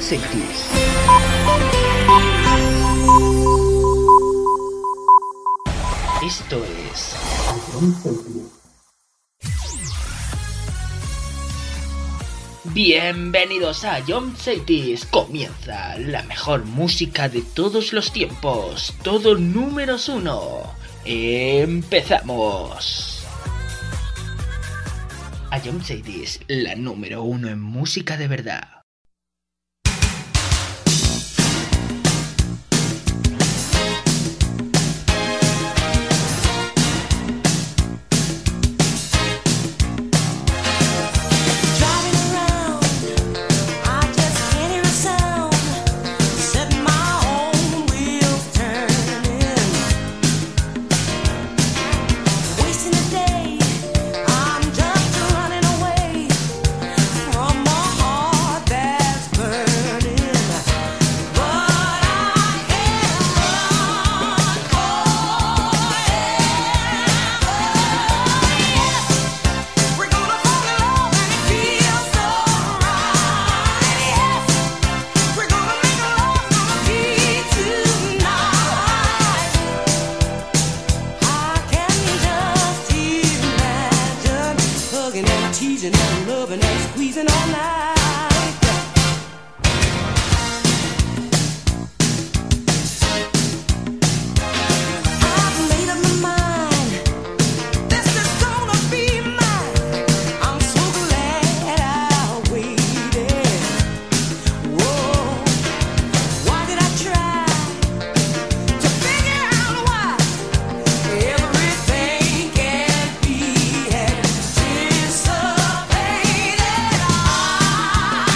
60s. Esto es bienvenidos a Jump Cities. Comienza la mejor música de todos los tiempos. Todo números 1. Empezamos. A Jump Cities, la número 1 en música de verdad. Anticipated.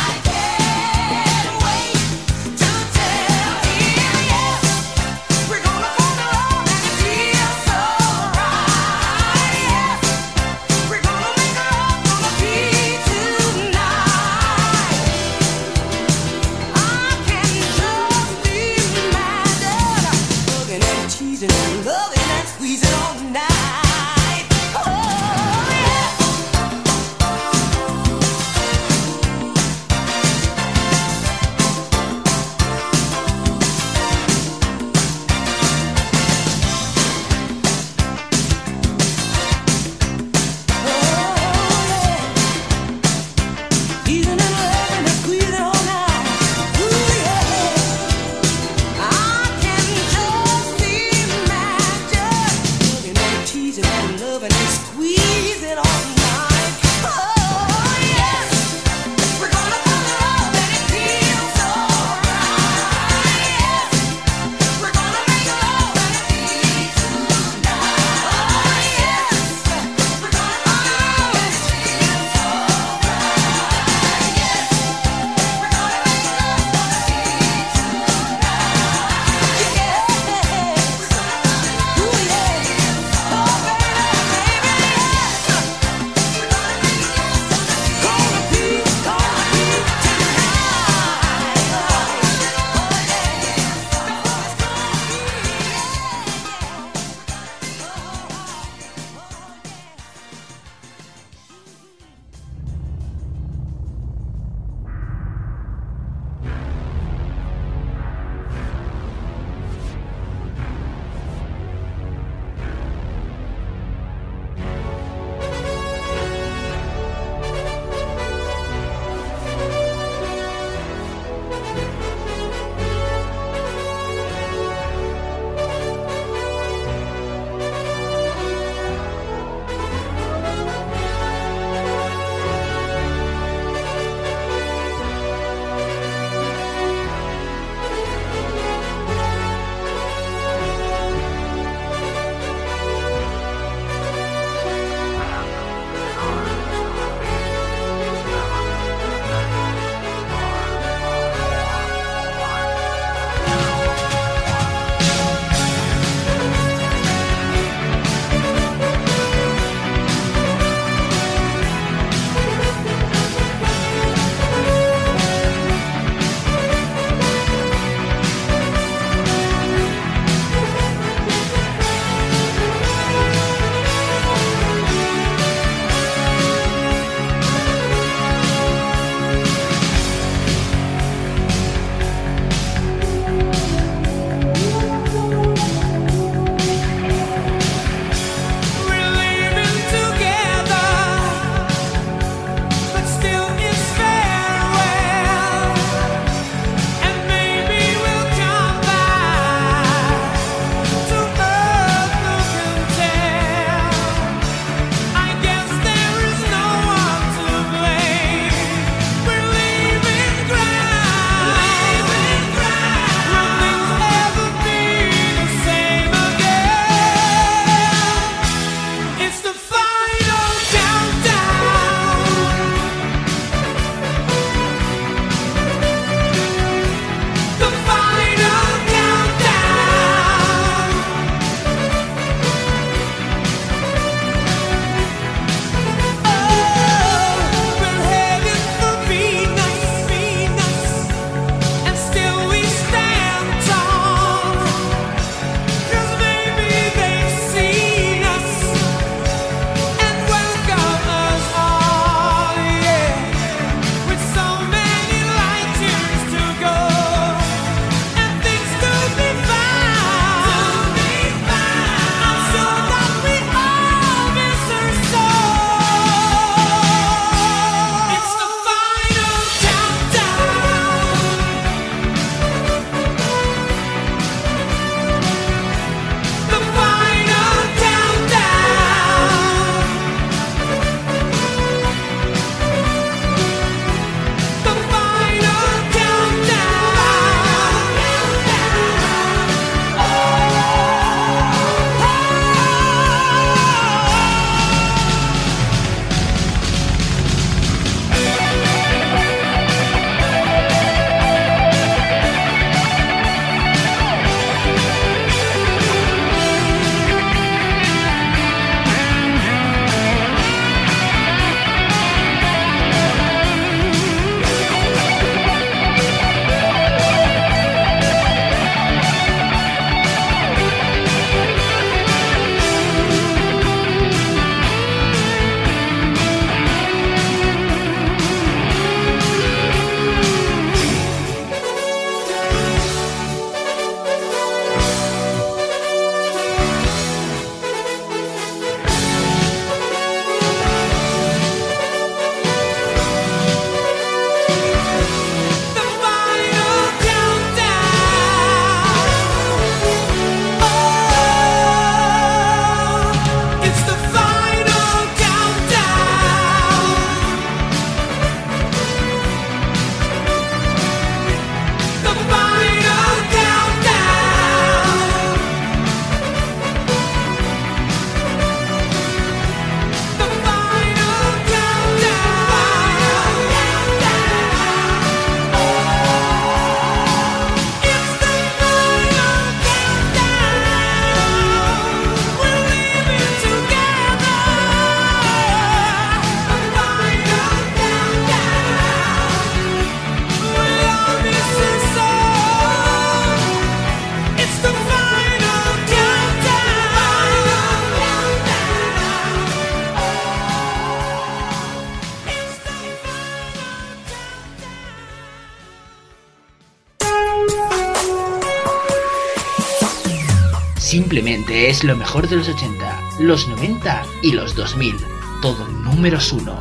simplemente es lo mejor de los 80, los 90 y los 2000. Todo números 1.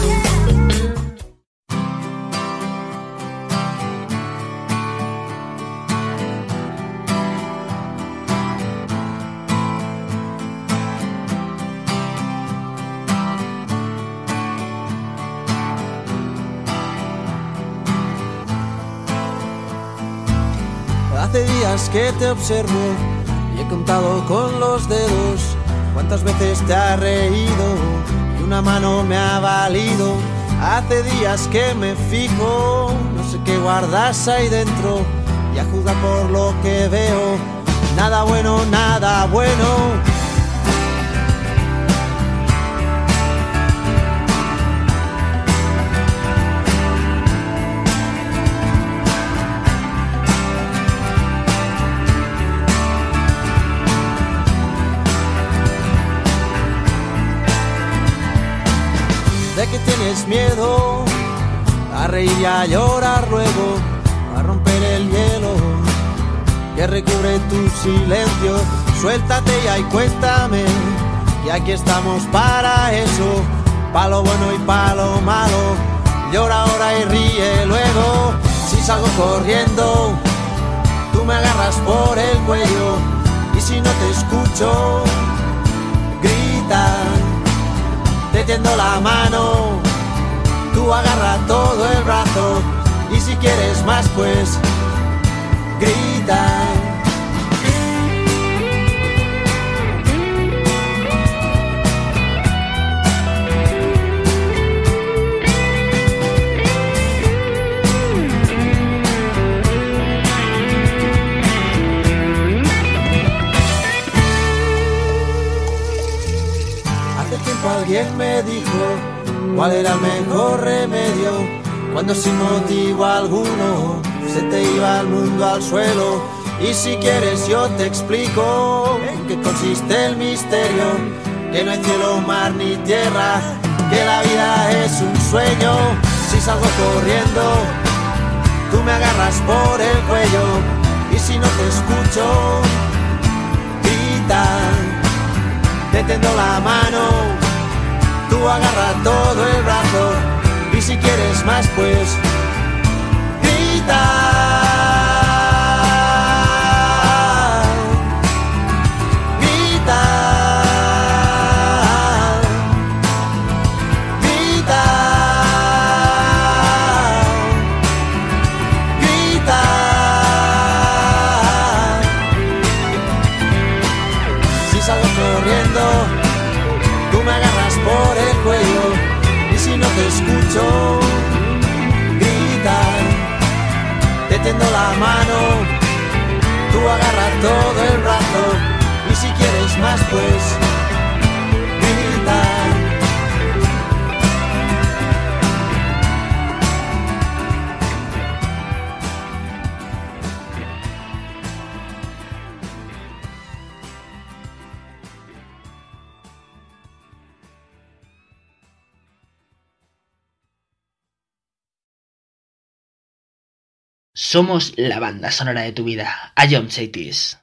Hace días que te observo y he contado con los dedos cuántas veces te has reído y una mano me ha valido. Hace días que me fijo, no sé qué guardas ahí dentro y a juzgar por lo que veo, nada bueno, nada bueno. De que tienes miedo a reír y a llorar luego, a romper el hielo que recubre tu silencio. Suéltate ya y cuéntame, y aquí estamos para eso, pa' lo bueno y pa' lo malo. Llora ahora y ríe luego. Si salgo corriendo, tú me agarras por el cuello, y si no te escucho, grita. Te tiendo la mano, tú agarra todo el brazo, y si quieres más pues grita. Alguien me dijo cuál era el mejor remedio cuando sin motivo alguno se te iba el mundo al suelo. Y si quieres yo te explico en qué consiste el misterio, que no hay cielo, mar ni tierra, que la vida es un sueño. Si salgo corriendo, tú me agarras por el cuello, y si no te escucho, grita. Te tiendo la mano, tú agarra todo el brazo, y si quieres más pues grita. Grita. Grita. Grita. Si salgo corriendo, tú me agarras por el cuello, y si no te escucho, grita. Te tiendo la mano, tú agarras todo el brazo, y si quieres más pues grita. Somos la banda sonora de tu vida. A John Chaitis.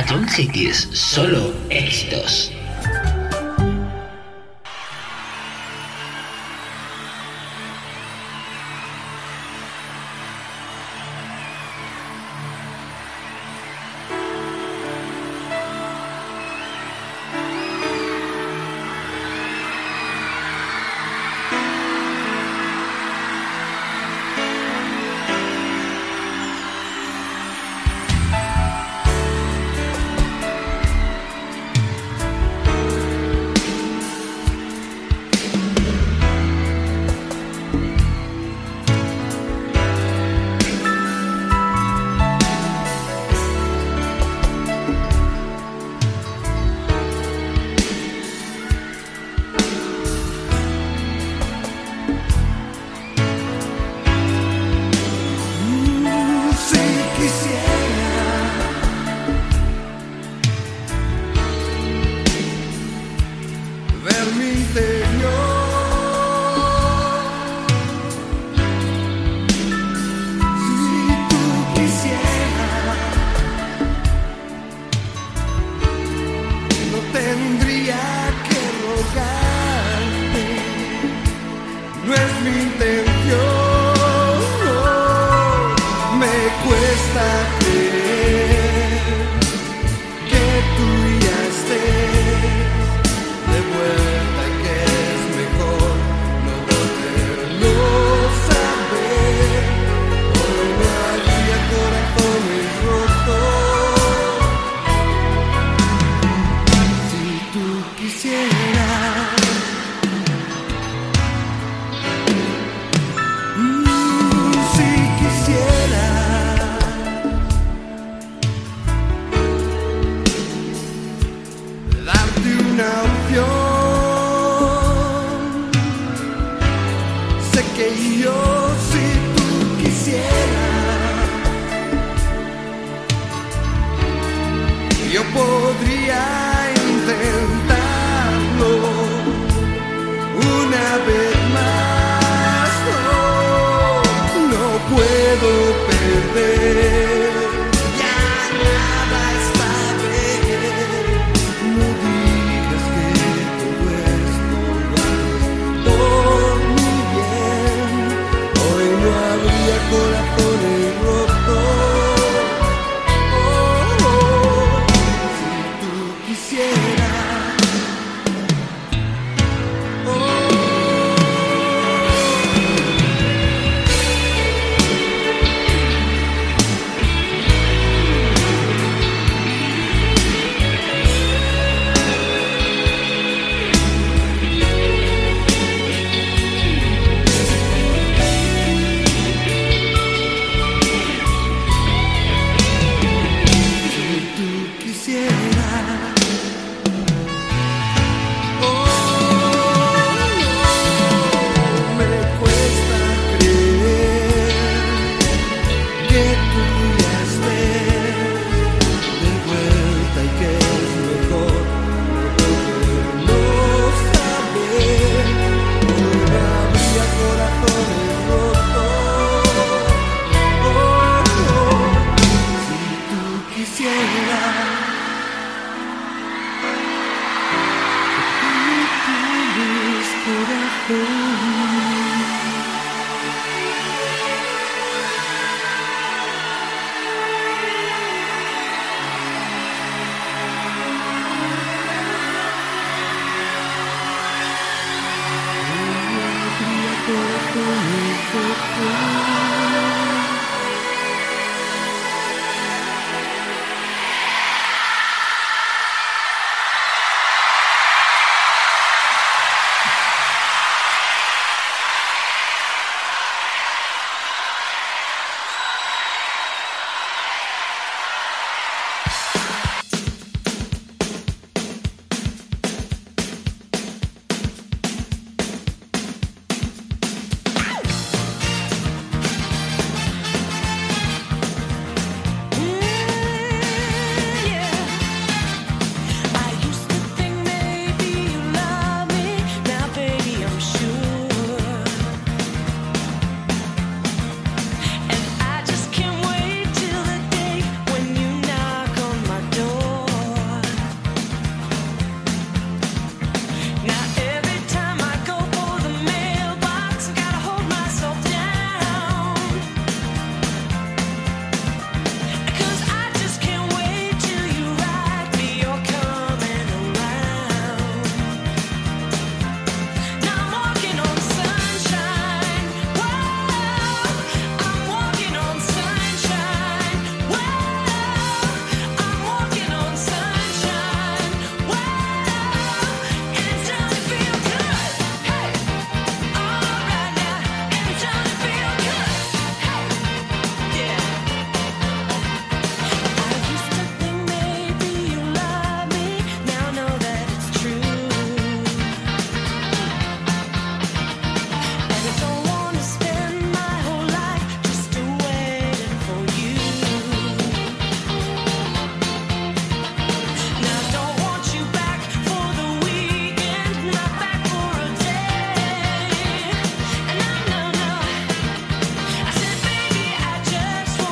Patron Cities, solo éxitos.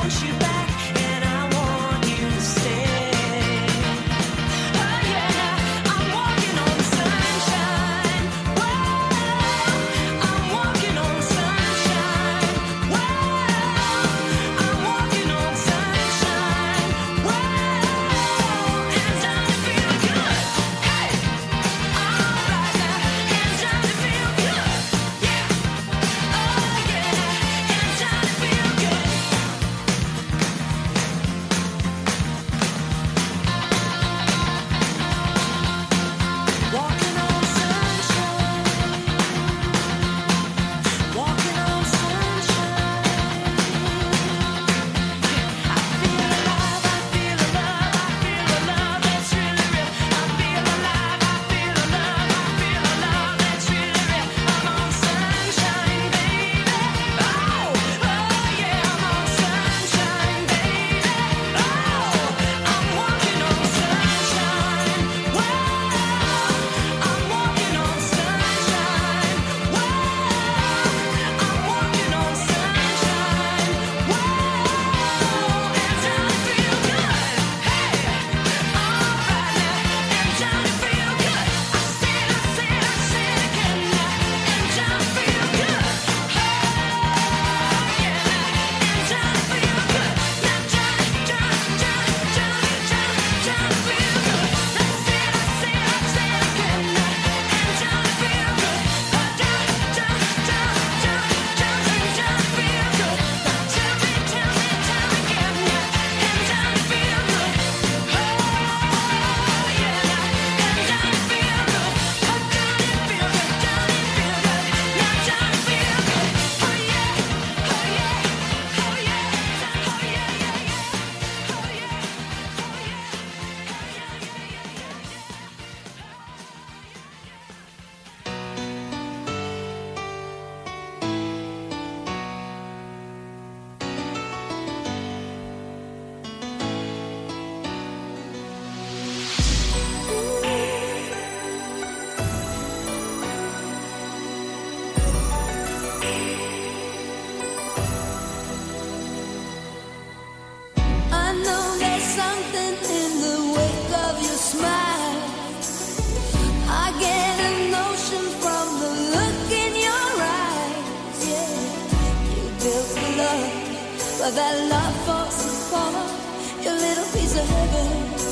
But that love falls apart. Your little piece of heaven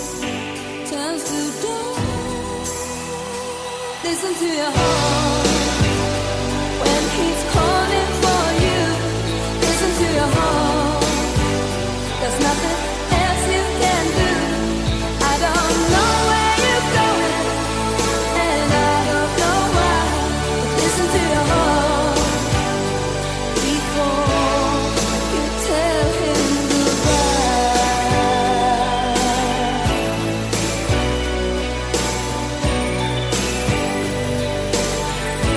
turns to dust. Listen to your heart when he's calling for you. Listen to your heart. There's nothing else you can do. I don't know where you're going, and I don't know why. But listen to your heart before you tell him goodbye.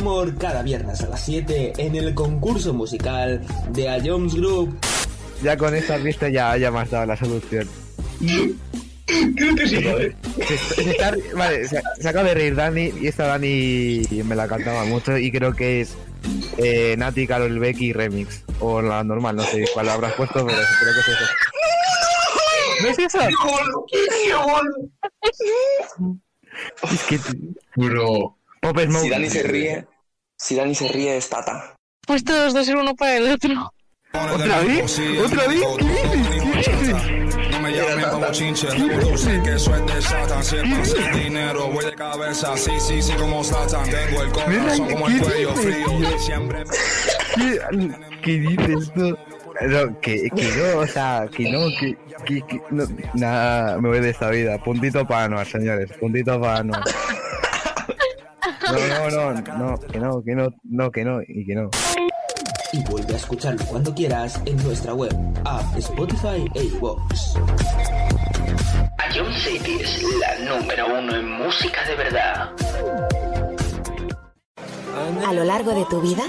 humor cada viernes a las 7 en el concurso musical de A Jones Group. Ya con esta pista ya me has dado la solución. Creo que sí, ¿vale? Vale, se acaba de reír Dani, y esta Dani me la cantaba mucho y creo que es Nati, Karol Becky remix. O la normal, no sé cuál habrás puesto, pero creo que es eso. ¿No es eso? Es que... Bro. Pop Smoke. Si Dani se ríe es Tata. Pues todos dos el uno para el otro. ¿Otra vez? ¿Otra vez? ¿Qué dices? No me llamen como chinche, tú sé que eso es de Satan. Si es para hacer dinero, voy de cabeza, sí, como Satan. Tengo el corazón como el cuello frío, siempre... ¿Qué dices tú? No, que no, o sea, que no, no, nada, me voy de esta vida. Puntito para Anuar, señores, puntito para Anuar. No, que no. Y vuelve a escucharlo cuando quieras en nuestra web, app, Spotify e iVoox. A Jones City es la número 1 en música de verdad. A lo largo de tu vida,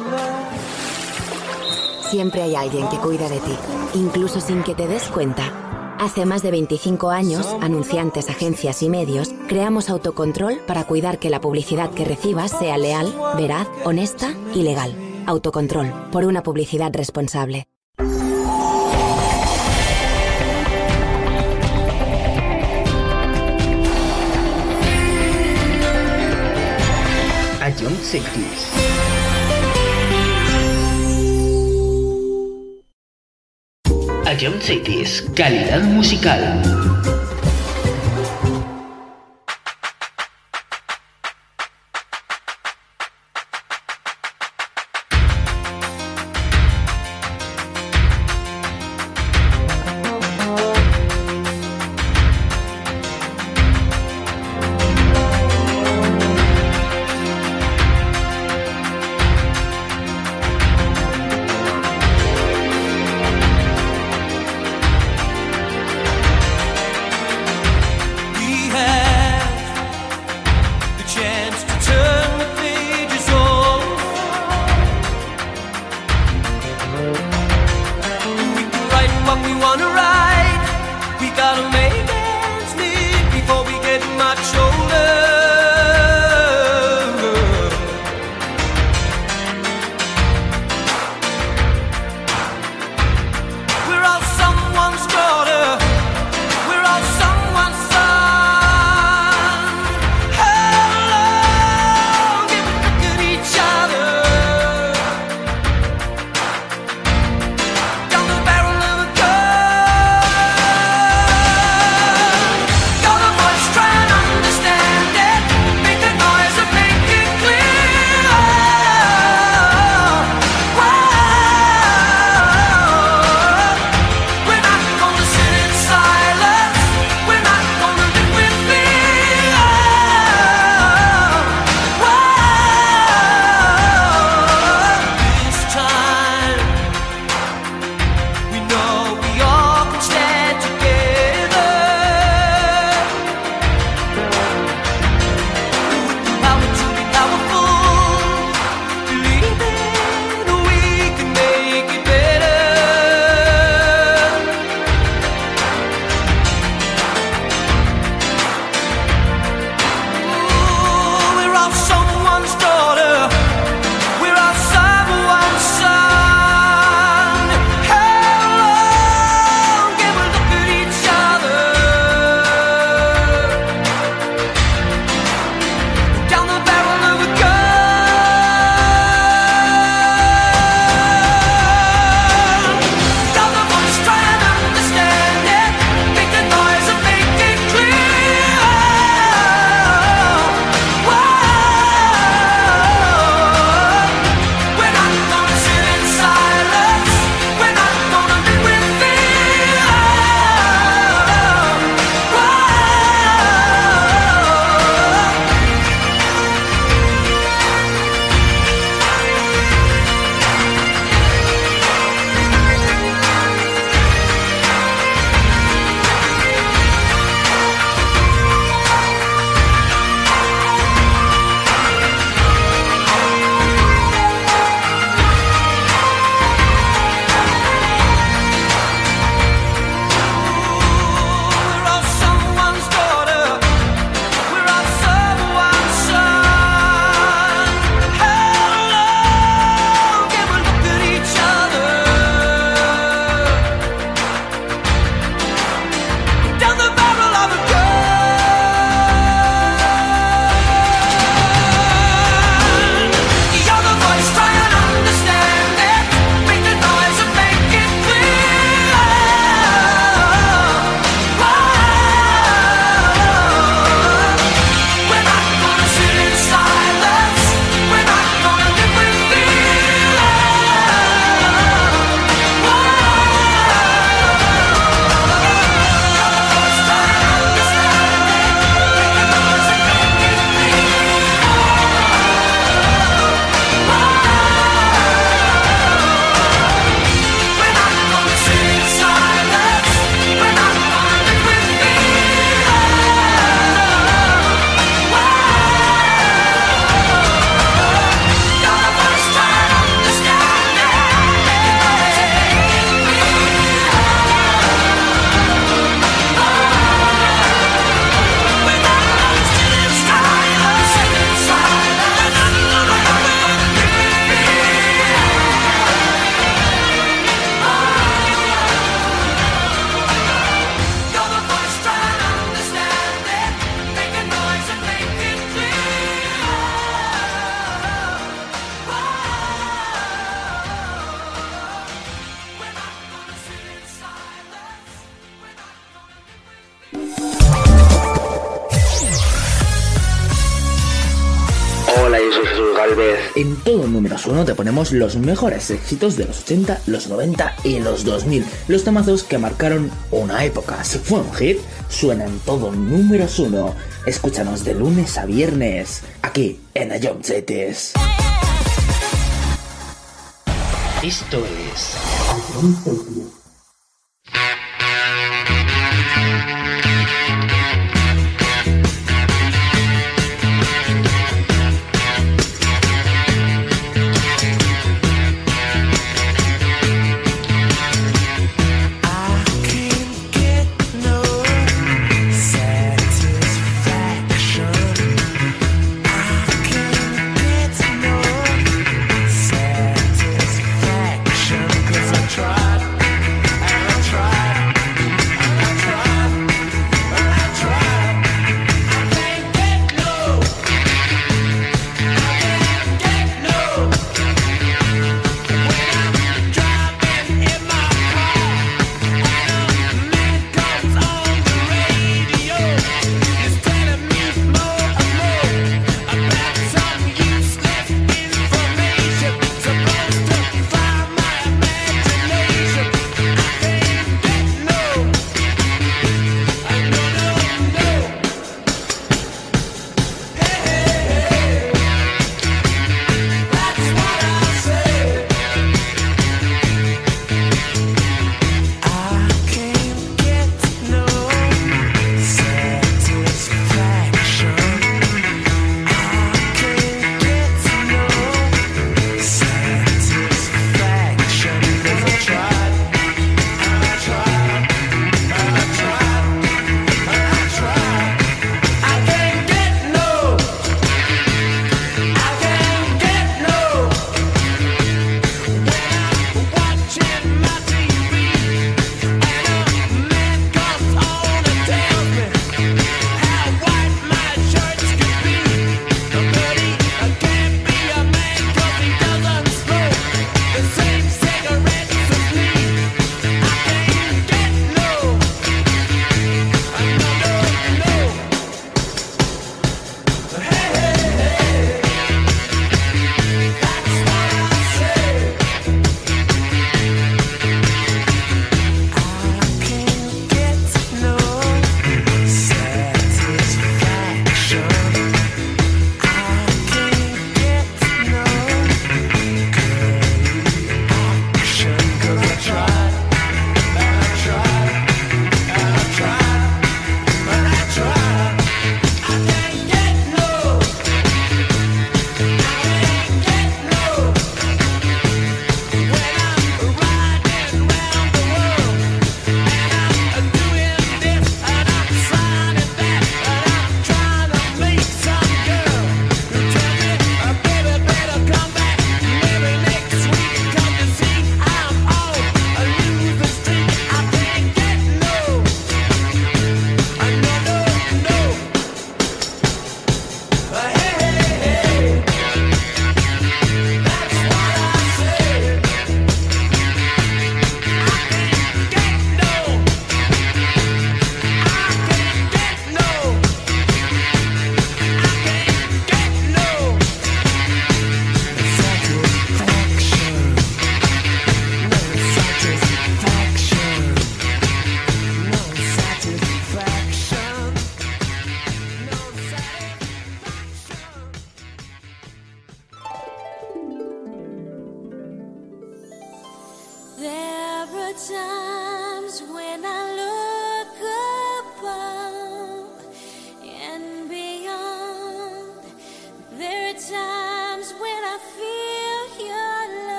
siempre hay alguien que cuida de ti, incluso sin que te des cuenta. Hace más de 25 años, anunciantes, agencias y medios, creamos Autocontrol para cuidar que la publicidad que recibas sea leal, veraz, honesta y legal. Autocontrol, por una publicidad responsable. A Jones City. A Jones City, calidad musical. En todo números 1 te ponemos los mejores éxitos de los 80, los 90 y los 2000. Los temazos que marcaron una época. Si fue un hit, suena en todo números 1. Escúchanos de lunes a viernes, aquí en Ion Cities. Esto es Ion Cities.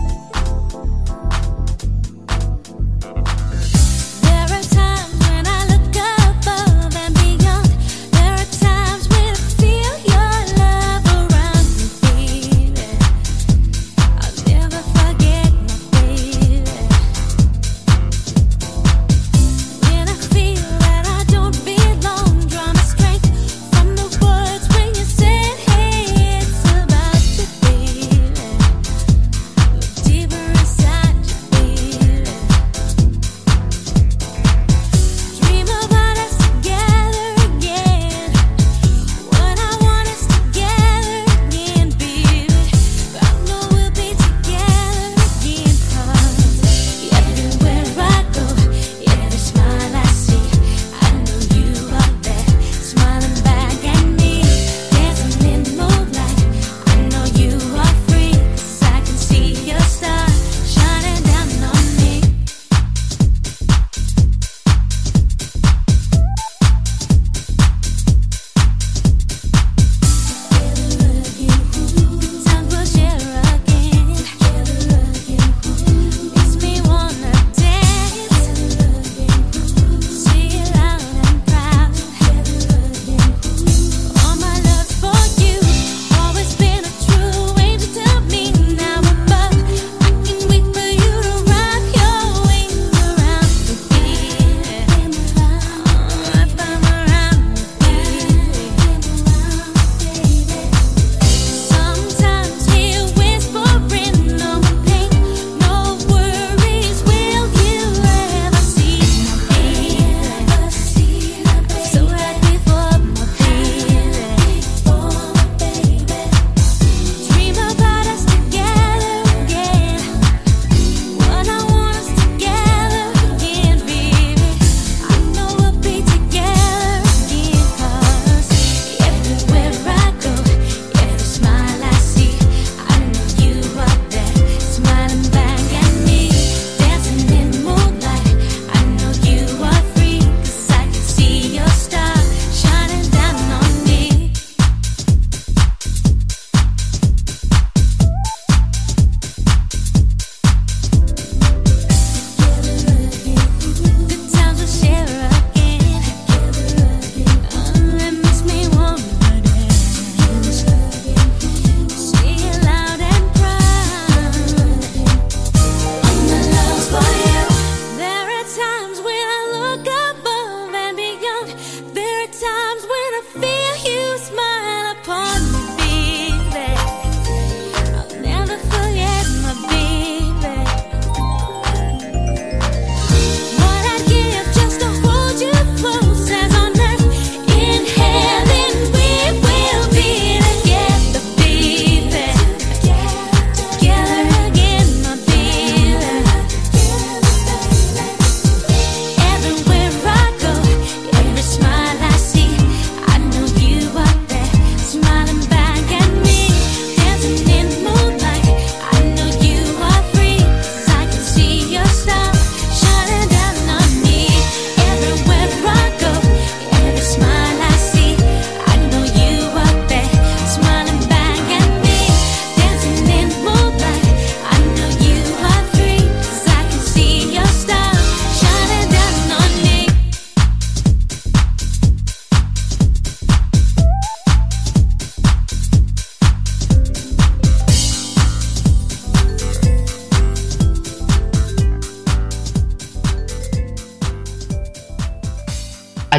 There are times when I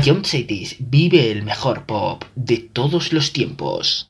Ion Cities vive el mejor pop de todos los tiempos.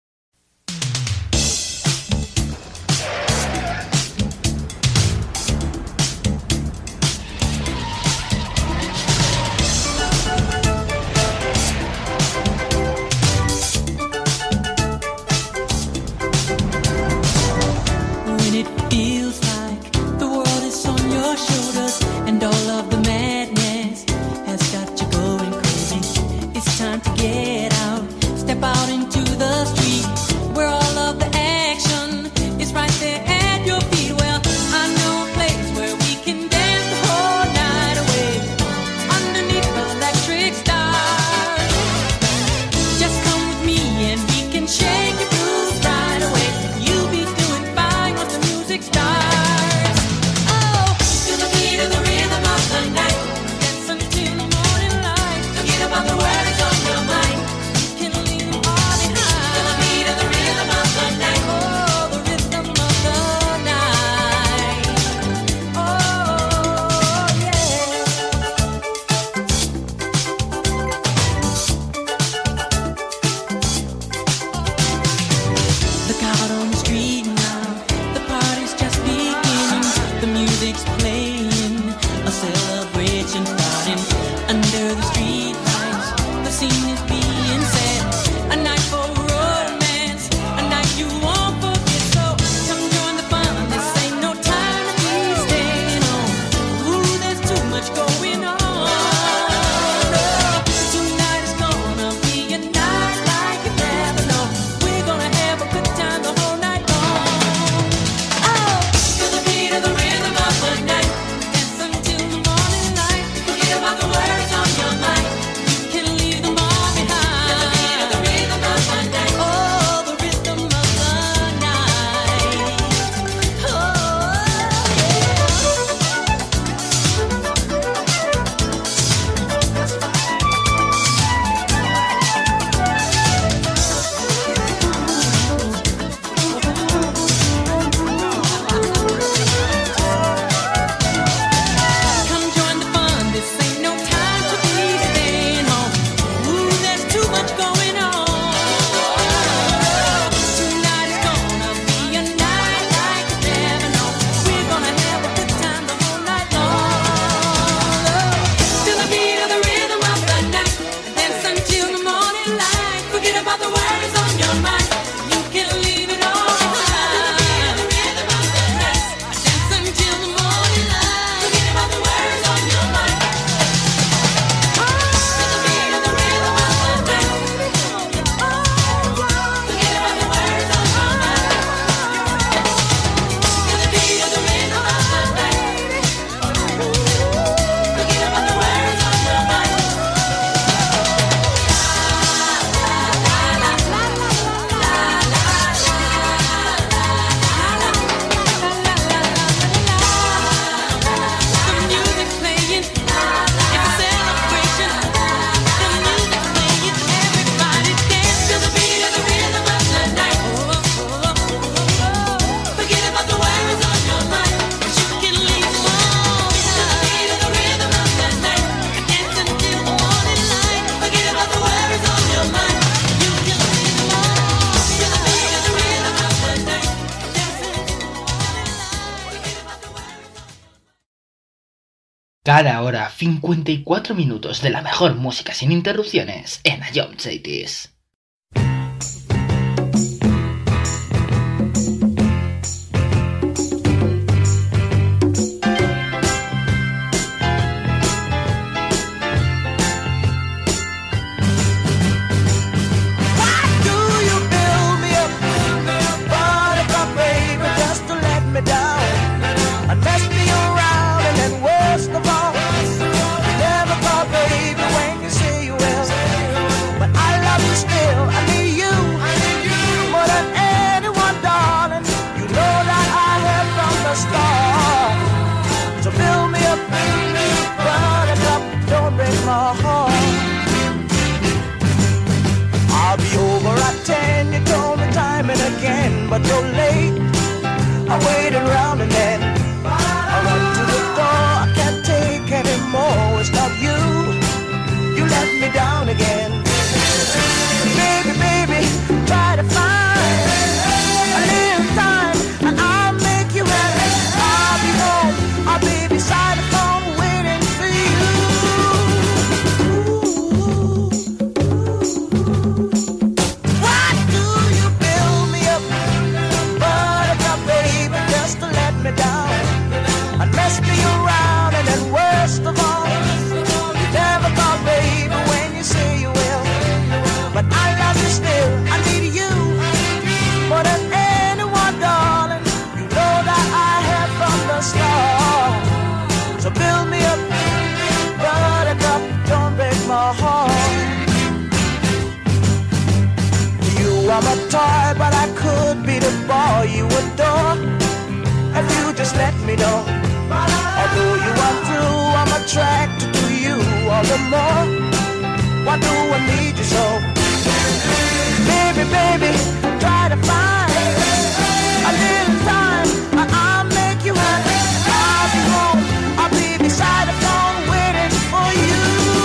Cada hora 54 minutos de la mejor música sin interrupciones en Ion Cities. But you're late, I waited around and then I run to the door, I can't take anymore, it's not you, you left my heart. You are my toy, but I could be the boy you adore if you just let me know. Although you are through, I'm attracted to you all the more. Why do I need you so? Baby, baby, try to find a little time. I'll make you happy. I'll be home, I'll be beside the phone waiting for you.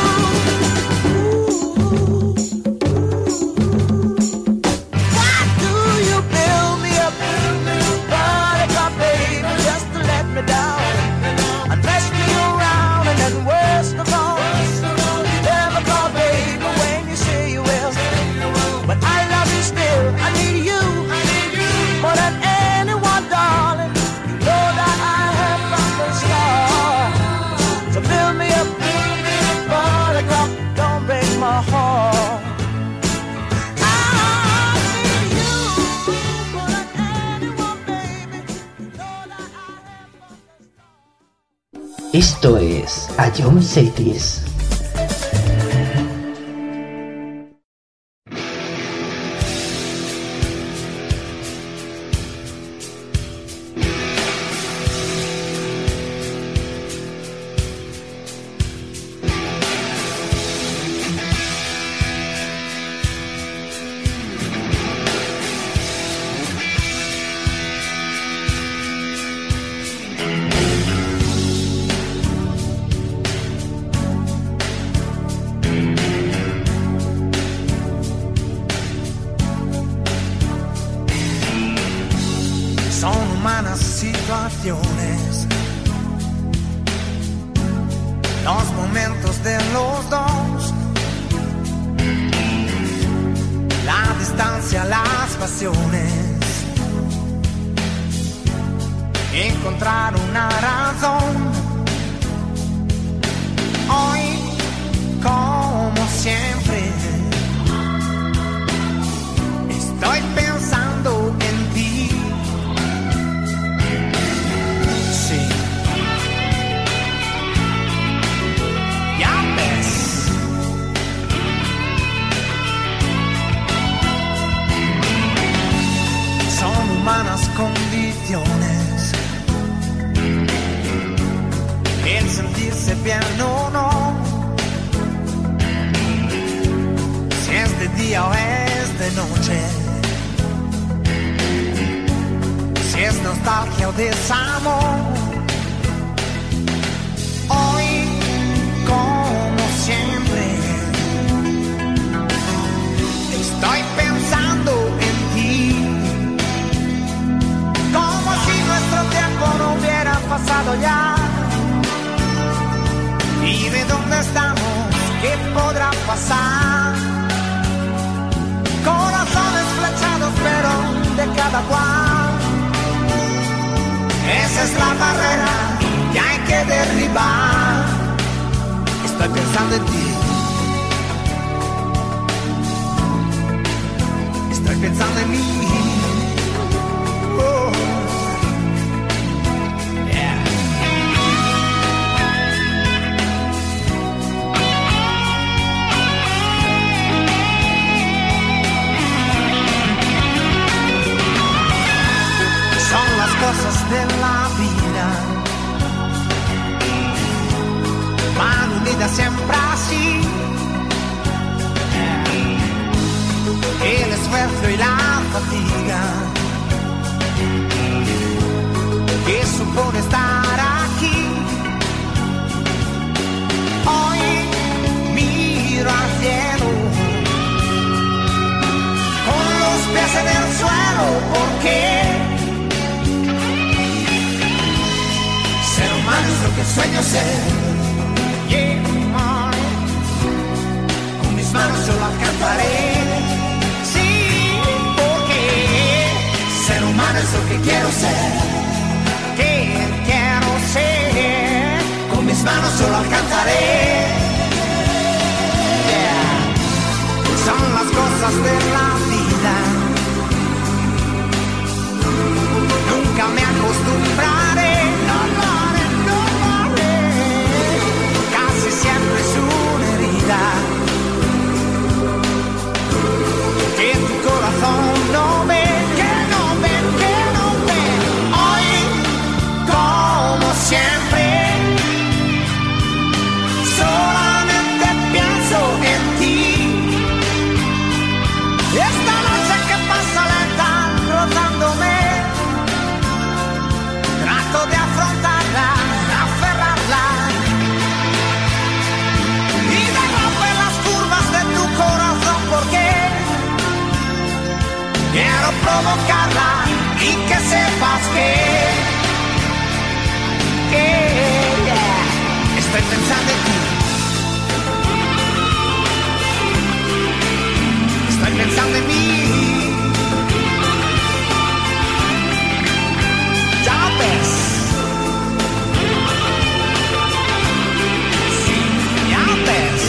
Why do you build me up, buttercup, baby, just to let me down and mess me around? And then worst of all, you never call, baby, when you say you will. But I love you still, I need you more than anyone, darling. You know that I have from the start. So build me up, buttercup, don't break my heart. I need you more than anyone, baby. You know that I have from the start. Esto es Ion Cities. Son humanas situaciones, los momentos de los dos, la distancia, las pasiones, encontrar una razón. Hoy, como siempre, estoy pensando en ti. Sí. Ya ves. Son humanas condiciones, el sentirse bien o no, si es de día o es de noche, si es nostalgia o desamor. Hoy, como siempre, estoy pensando en ti, como si nuestro tiempo no hubiera pasado ya. ¿Y de dónde estamos? ¿Qué podrá pasar? Corazones flechados, pero de cada cual. Esa es la barrera que hay que derribar. Estoy pensando en ti. Estoy pensando en mí. Oh. Yeah. Son las cosas de la vida, van unidas siempre así. El esfuerzo y la fatiga que supone estar aquí. Hoy miro al cielo con los pies en el suelo, porque ser humano es lo que sueño ser. Yeah. Con mis manos yo lo alcanzaré. Ser humano es lo que quiero ser, que quiero ser, con mis manos yo lo alcanzaré. Yeah. Son las cosas de la vida, nunca me acostumbraré, no lo haré, casi siempre es una herida. provocarla y que sepas que estoy pensando en ti. Estoy pensando en mí. Ya ves. Sí, ya ves.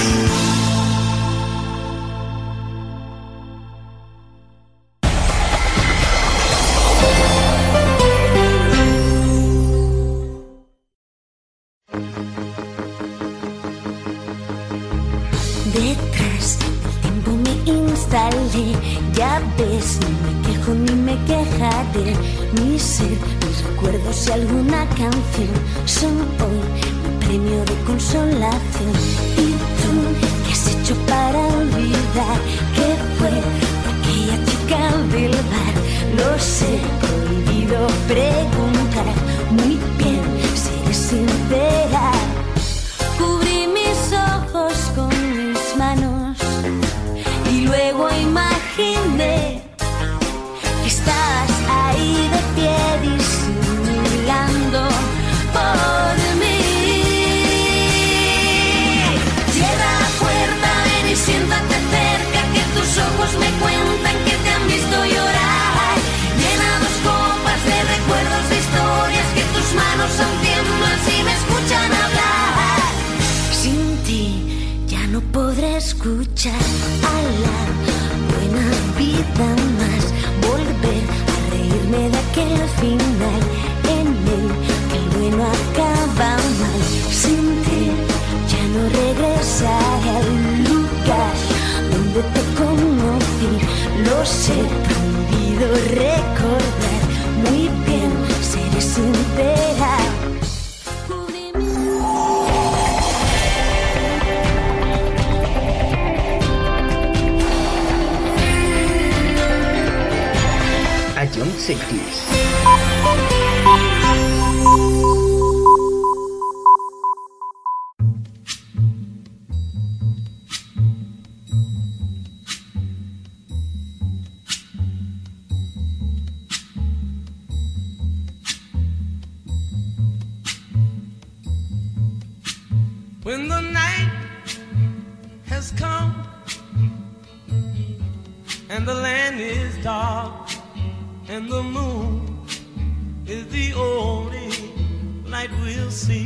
Detrás del tiempo me instalé, ya ves, ni me quejo ni me quejaré. Mi ser, mis recuerdos y alguna canción son hoy mi premio de consolación. ¿Y tú qué has hecho para olvidar que fue aquella chica del bar? Lo sé, prohibido preguntar. Muy bien, seré sincera. Cubrí mis ojos con mis manos y luego imaginé que estás ahí de pie disimulando por mí. Cierra la puerta, ven y siéntate cerca, que tus ojos me cuentan que te han visto llorar. Llena dos copas de recuerdos, de historias, que tus manos aún tiemblan si me escuchan hablar. Sin ti ya no podré escuchar a la buena vida más, volver a reírme de aquel final en el que el bueno acaba mal. Sin ti ya no regresaré al lugar donde te conocí. Lo sé, prohibido recordar. Muy bien, seré sincera. Young Cities. When the night has come and the land is dark and the moon is the only light we'll see.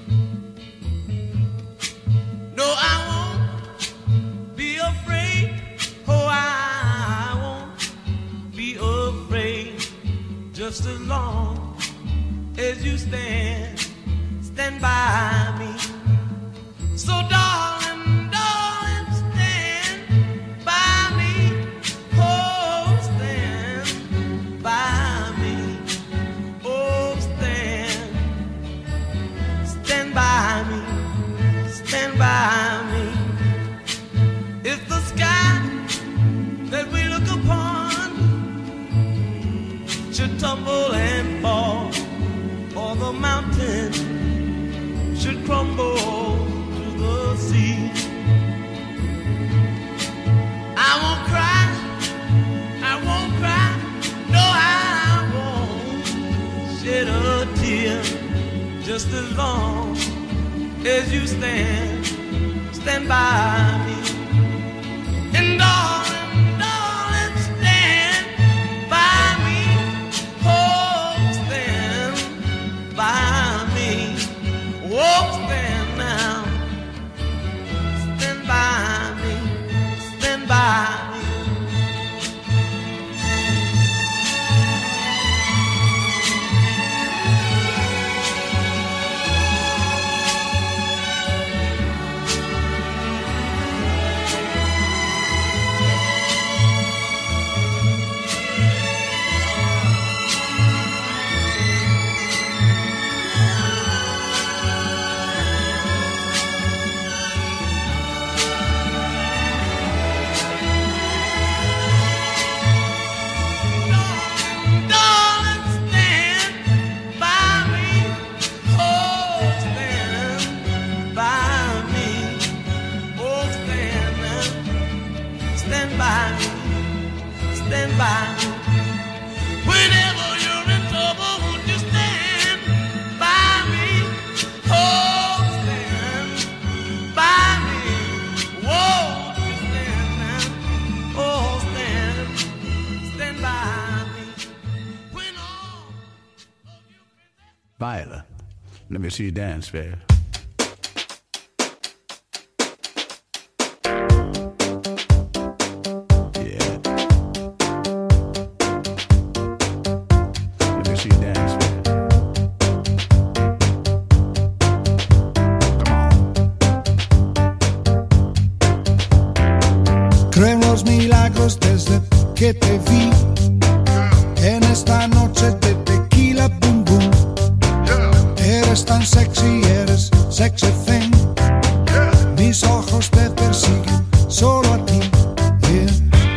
No, I won't be afraid. Oh, I won't be afraid. Just as long as you stand by me. So darling, darling, stand by me. Oh, stand by me. Oh, stand by me. Stand by me. If the sky that we look upon should tumble and fall, or the mountain should crumble to the sea, I won't cry, I won't cry, no, I won't shed a tear. Just as long as you stand by me. And darling, darling, stand by me. Oh, stand by me. Oh, stand now. Stand by me. Stand by me. Stand by me, Let me see you dance, babe. Creo en los milagros desde que te vi. En esta noche de tequila, boom, boom. Eres tan sexy, eres sexy thing. Mis ojos te persiguen solo a ti. Yeah.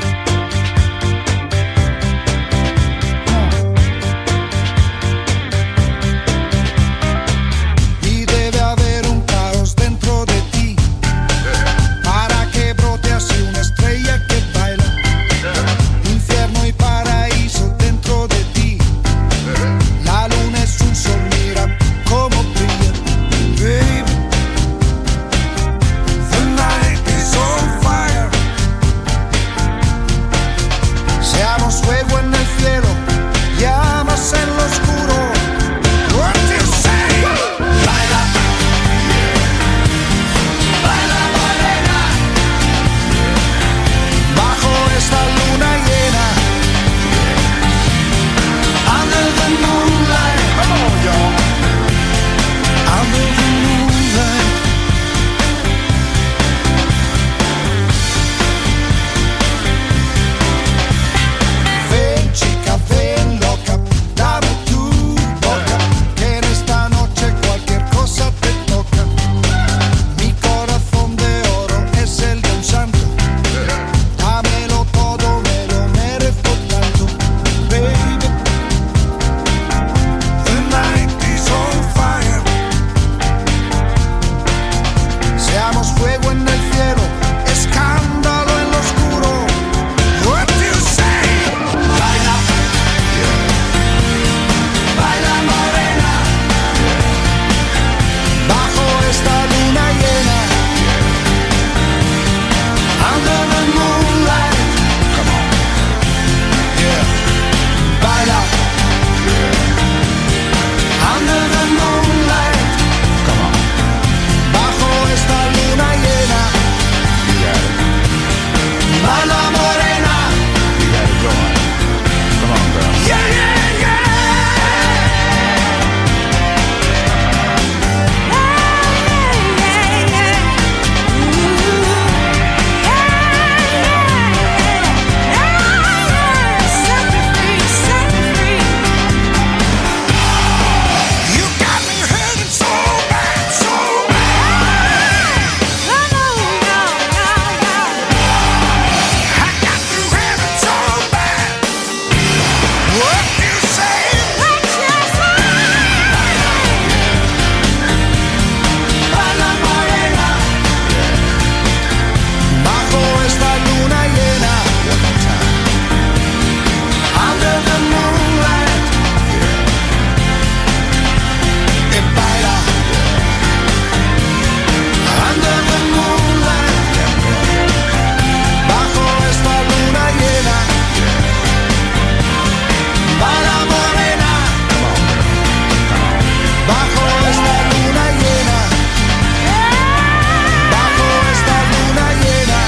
Y debe haber un caos dentro de ti para que brote así una estrella que baila. Infierno y paraíso dentro de ti. La luna es un sol, mira cómo brilla. Baby, the night is on fire. Seamos fuego en el cielo, llamas en lo oscuro. What do you say? Baila, baila morena, bajo esta luna llena. Under the moonlight, come on, y'all. Under the moonlight. Ven chica, ven loca, dame tu boca, que en esta noche cualquier cosa te toca. Mi corazón de oro es el de un santo. Dámelo todo, me lo merezco tanto. Baby, the night is on fire. Seamos fuego en el cielo, escándalo en lo oscuro. What do you say? Baila, baila morena, bajo esta luna llena. Under the moonlight, come on, yeah. Baila, under the moonlight, come on, bajo esta luna llena. Baila morena, You got it going. Come on, girl. yeah, yeah, yeah. You got me hurting so bad, so bad. I got you hurting so bad. What do you say? Baila morena, bajo esta luna llena. One more time. Under the moonlight, baila. Under the moonlight, bajo esta luna llena. Baila morena, bajo esta luna llena. Bajo esta luna llena.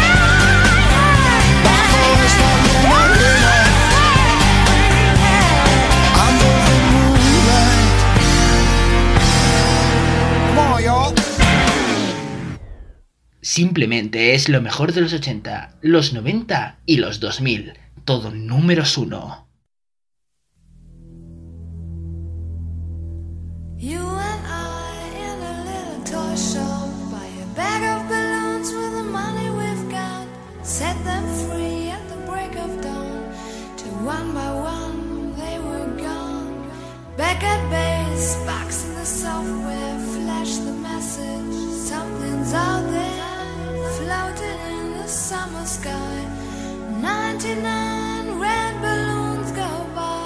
Bajo esta luna llena. Under the moonlight. Come on, y'all. Simplemente es lo mejor de los 80, los 90 y los 2000. Todo números 1. You and I in a little toy shop, buy a bag of balloons with the money we've got, set them free at the break of dawn, till one by one they were gone. Back at base, box in the software, flash the message, something's out there, floating in the summer sky. 99 red balloons go by.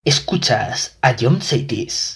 Escuchas a John Saitis.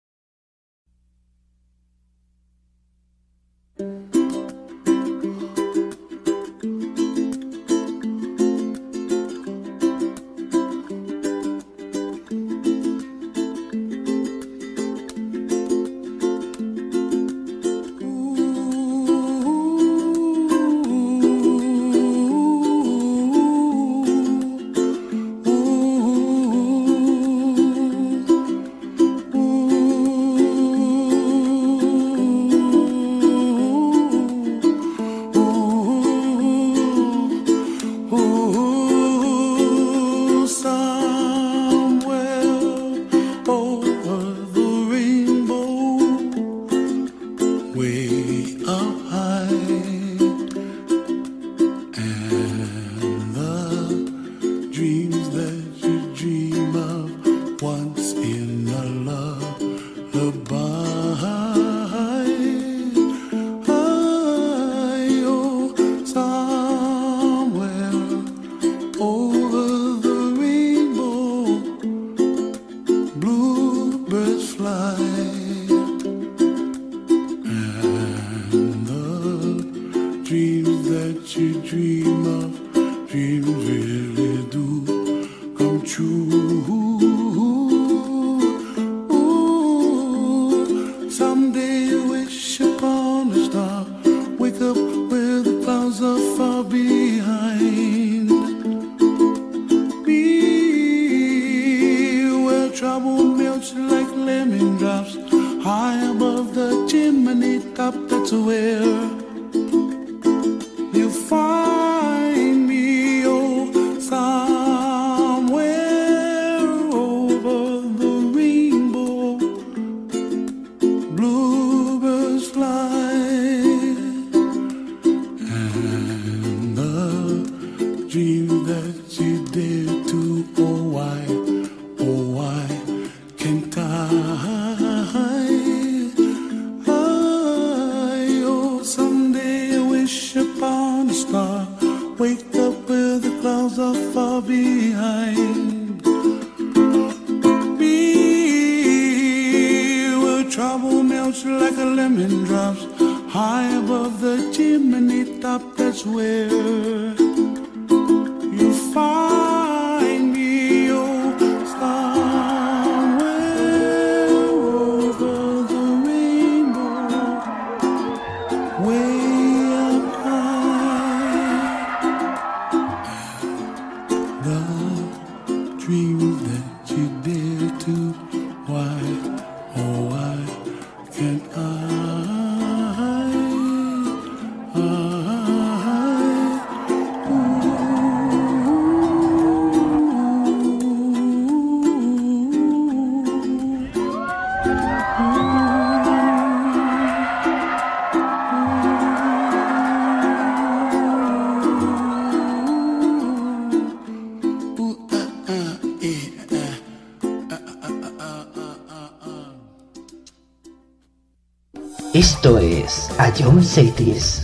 Esto es a John Saitis.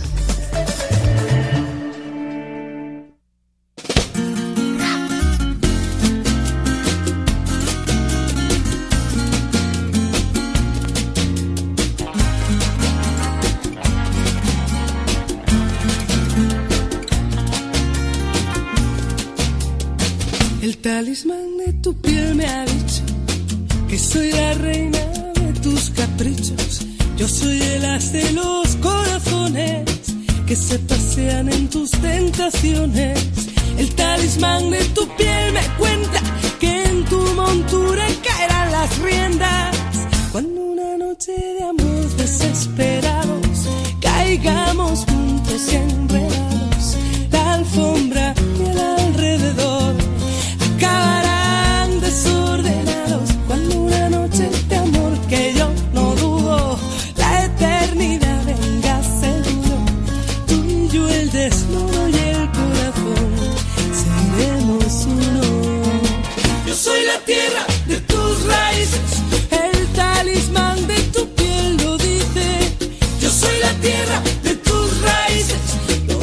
El talismán de tu piel me ha dicho que soy la reina de tus caprichos. Yo soy el as de los corazones que se pasean en tus tentaciones. El talismán de tu piel me cuenta que en tu montura caerán las riendas. Cuando una noche de amor desesperados caigamos juntos y enredados, la alfombra y el alrededor acabarán desordenados. Cuando una noche de amor que yo no dudo, la eternidad venga seguro, tú y yo el desnudo y el corazón seremos uno. Yo soy la tierra de tus raíces, el talismán de tu piel lo dice. Yo soy la tierra de tus raíces, lo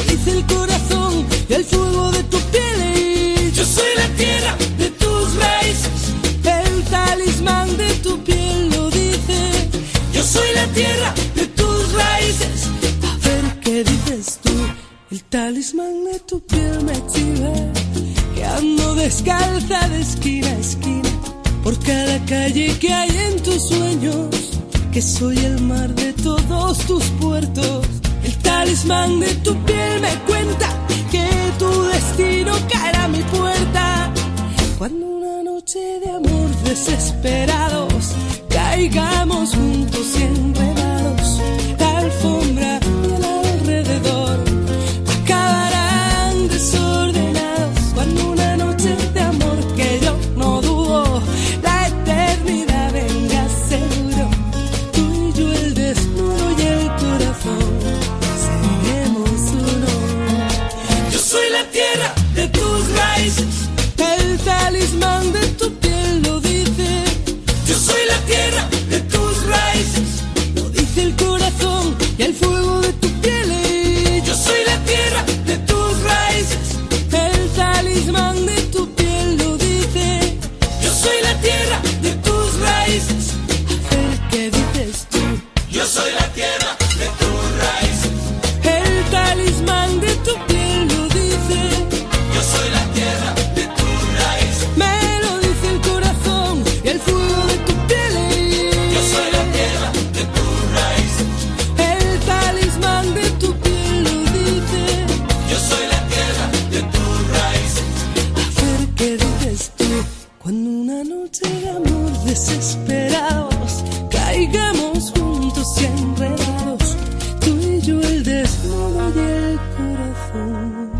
tierra de tus raíces. A ver qué dices tú. El talismán de tu piel me exhibe que ando descalza de esquina a esquina por cada calle que hay en tus sueños, que soy el mar de todos tus puertos. El talismán de tu piel me cuenta que tu destino caerá a mi puerta cuando una noche de amor desesperados caigamos juntos y enredados. La alfombra del alrededor acabarán desordenados cuando una noche de amor que yo no dudo la eternidad venga seguro. Tú y yo el desnudo y el corazón seremos uno. Yo soy la tierra de tus raíces, el talismán de tu piel lo dice. Yo soy la tierra de tus raíces, lo dice el corazón y el fuego de tu piel. Yo soy la tierra de tus raíces, el talismán de tu piel lo dice. Yo soy la tierra de tus raíces. A ver qué dices tú. Yo soy la tierra de tus raíces, el talismán de tu piel lo dice. Yo soy la tierra de tus raíces, me lo dice el corazón y el fuego de tu piel. Yo soy la tierra de tus raíces, el talismán de tu piel lo dice. Yo soy la tierra de tus raíces. A ver qué dices tú. Cuando una noche de amor desesperados caigamos juntos y enredados, tú y yo el desnudo y el corazón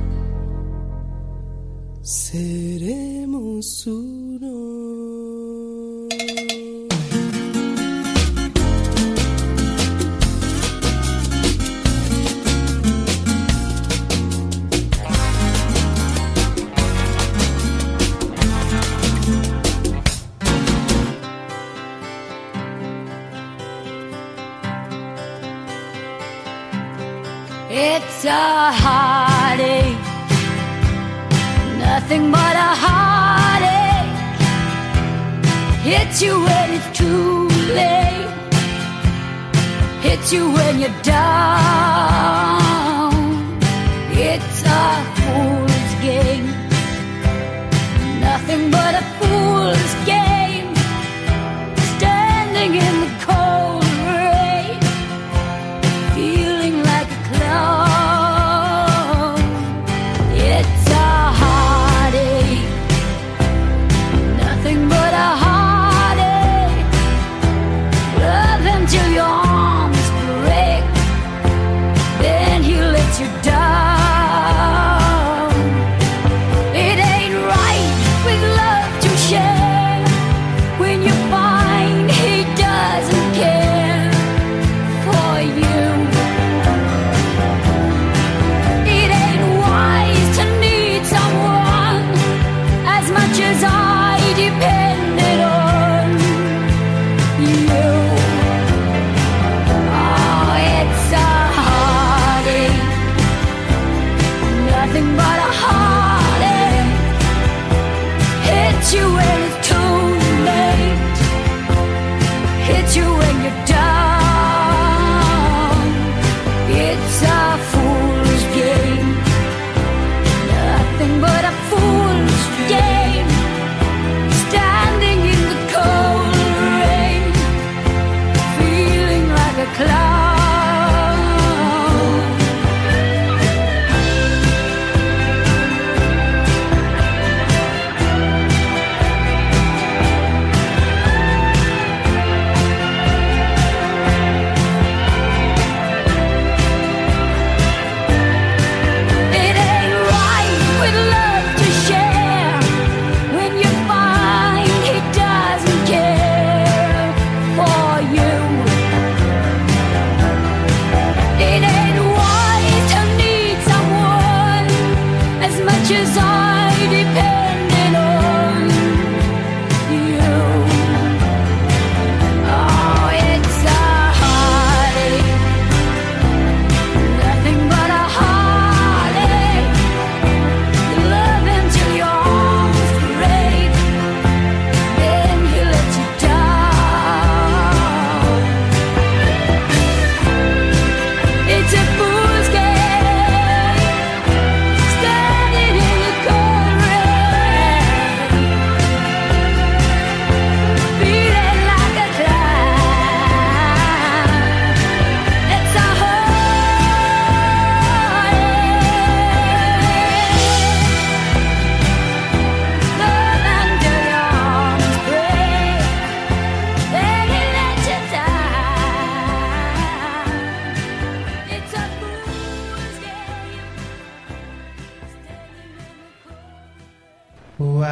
seremos uno. It's a heartache, nothing but a heartache. Hits you when it's too late, hits you when you're down. It's a fool's game, nothing but a fool's game. Standing in the cold rain, feeling like a clown. It's a heartache, nothing but a heartache. Love until your arms break, then he lets you down.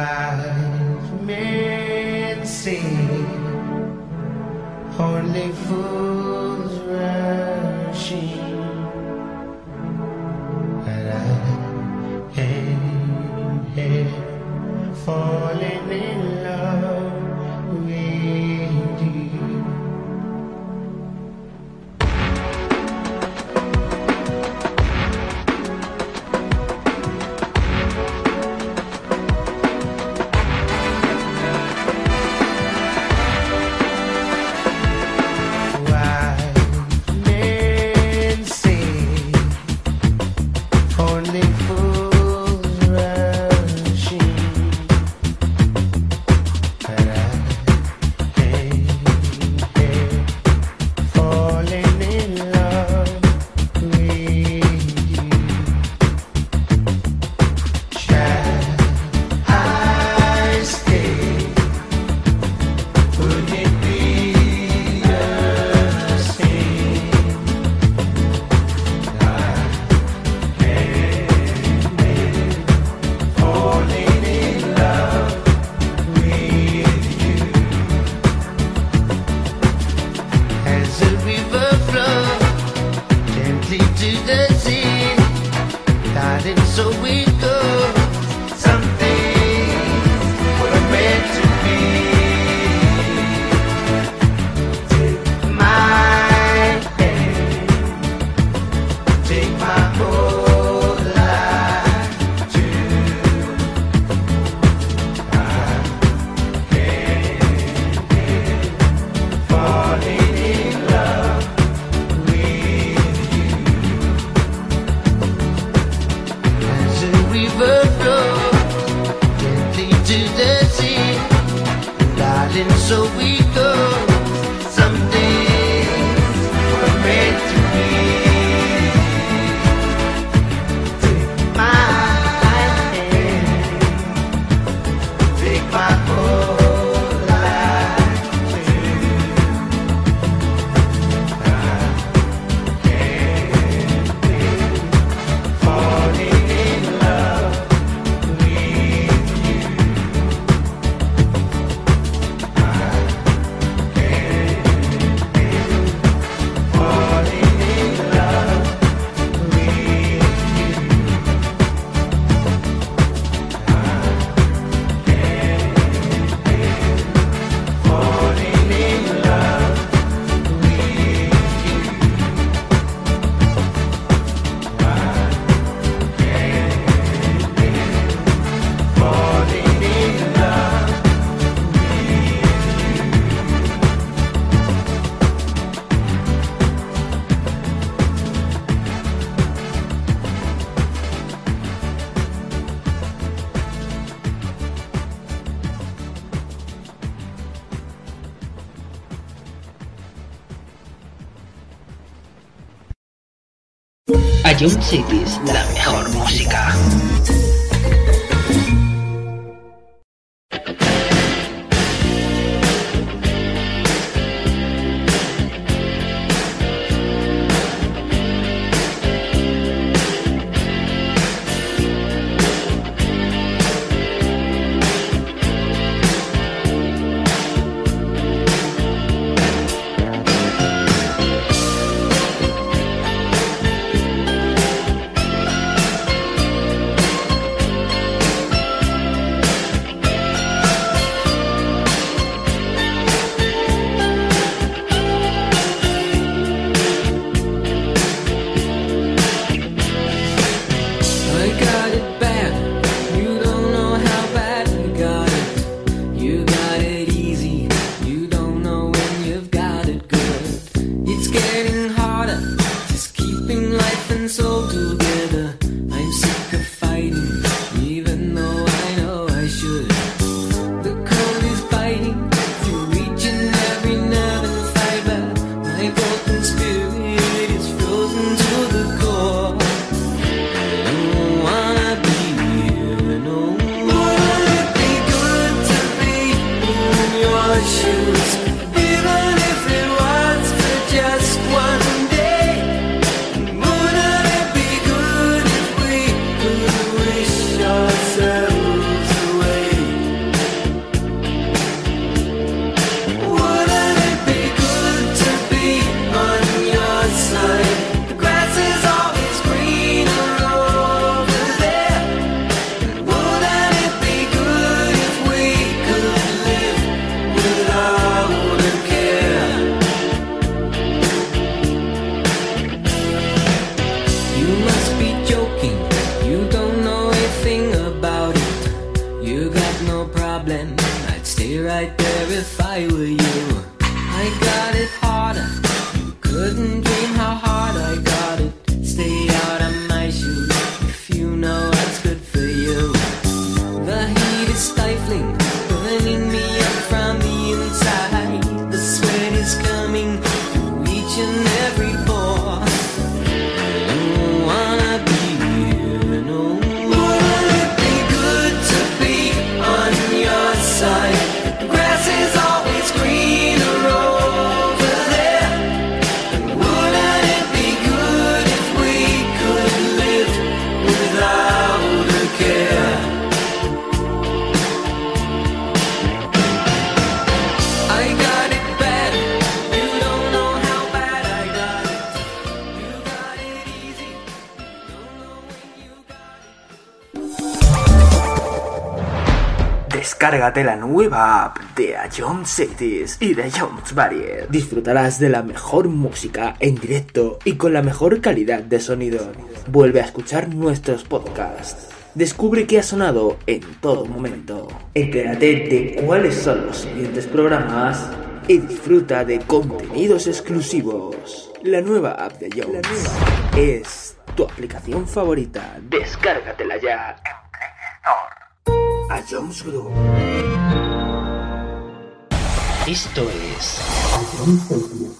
Wise men say only fools rush in, but I am here falling in love with you. Ion Cities, la mejor música. ourselves away. Descárgate la nueva app de Ion Cities y de Ion's Barrier. Disfrutarás de la mejor música en directo y con la mejor calidad de sonido. Vuelve a escuchar nuestros podcasts. Descubre qué ha sonado en todo momento. Entérate de cuáles son los siguientes programas y disfruta de contenidos exclusivos. La nueva app de Ion's es tu aplicación favorita. Descárgatela ya en Play Store. Ion's Group. Esto es Ion's Group.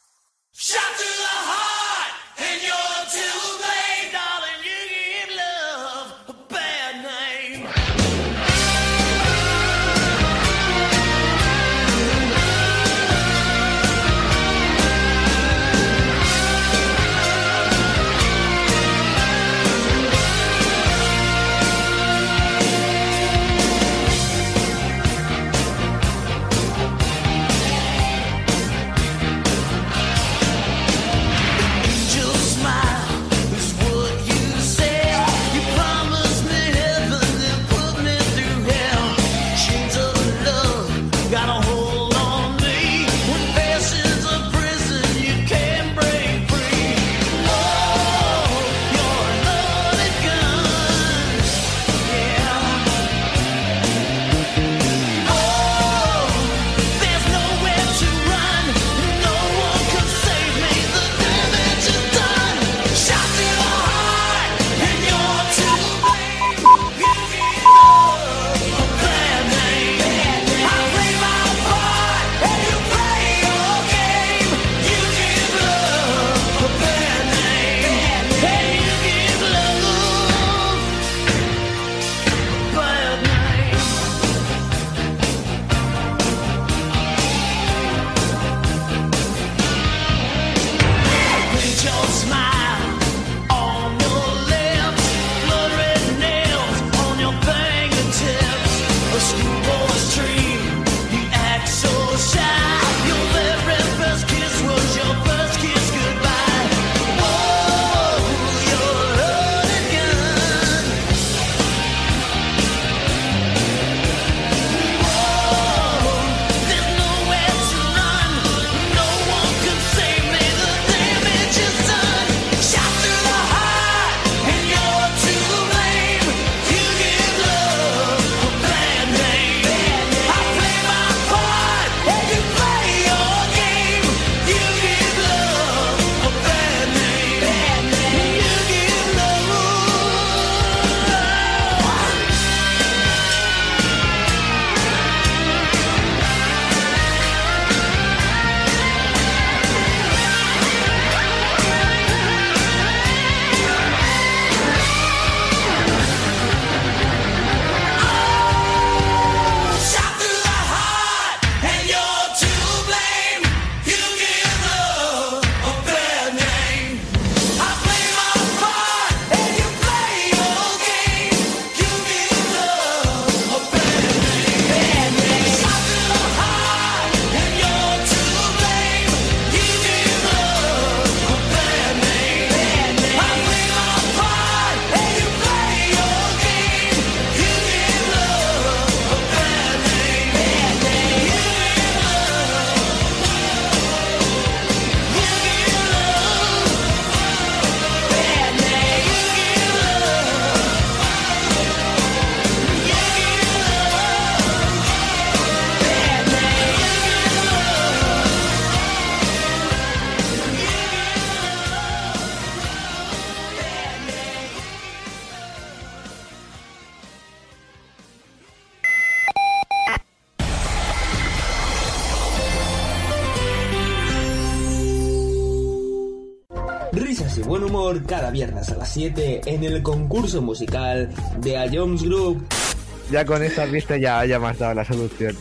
Risas y buen humor cada viernes a las 7 en el concurso musical de Ion's Group. Ya con estas vistas ya me has dado la solución.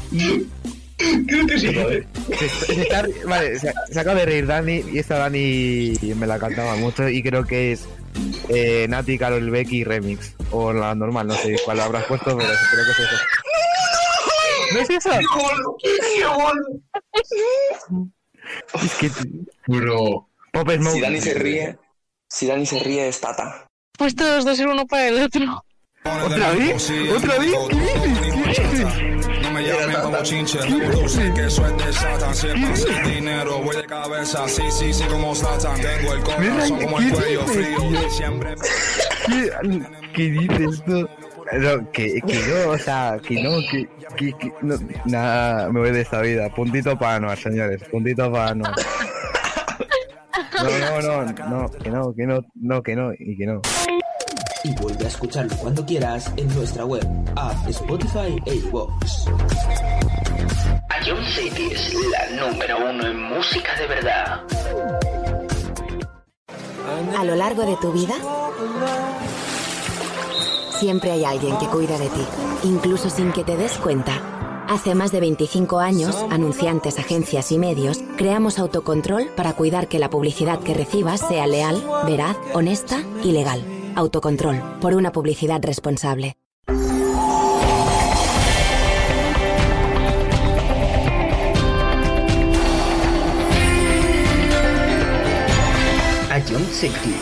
Creo que sí, joder. Vale, se acaba de reír Dani y esta Dani me la cantaba mucho y creo que es Nati, Karol Becky Remix o la normal, no sé cuál habrás puesto, pero creo que es eso. ¿No es eso? Es que... Bro. Pop Smoke. Si Dani se ríe es Tata. Pues todos dos ser uno para el otro. ¿Otra vez? ¿Otra vez? ¿Qué dices? No me llames como chinche, tú sé que soy de Satan. Si pasa el dinero, voy de cabeza. Sí, como Satan. Tengo el corazón como el cuello frío. Siempre. ¿Qué dices tú? No, que no, o sea, que no, nada, me voy de esta vida. Puntito para Anuar, señores, puntito para Anuar. No, que no. Y vuelve a escucharlo cuando quieras en nuestra web, app, Spotify e iVoox. Ion City es la número 1 en música de verdad. A lo largo de tu vida, siempre hay alguien que cuida de ti, incluso sin que te des cuenta. Hace más de 25 años, anunciantes, agencias y medios, creamos Autocontrol para cuidar que la publicidad que recibas sea leal, veraz, honesta y legal. Autocontrol, por una publicidad responsable. Ion City.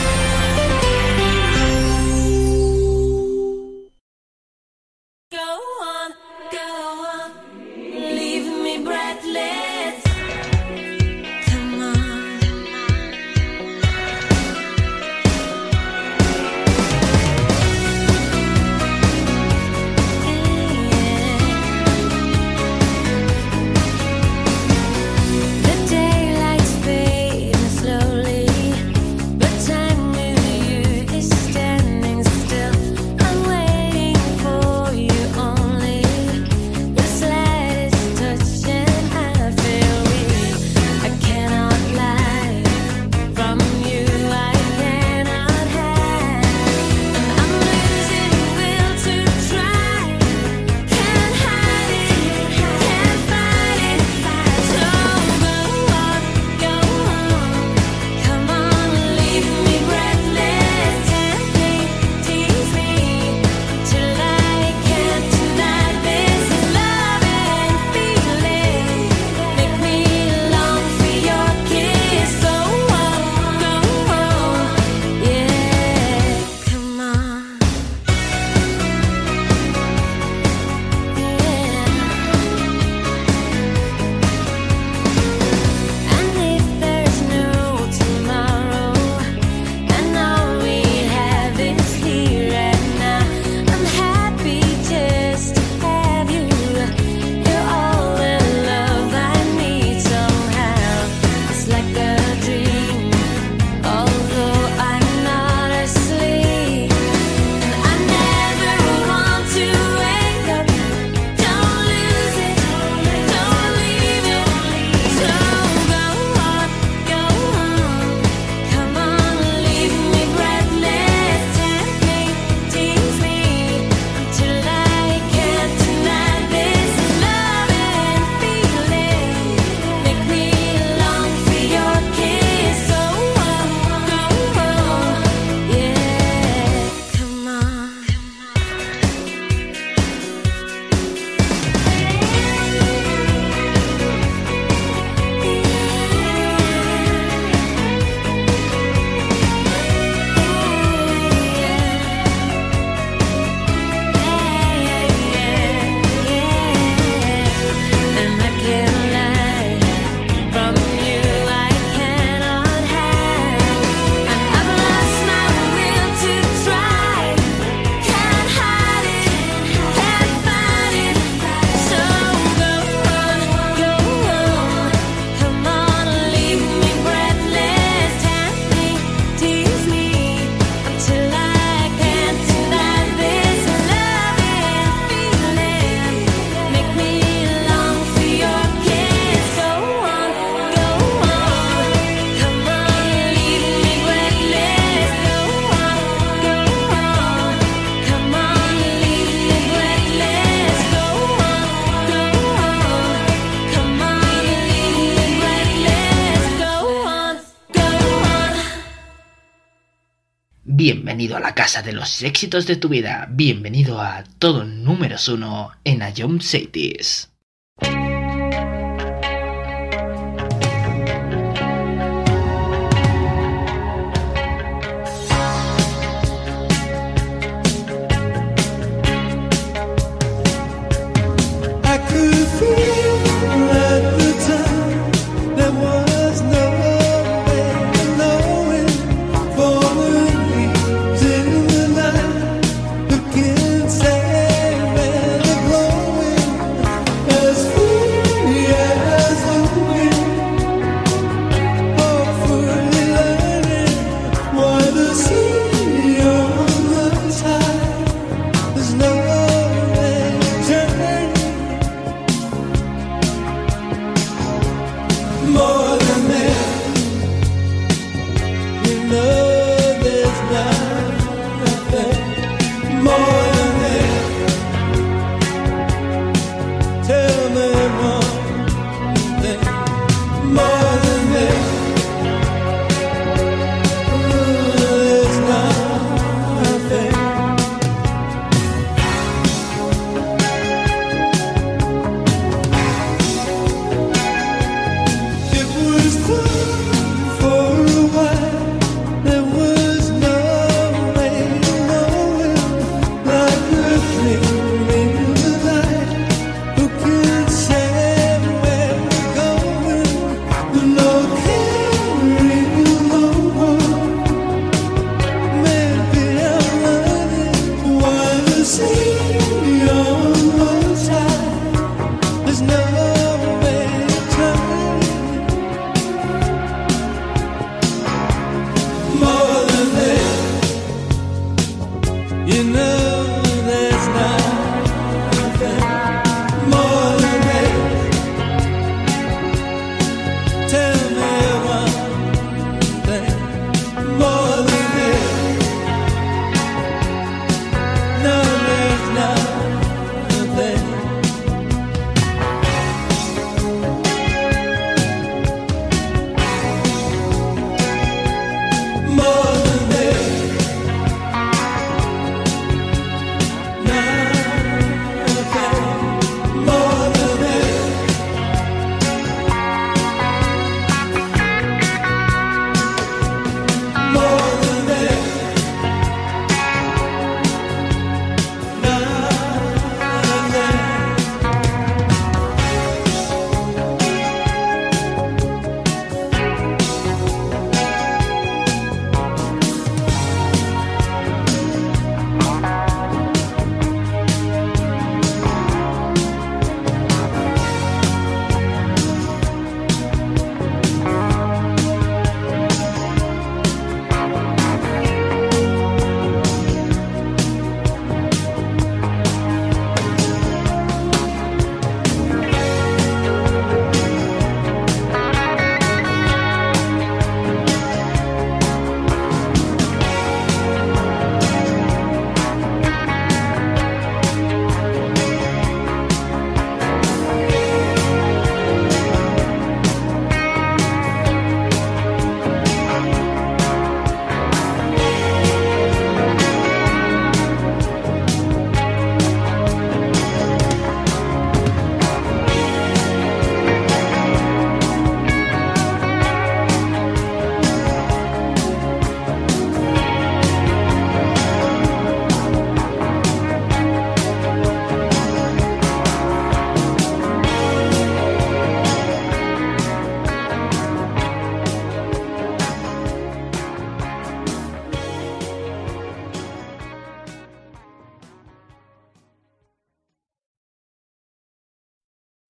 Bienvenido a la casa de los éxitos de tu vida. Bienvenido a todo números 1 en Ion Cities.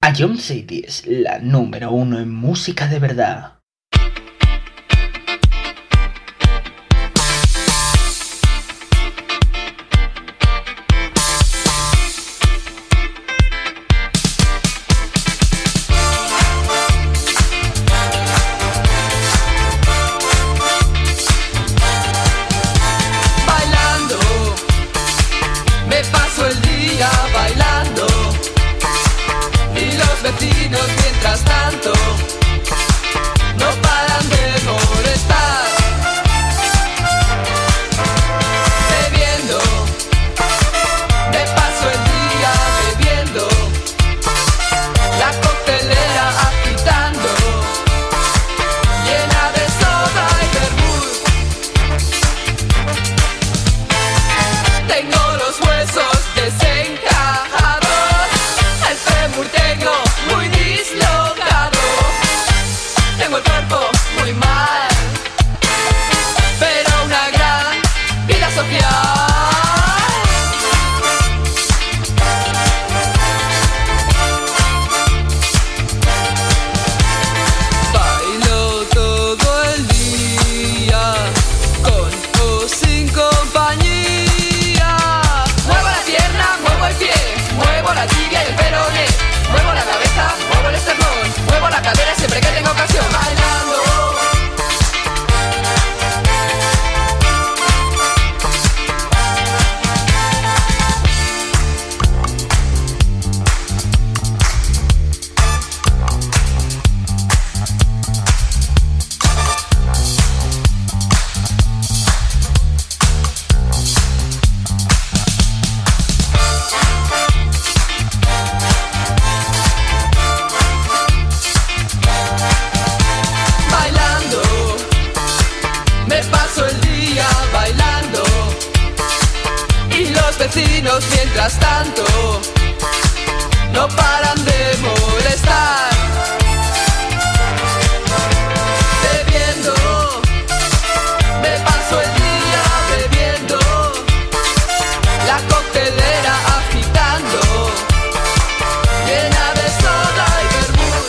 Ion City es la número uno en música de verdad. Mientras tanto, no paran de molestar, bebiendo, me paso el día bebiendo, la coctelera agitando, llena de soda y vermut. Tengo los huesos desencajados, el fémur tengo muy dislocado, tengo el cuerpo muy mal, pero una gran vida social. Bailo todo el día, con o sin compañía. Muevo la pierna, muevo el pie, muevo la tibia y el peroné. Muevo la cabeza, muevo el esternón, muevo la cadera siempre que tengo ocasión. Bailando. Me paso el día bailando y los vecinos mientras tanto no paran de molestar, bebiendo, me paso el día bebiendo, la coctelera agitando, llena de soda y vermut.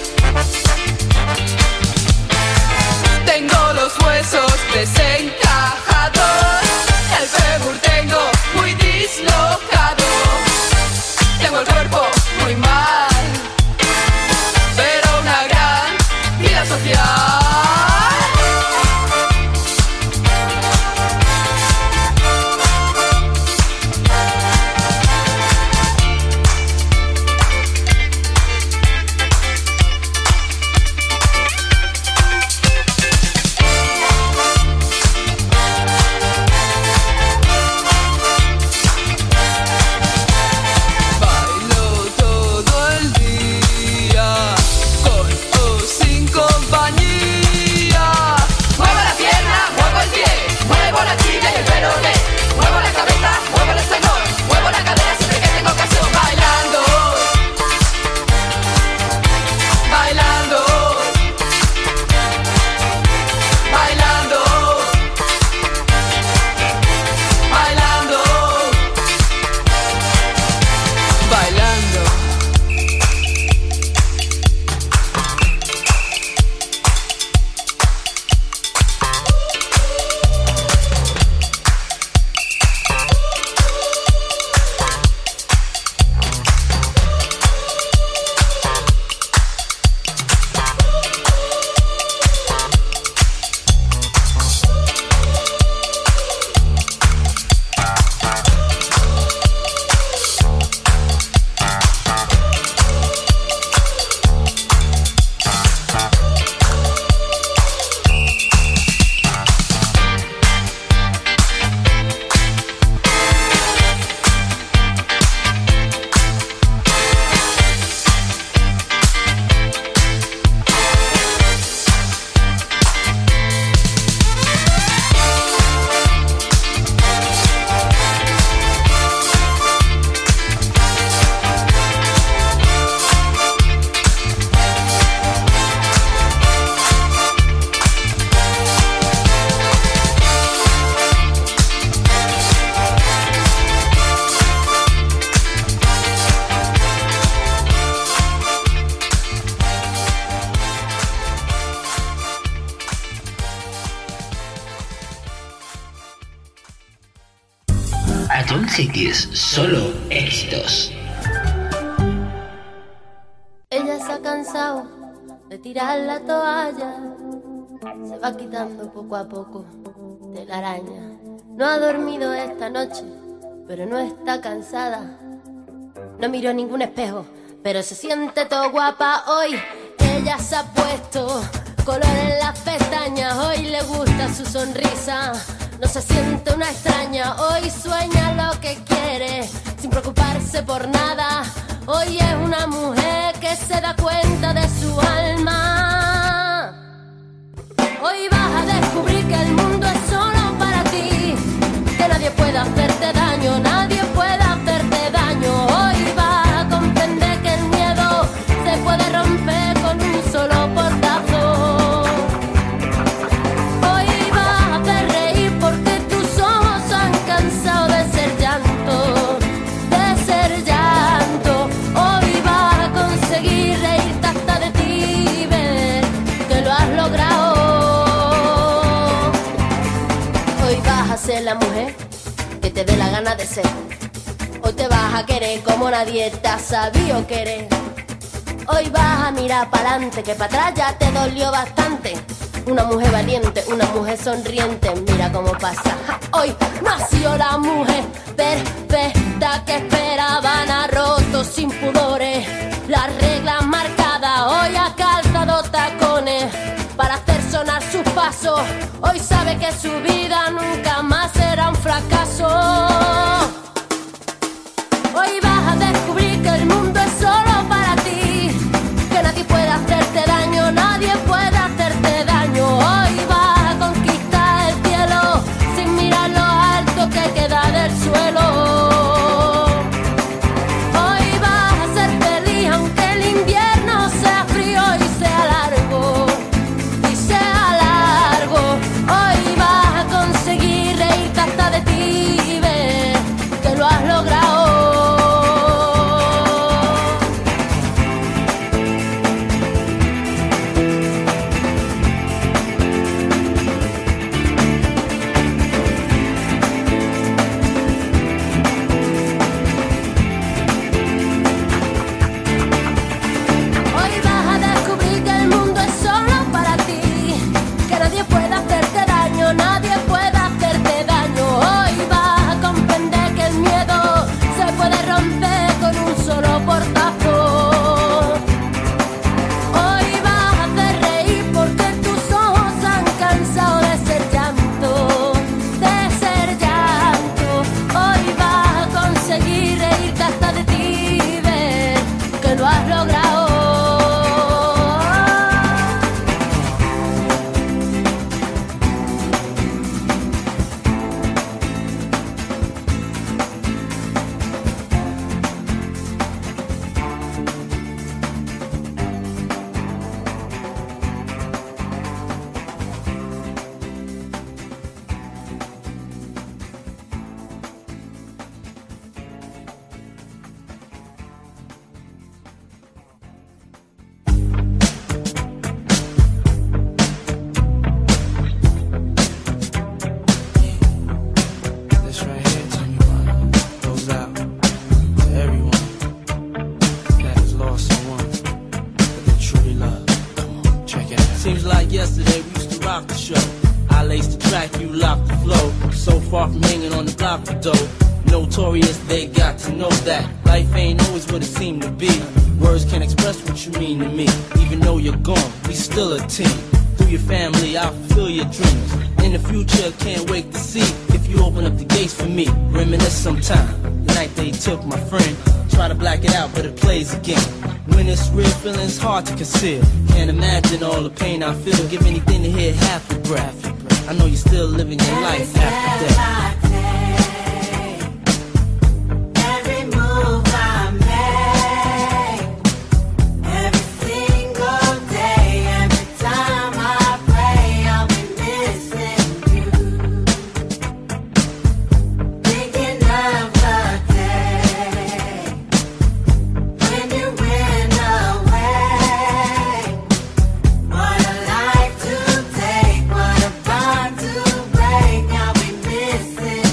Tengo los huesos desencajados, el fémur tengo muy dislocado, tengo el cuerpo muy mal, Atom Cities, solo éxitos. Ella se ha cansado de tirar la toalla, se va quitando poco a poco de la araña. No ha dormido esta noche, pero no está cansada. No miró ningún espejo, pero se siente todo guapa hoy. Ella se ha puesto color en las pestañas, hoy le gusta su sonrisa. No se siente una extraña, hoy sueña lo que quiere, sin preocuparse por nada. Hoy es una mujer que se da cuenta de su alma. Hoy vas a descubrir que el mundo es solo para ti, que nadie puede hacerte daño, nadie puede hacerte daño. Hoy vas a comprender que el miedo se puede romper con un solo portazo. Hoy vas a hacer reír porque tus ojos han cansado de ser llanto, de ser llanto. Hoy vas a conseguir reírte hasta de ti, ver que lo has logrado. Hoy vas a ser la mujer que te dé la gana de ser. Hoy te vas a querer como nadie te ha sabido querer. Hoy vas a mirar para adelante, que para atrás ya te dolió bastante. Una mujer valiente, una mujer sonriente, mira cómo pasa. Hoy nació la mujer perfecta que esperaban, ha roto sin pudores las reglas marcadas. Hoy ha calzado tacones para hacer sonar sus pasos. Hoy sabe que su vida nunca más será un fracaso. Hoy vas a descubrir que el mundo es solo para ti, que nadie puede hacerte daño, nadie puede hacerte daño. Hoy vas a conquistar el cielo sin mirar lo alto que queda del suelo. Hoy vas a ser feliz aunque el invierno sea frío y sea largo, y sea largo. Hoy vas a conseguir reírte hasta de ti y ver que lo has logrado. Hoy vas a descubrir que el mundo es solo para ti, que nadie puede hacerte daño, nadie puede hacerte daño. Hoy vas a comprender que el miedo se puede romper con un solo portazo. Hoy vas a hacer reír porque tus ojos han cansado de ser llanto, de ser llanto. Hoy vas a conseguir reírte hasta de ti y ver que lo has logrado. This right here, tell me what goes out to everyone that has lost someone that they truly love. Come on, check it out. Seems like yesterday we used to rock the show. I laced the track, you locked the flow. So far from hanging on the block for dough. Notorious, they got to know that life ain't always what it seemed to be. Words can't express what you mean to me. Even though you're gone, we still a team. Through your family, I'll fulfill your dreams. In the future, can't wait to see if you open up the gates for me. Reminisce sometime, the night they took my friend. Try to black it out, but it plays again. When it's real, feeling's hard to conceal. Can't imagine all the pain I feel. Give anything to hear half your breath. I know you're still living your life after death. Every move I make, every single day, every time I pray, I'll be missing you. Thinking of the day when you went away. What a life to take, what a bond to break. I'll be missing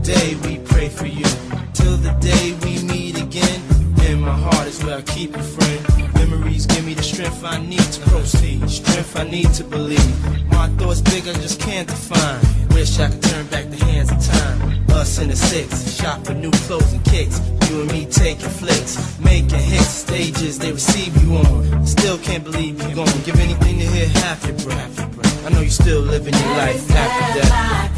day we pray for you. Till the day we meet again. In my heart is where I keep you, friend. Memories give me the strength I need to proceed. Strength I need to believe. My thoughts big, I just can't define. Wish I could turn back the hands of time. Us in the six, shop for new clothes and kicks. You and me taking flicks, making hits, stages they receive you on. Still can't believe you're gone. Give anything to hear half your breath. I know you still living your life after death.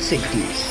60s.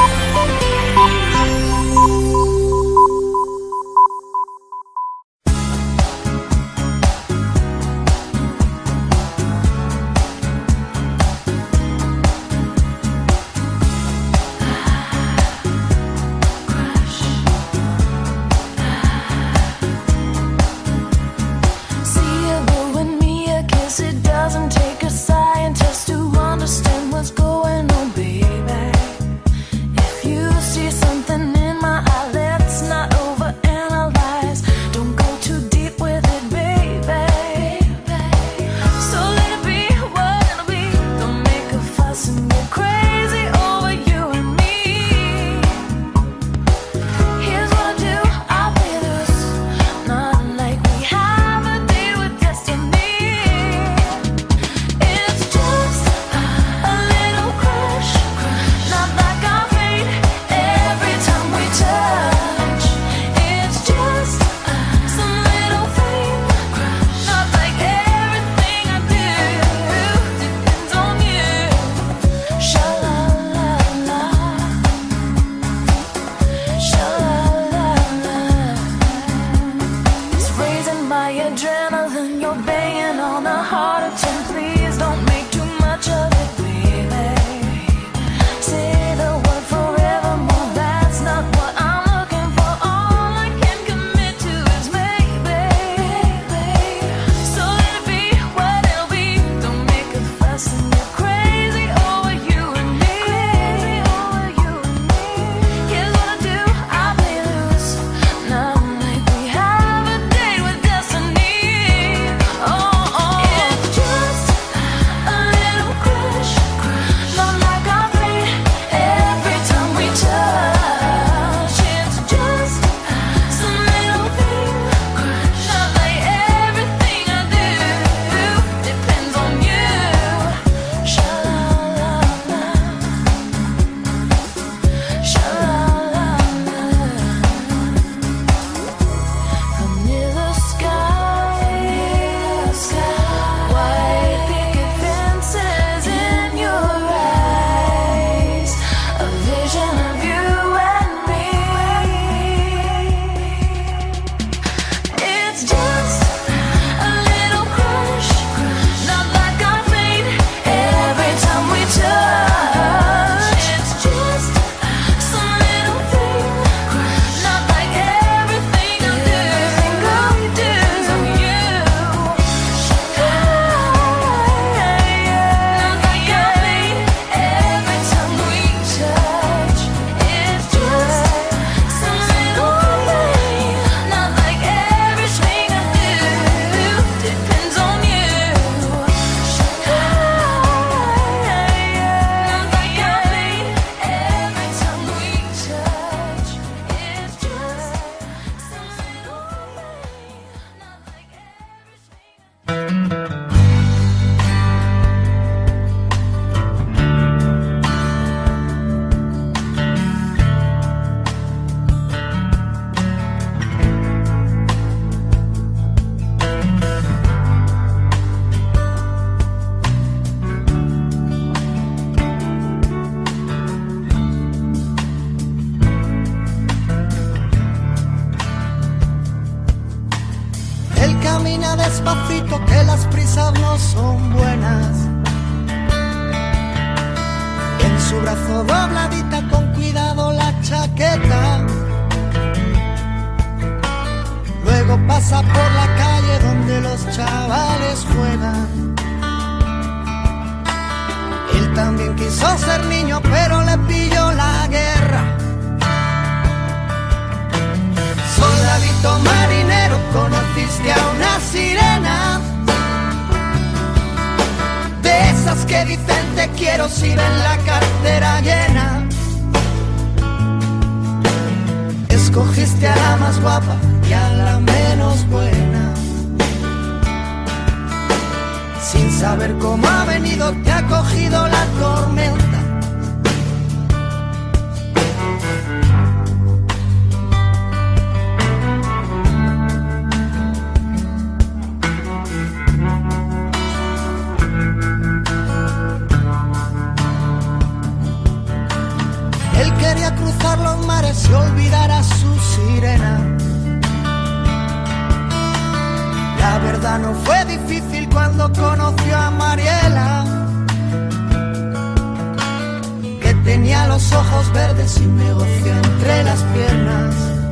Despacito que las prisas no son buenas. En su brazo dobladita con cuidado la chaqueta. Luego pasa por la calle donde los chavales juegan. Él también quiso ser niño pero le pilló la guerra. Soldadito marinero, conociste a una sirena, de esas que dicen te quiero si ven la cartera llena. Escogiste a la más guapa y a la menos buena. Sin saber cómo ha venido te ha cogido la tormenta. se olvidara su sirena. La verdad no fue difícil cuando conoció a Mariela, que tenía los ojos verdes y un negocio entre las piernas.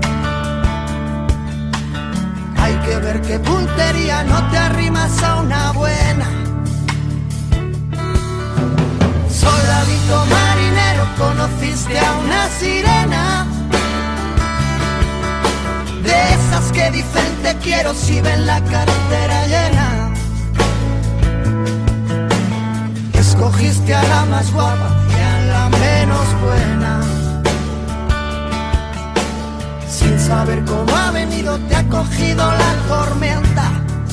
Hay que ver qué puntería, no te arrimas a una buena. Soldadito marinero, conociste a una sirena, de esas que dicen te quiero si ven la cartera llena. Escogiste a la más guapa y a la menos buena. Sin saber cómo ha venido te ha cogido la tormenta.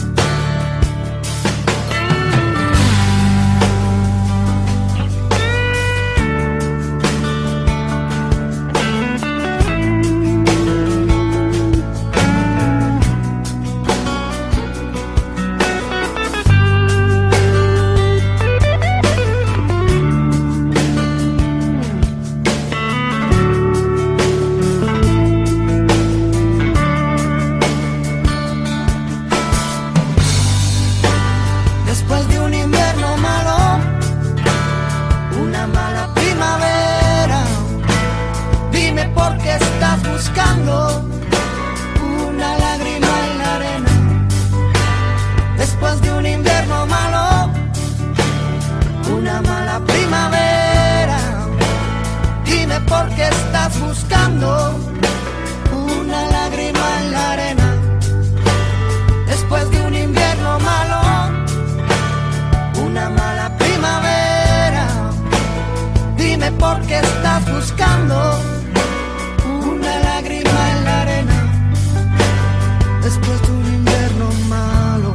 Una lágrima en la arena. Después de un invierno malo, una mala primavera. Dime por qué estás buscando una lágrima en la arena. Después de un invierno malo, una mala primavera. Dime por qué estás buscando una lágrima en la arena. Después de un invierno malo.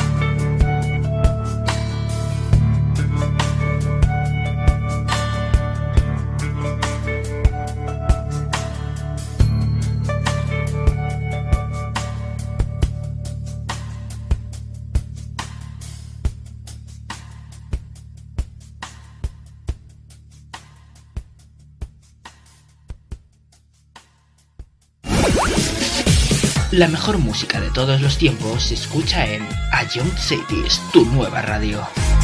La mejor música de todos los tiempos se escucha en A Young Cities, tu nueva radio.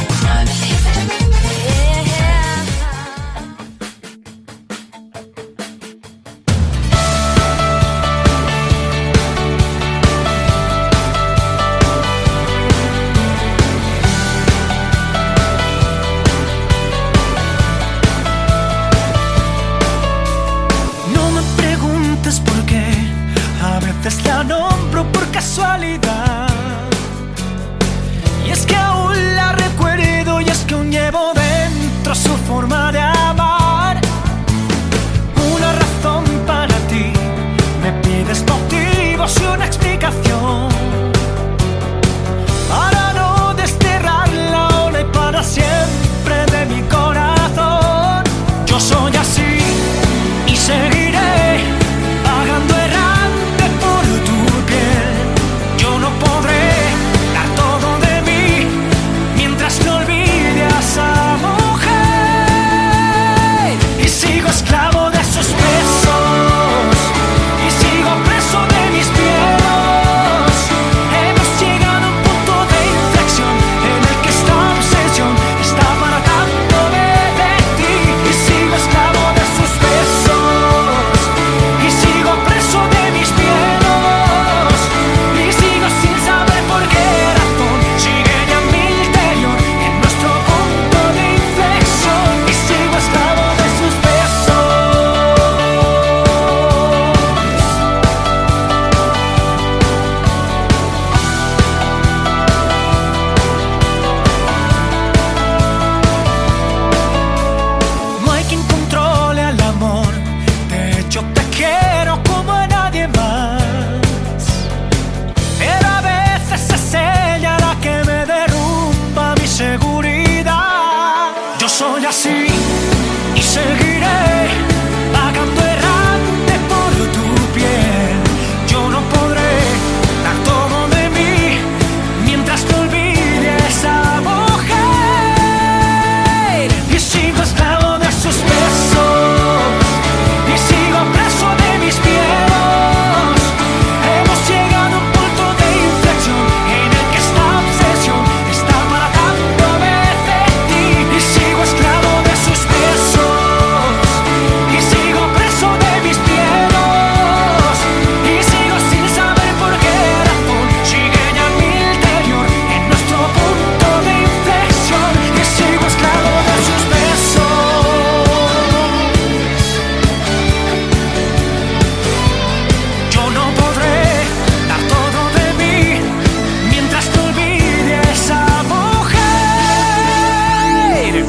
La nombro por casualidad, y es que aún la recuerdo, y es que aún llevo dentro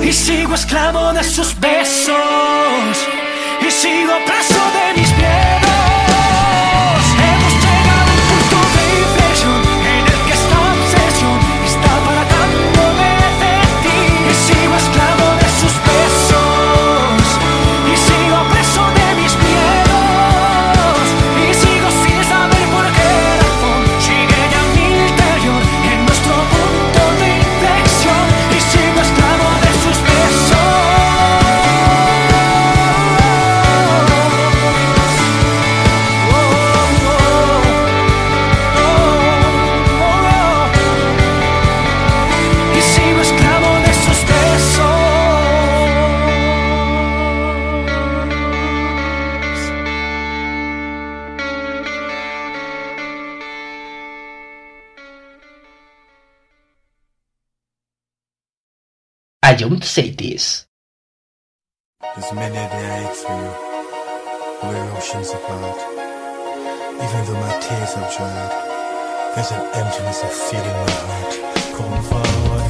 y sigo esclavo de sus besos y sigo preso de mis miedos. Hemos llegado a un punto de inflexión en el que esta obsesión está apartándome de ti y sigo esclavo de sus besos y sigo preso de mis miedos y sigo sin saber por qué razón sigue ya mi interior en nuestro punto de inflexión y sigo esclavo de sus besos. Y sigo esclavo de sus besos. I don't say this. There's many a day I ache for you, we're oceans apart. Even though my tears have dried, there's an emptiness I feel in my heart. Come forward.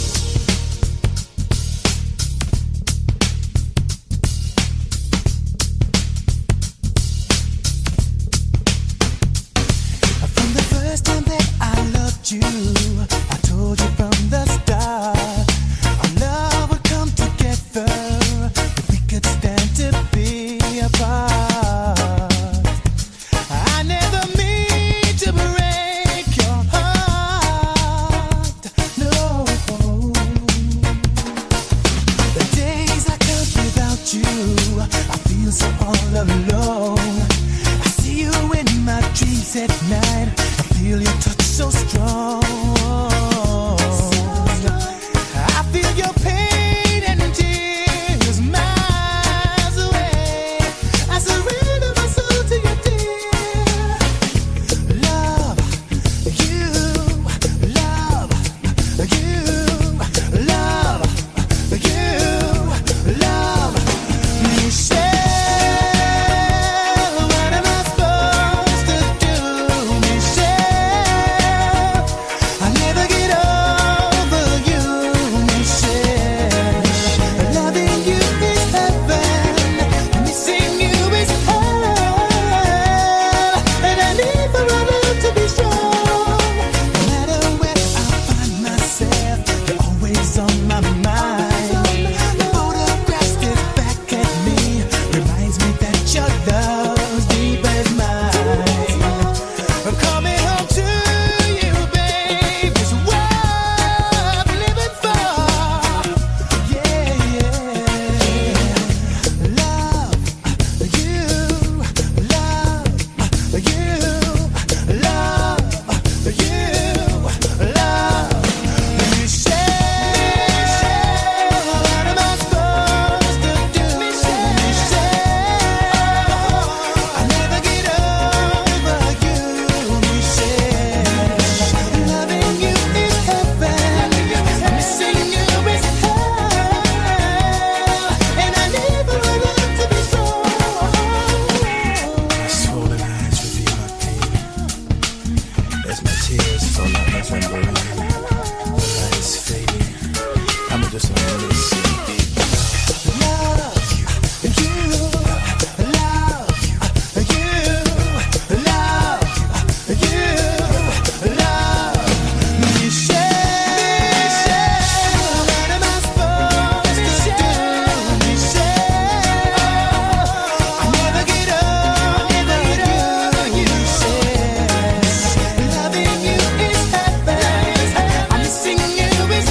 From the first time that I loved you, I told you from the start, our love would come together if we could stand to be apart. I never mean to break your heart, no. The days I count without you, I feel so all alone. I see you in my dreams at night, I feel your touch so strong. I feel your pain and tears miles away. I surrender my soul to you, dear. Love you, love you, love you, love Michelle. What am I supposed to do, Michelle? I never get over you, Michelle. Loving you is heaven, missing you is hell, and I need for our love to be strong. No matter where I find myself, you're always on my mind. The photograph stares back at me, reminds me that your love's deep as mine. I'm coming home to you, babe, is what I'm living for. Yeah, yeah. Love you, love you, love you, love Michelle. What am I supposed to do, Michelle? I never get over you, Michelle. Loving you is heaven, missing you is hell, and I need for our love to be strong. My swollen eyes reveal my pain as my tears fall like November rain. The light is fading, I'm just a missing. Love you, love you, love you, love Michelle. What am I supposed to do, Michelle? I never get over you, Michelle. Loving you is heaven, I'm missing you is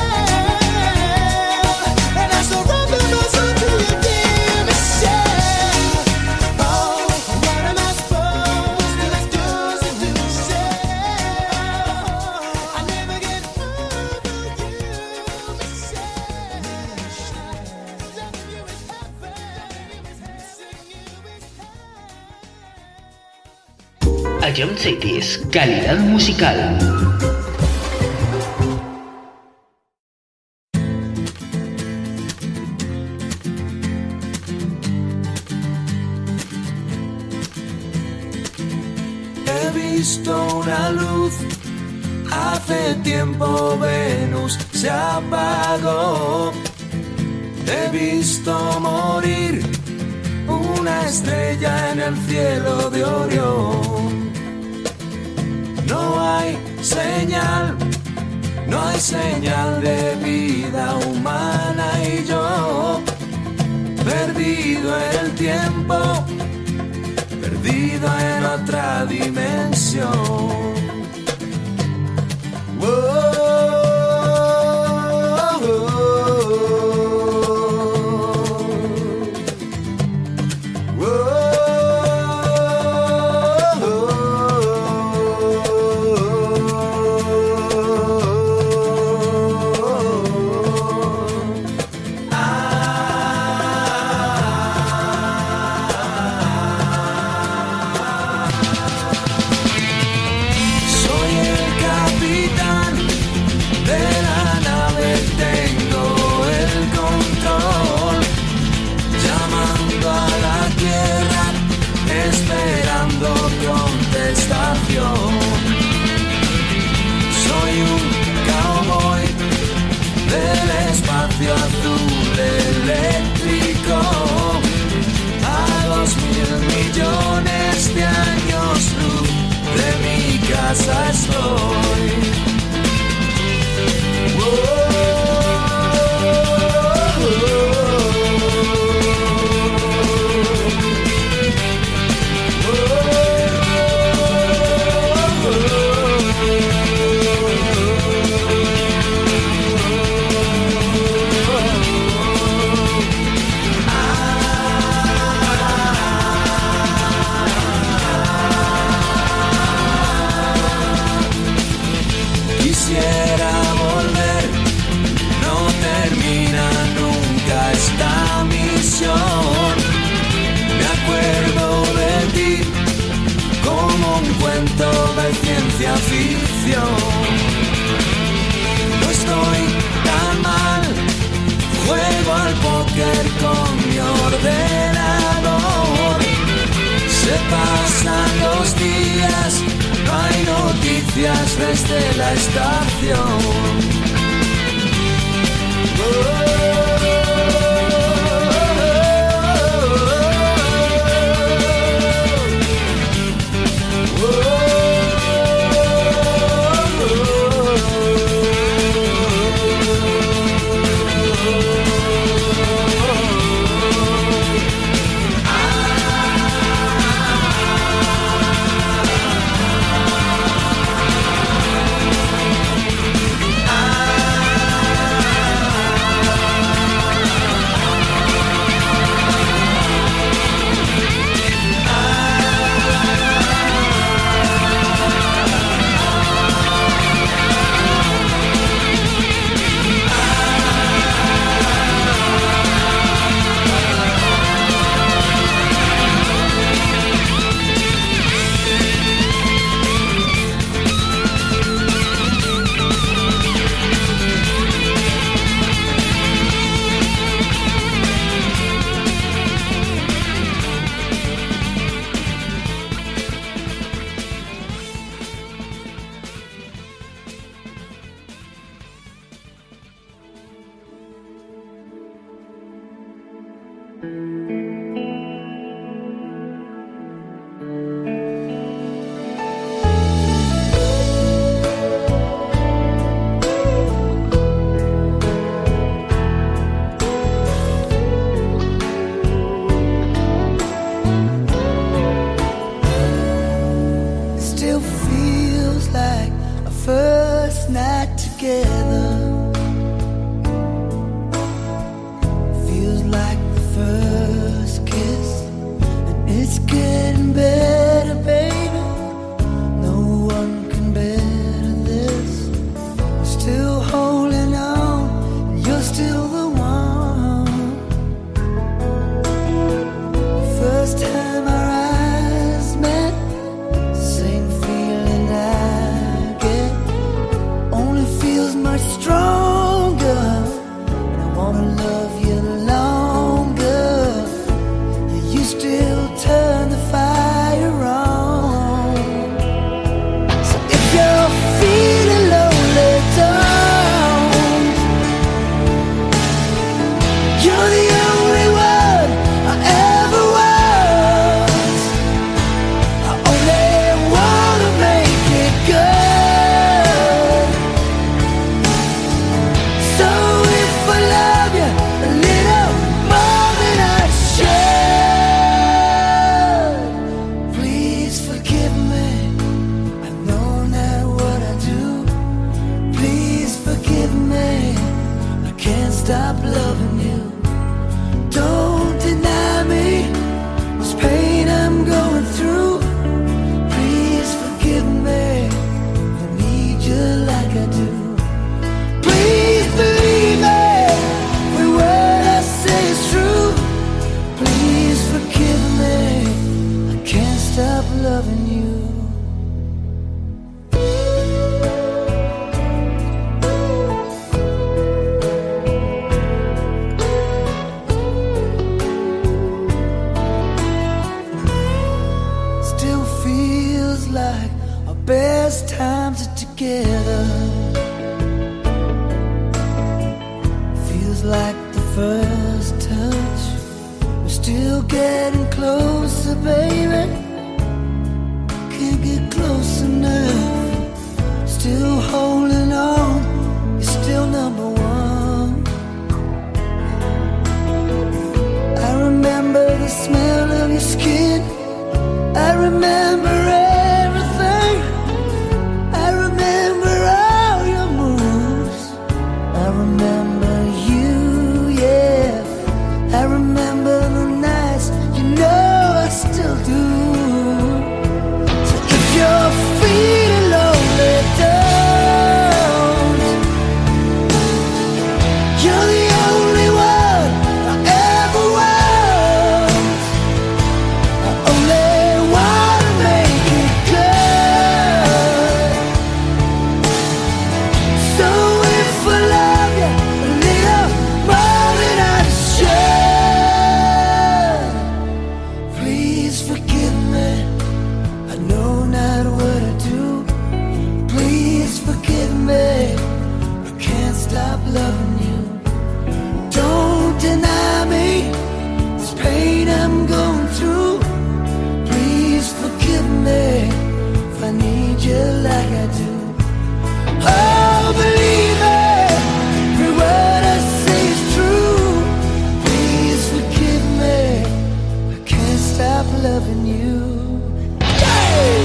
hell, and I surrender my soul to you, dear Michelle. Oh, what am I supposed to do, Michelle? I never get over you, Michelle. Loving you is heaven, missing you is hell. I don't say this. Calidad musical. He visto una luz, hace tiempo Venus se apagó. He visto morir una estrella en el cielo de Orión. No hay señal de vida humana y yo, perdido en el tiempo, perdido en otra dimensión. Soy un cowboy del espacio azul eléctrico. A 2.000 millones de años luz de mi casa estoy. Quisiera volver, no termina nunca esta misión. Me acuerdo de ti como un cuento de ciencia ficción. No estoy tan mal, juego al póker con mi ordenador. Se pasan los días, no hay noticias desde la estación. Feels like the first stop loving you. Don't deny me this pain I'm going through. Please forgive me, I need you like I do. Please believe me, every word I say is true. Please forgive me, I can't stop loving you. Best times are together. Feels like the first touch. We're still getting closer, baby. Can't get close enough. Still holding on. You're still number one. I remember the smell of your skin. I remember everything. I remember all your moves. I remember you, yeah. I remember the nights, you know I still do. So if you're feeling lonely, don't. You're the only one I ever want. I only wanna make it good. So if I love you a little more than I should, please forgive me. I know not what I do. Please forgive me. I can't stop loving you. Don't deny me this pain I'm going through. Please forgive me if I need you like I do. Oh, believe me, every word I say is true. Please forgive me, I can't stop loving you. Hey!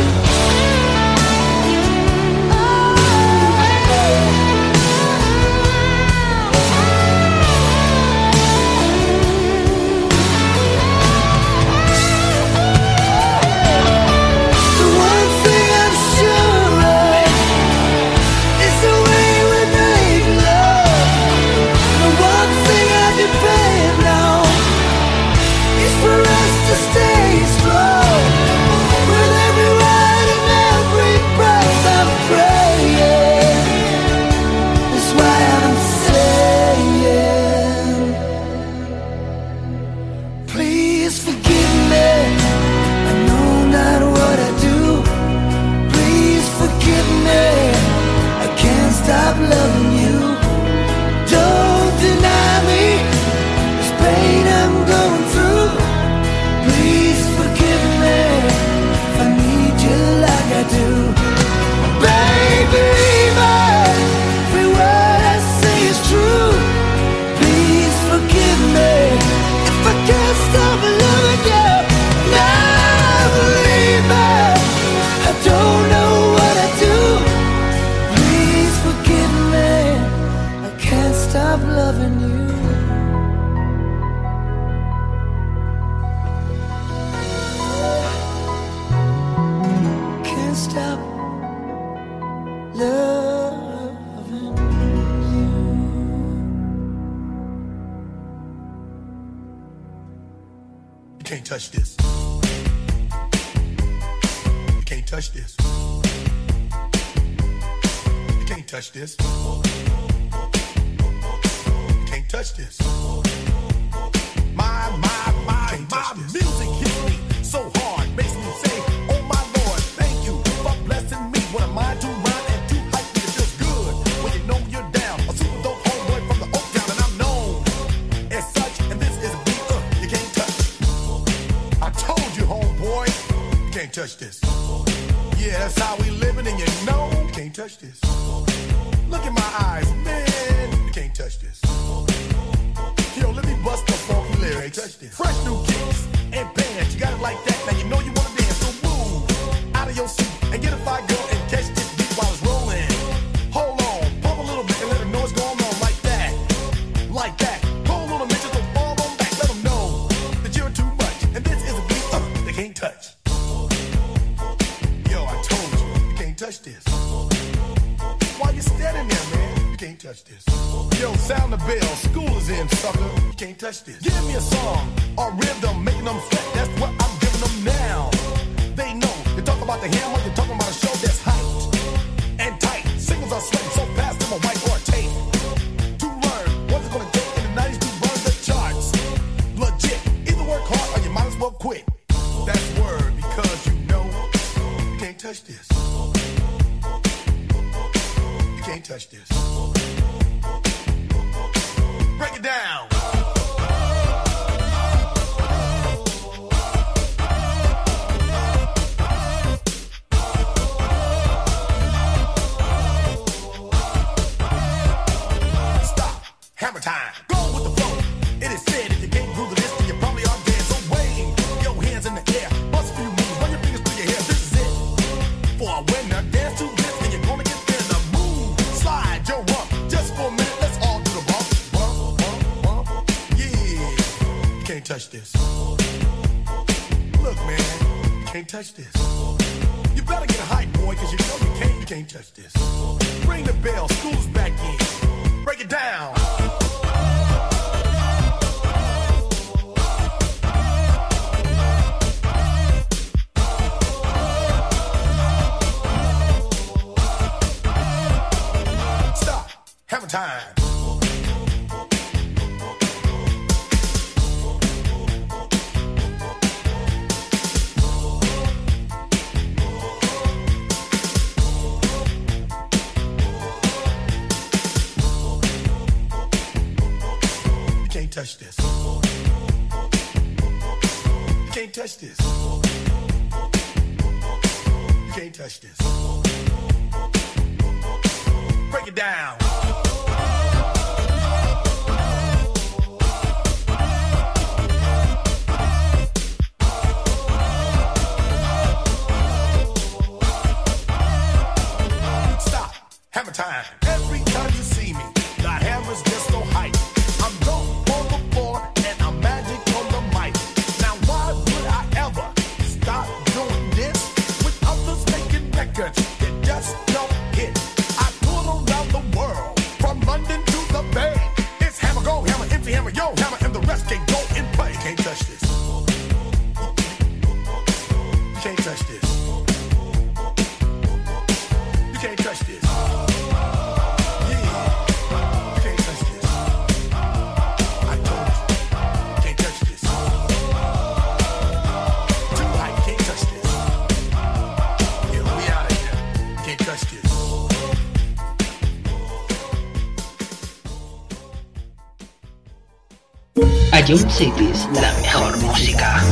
The one thing I'm sure of is the way we make love. The one thing I depend on is for us to stay strong. With every word and every breath I'm praying. That's why I'm saying, please forgive me. I know not what I do. Please forgive me. I can't stop loving you. Don't deny me this pain I'm going through. Please forgive me if I need you like I do. Baby, every word I say is true. Please forgive me if I can't stop loving you. Now believe me, I don't know what I do. Please forgive me, I can't stop loving you. Can't stop loving you. You can't touch this. You can't touch this. You can't touch this. You can't touch this. My music hits me so hard, makes me say, oh my Lord, thank you for blessing me. What am I to rhyme and to hype me? It feels good when you know you're down. A super dope homeboy from the Oak Town, and I'm known as such. And this is a beat you can't touch. I told you, homeboy, you can't touch this. Yeah, that's how we living, and you know you can't touch this. Look in my eyes, man, you can't touch this. Yo, let me bust the funky lyrics. Fresh new kicks and bands, you got it like that. Now you know you wanna dance, so move out of your seat and get a fire girl and catch this beat while it's rolling. Hold on, pump a little bit and let the noise go on like that. Like bell, school is in, sucker. You can't touch this. Give me a song or rhythm, making them sweat. That's what I'm giving them now. They know. You talk about the hammer, you're talking about a show that's hyped and tight. Singles are sweating so fast, them a white or a tape. To learn what's it gonna take in the 90s to run the charts. Legit. Either work hard or you might as well quit. That's word because you know you can't touch this. You can't touch this. Break it down. Stop. Hammer time. Go with the flow. It is said if you can't groove the list, then you probably are dead. So wave your hands in the air. Bust a few moves. Run your fingers through your hair. This is it. For a winner, dance to this, and you're gonna get there. The move. Slide your rump. Just for a minute, let's all do the bump. Can't touch this. Look, man, you can't touch this. You better get hype, boy, cause you know you can't touch this. Ring the bell, school's back in. Break it down. Stop. Hammer time. Touch this. You can't touch this. You can't touch this. Break it down. Stop. Hammer time. Every time you see me, the hammer's just so hype. I'm dope. And I'm magic on the mic. Now why would I ever stop doing this with others making records that just don't hit? I tour around the world, from London to the Bay. It's hammer, go, hammer, empty hammer, yo, hammer, and the rest can go and play. You can't touch this. You can't touch this. You can't touch this. Ion Cities, la mejor música.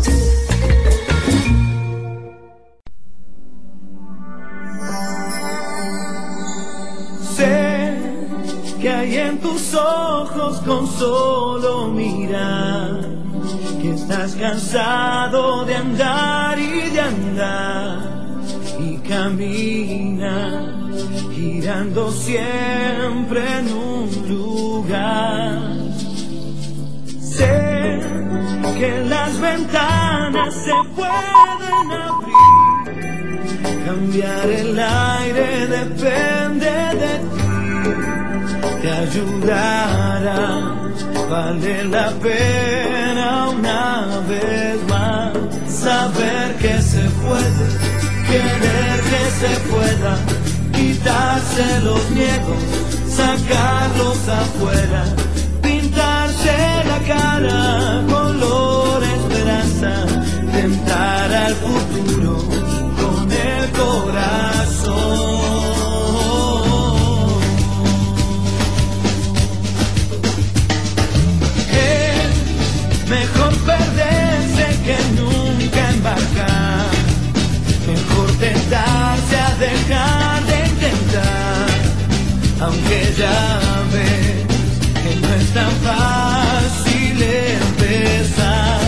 Sé que hay en tus ojos con solo mirar que estás cansado de andar y de andar y camina girando siempre en un lugar. Sé que las ventanas se pueden abrir, cambiar el aire depende de ti, te ayudará, vale la pena una vez más, saber que se puede, querer que se pueda, quitarse los miedos, sacarlos afuera, pintarse la cara, color esperanza, tentar al futuro con el corazón. Es mejor perderse que nunca embarcar, mejor tentarse a dejar de intentar, aunque ya ves que no es tan fácil empezar.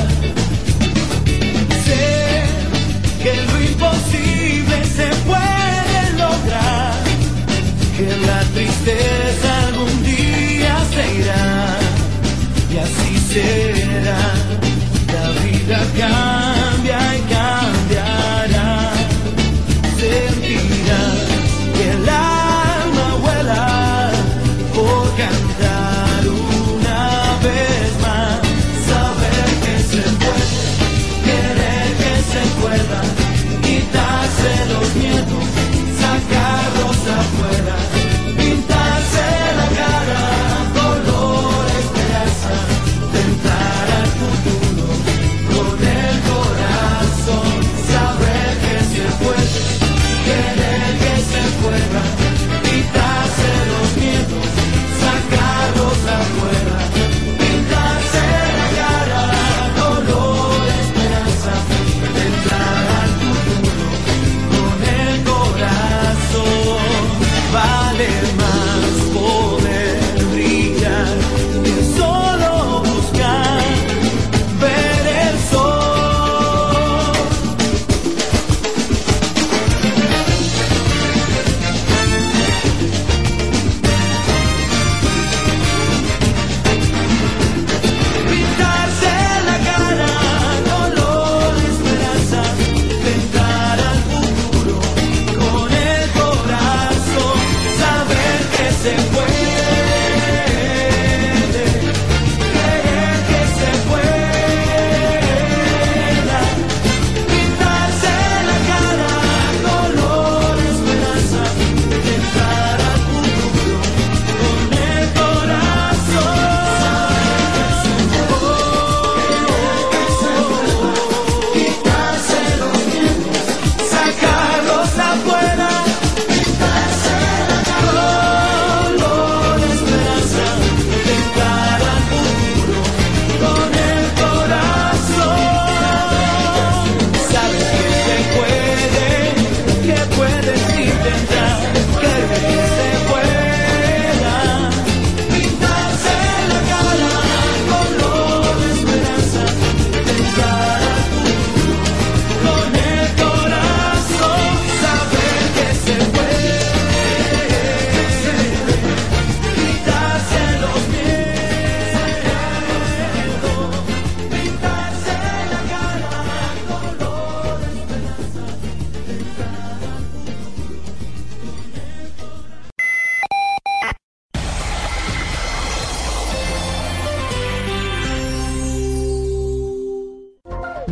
Sé que lo imposible se puede lograr, que la tristeza algún día se irá, y así será, la vida cambia y cambiará, sentirás que el alma vuela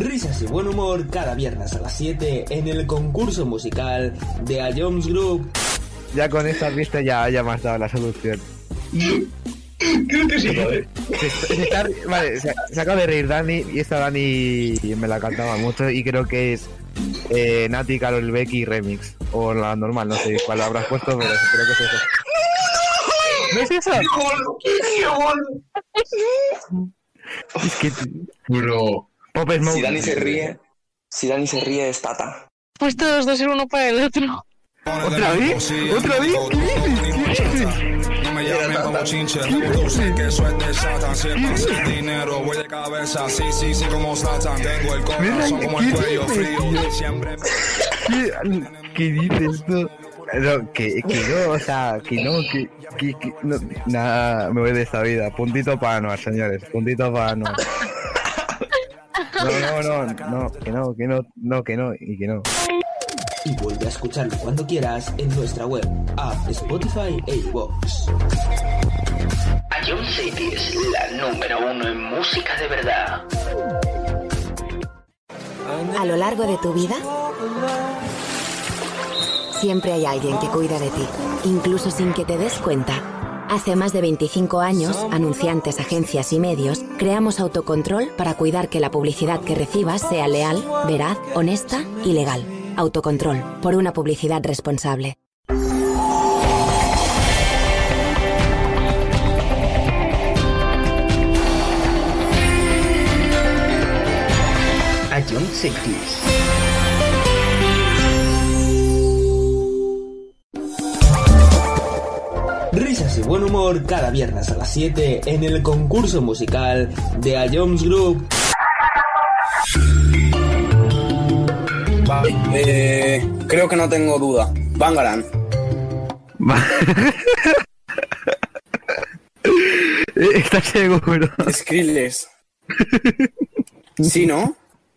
Risas y buen humor cada viernes a las 7 en el concurso musical de A Jones Group. Ya con esta pista ya me has dado la solución. Creo que sí, ¿vale? Vale, se acaba de reír Dani y esta Dani me la cantaba mucho y creo que es Nati, Karol Becky remix o la normal, no sé cuál habrás puesto, pero creo que es eso. ¿No es eso? ¡Qué gol! Es que Bro. Pop Smoke. Si Dani se ríe es Tata. Pues todos dos ser uno para el otro. ¿Otra vez? ¿Otra vez? ¿Qué dices? No me llamen como chinche, tú sé que eso es de Satan. Si es pasa el dinero, voy de cabeza, sí, como Satan. Tengo el corazón como el cuello frío, siempre. ¿Qué dices tú? No, que no, o sea, que no, nada, me voy de esta vida. Puntito para Anuar, señores, puntito para Anuar. No, que no. Y vuelve a escucharlo cuando quieras en nuestra web, app, Spotify e iVoox. A John City es la número 1 en música de verdad. A lo largo de tu vida, siempre hay alguien que cuida de ti, incluso sin que te des cuenta. Hace más de 25 años, anunciantes, agencias y medios, creamos Autocontrol para cuidar que la publicidad que recibas sea leal, veraz, honesta y legal. Autocontrol, por una publicidad responsable. A John City. Risas y buen humor cada viernes a las 7 en el concurso musical de A Jones Group. Creo que no tengo duda. Bangarang. ¿Estás seguro? Skrillex. ¿Sí, no?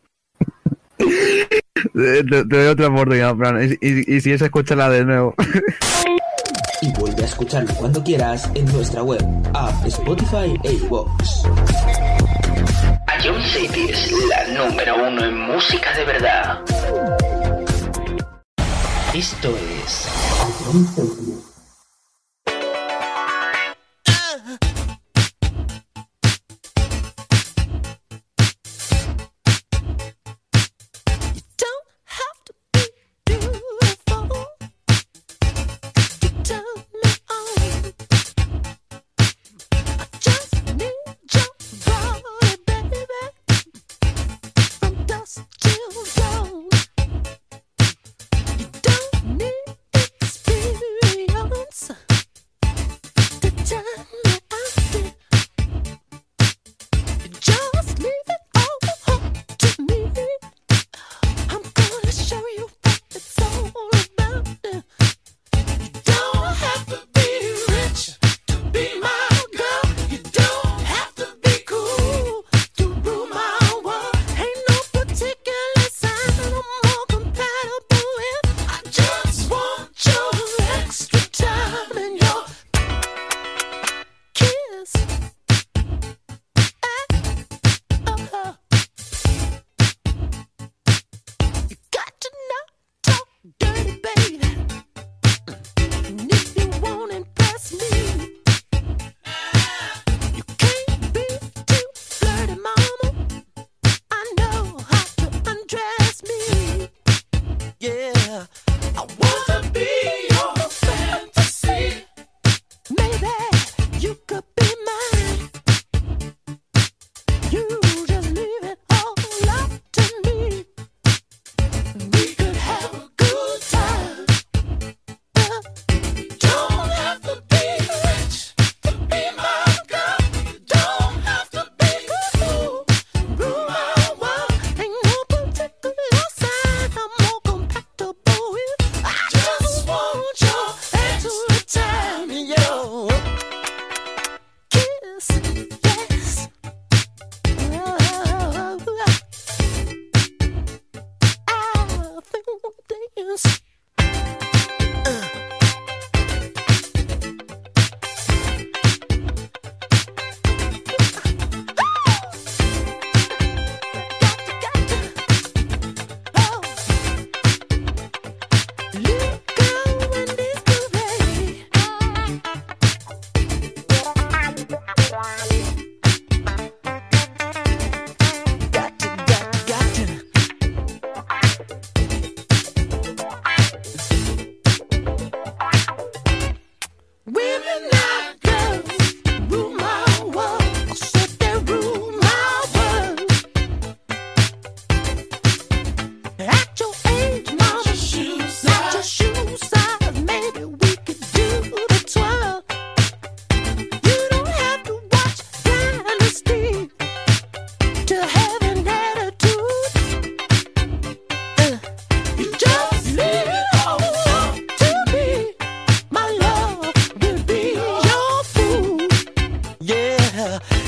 Te doy otra oportunidad, Fran. Y si es, escúchala de nuevo. Y vuelve a escucharlo cuando quieras en nuestra web, app, Spotify e iVoox. A John City es la número 1 en música de verdad. Esto es A John City. Don't need experience.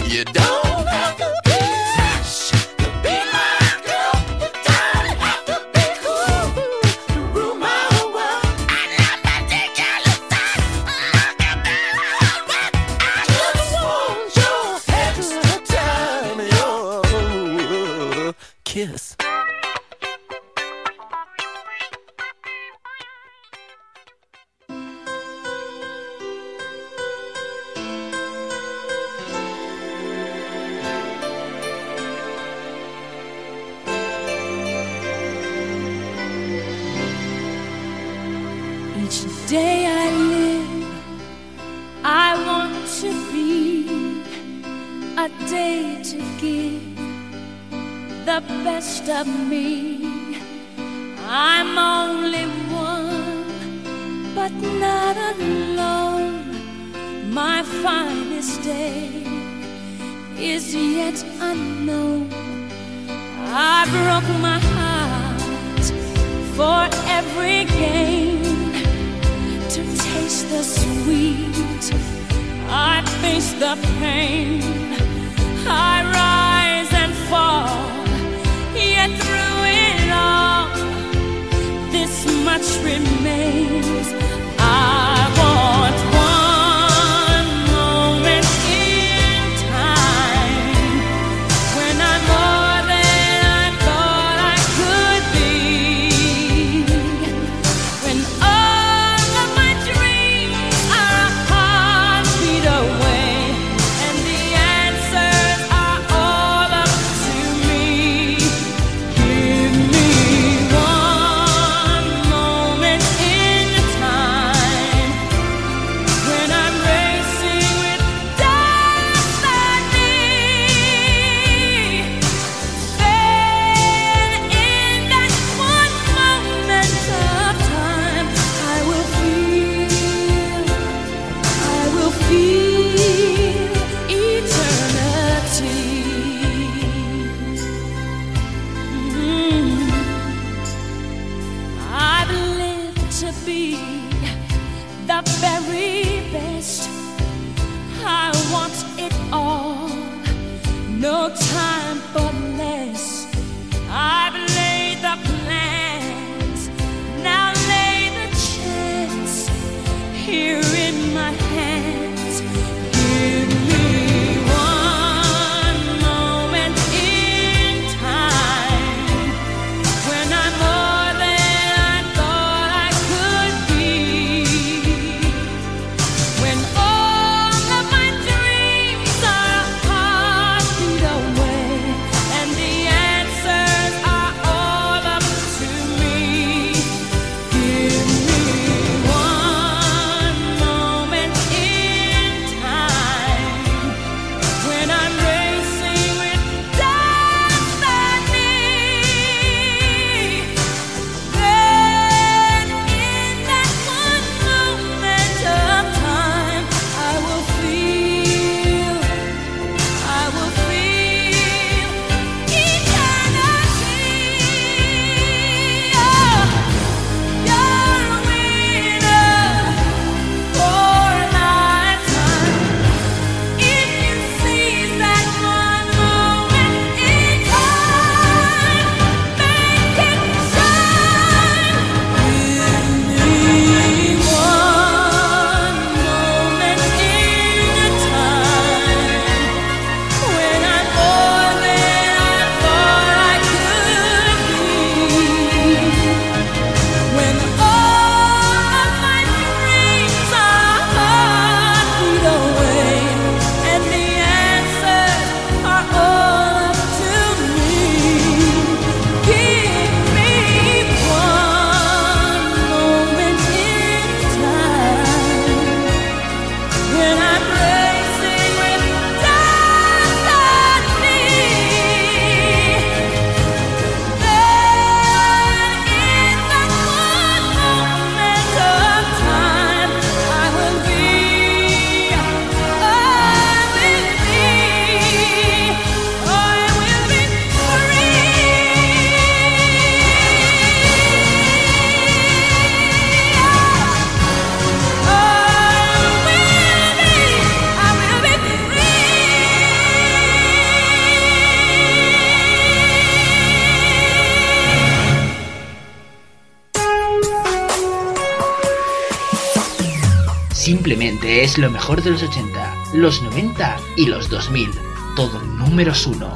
You don't have to be rich to be my girl. You don't have to be cool to rule my whole world. I love my ridiculous stuff. I just want your extra time, your kiss. Each day I live, I want to be a day to give the best of me. I'm only one, but not alone. My finest day is yet unknown. I broke my heart for every gain. To taste the sweet, I face the pain. I rise and fall, yet through it all, this much remains. I want one moment in time when I'm more than I thought I could be. When all of my dreams are a heartbeat away, and the answers are all up to me. Give me one moment in time when I'm racing with destiny. Then in that one moment of time, I will feel eternity. I've lived to be the very best. I want it all, no time for less. I've laid the plans, now lay the chance here in my hands. Give me one moment in time when I'm more than I thought I could be. When all of my dreams are a heartbeat away, simplemente es lo mejor de los 80, los 90 y los 2000. Todo números 1.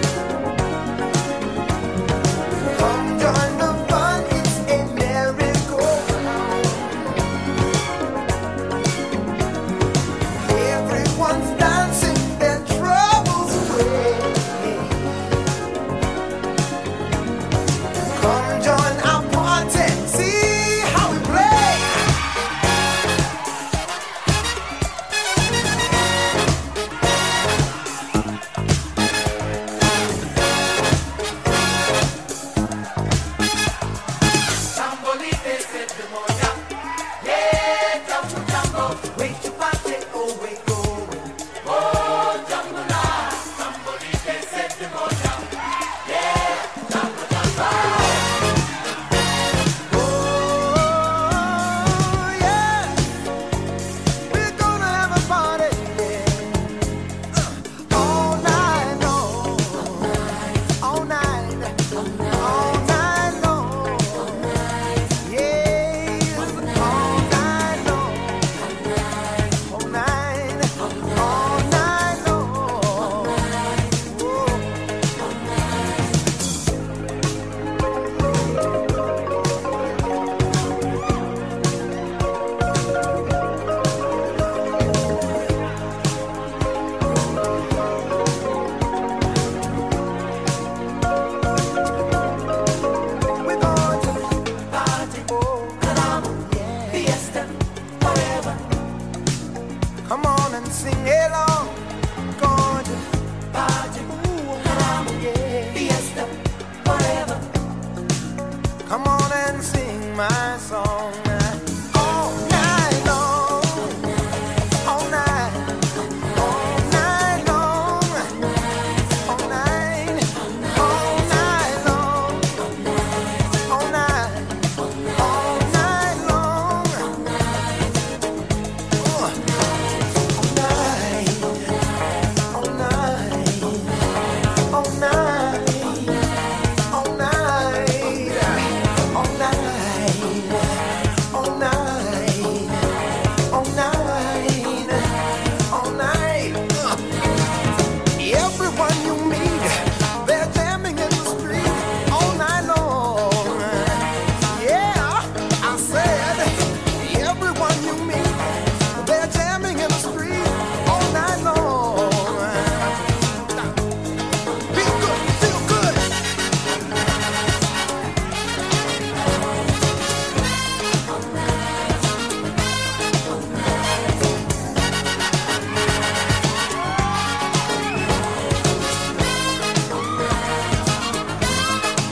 Come join the fun, it's a miracle.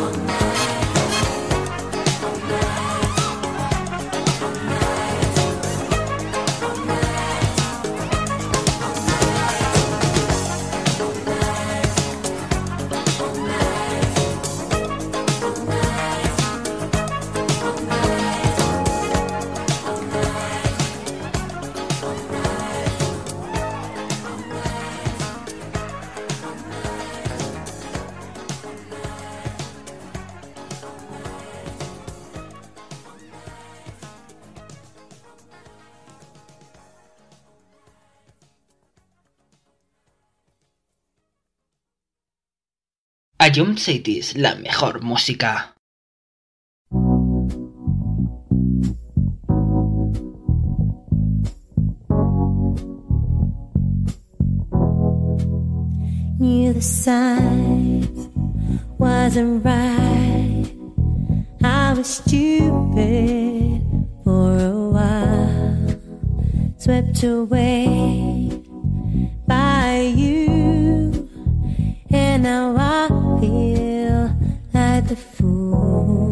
Ion Cities, la mejor música. Knew the signs wasn't right. I was stupid for a while, swept away by you, and now I feel like the fool.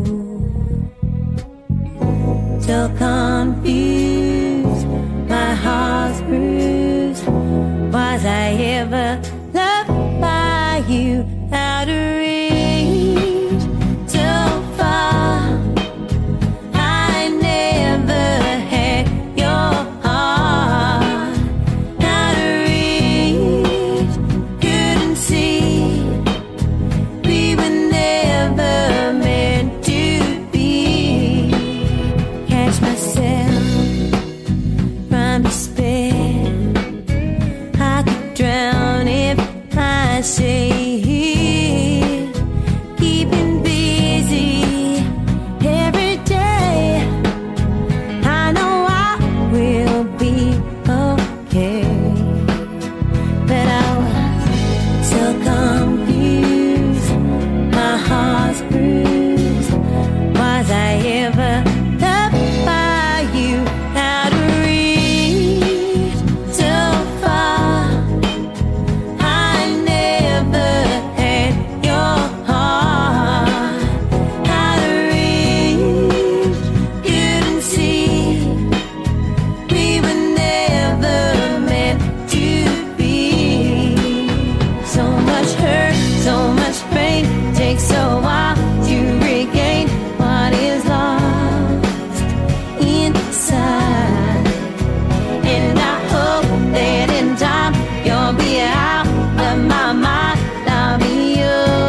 So confused, my heart's bruised. Was I ever loved by you? Out of reach, so far. I never had your heart. Out of reach, couldn't see. We were never meant to be. Catch myself from despair. I could drown if I say it. Keeping busy every day. I know I will be okay, but I was so confused. My heart's bruised. Was I ever loved by you? Out of reach, so far. I never had your heart. Out of reach, couldn't see. We were never meant to be. So much hurt, so much pain. Takes a while to regain what is lost inside. And I hope that in time you'll be out of my mind. I'll be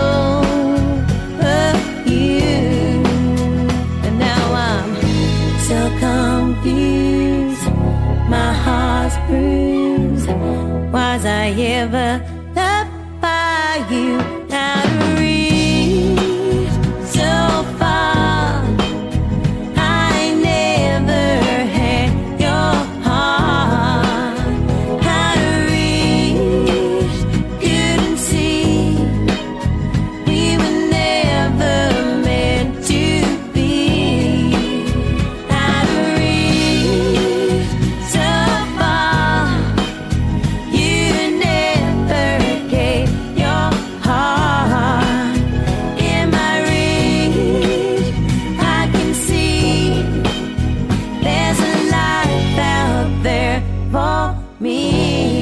over you. And now I'm so confused. My heart's bruised. Was I ever loved by you? Out of reach, so far. I never had your heart. Out of reach, couldn't see. We were never meant to be. Out of reach, so far. You never gave your heart. In my reach, I can see there's a life out there for me.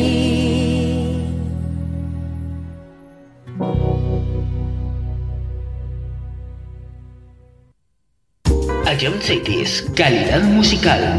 Ion Cities, calidad musical.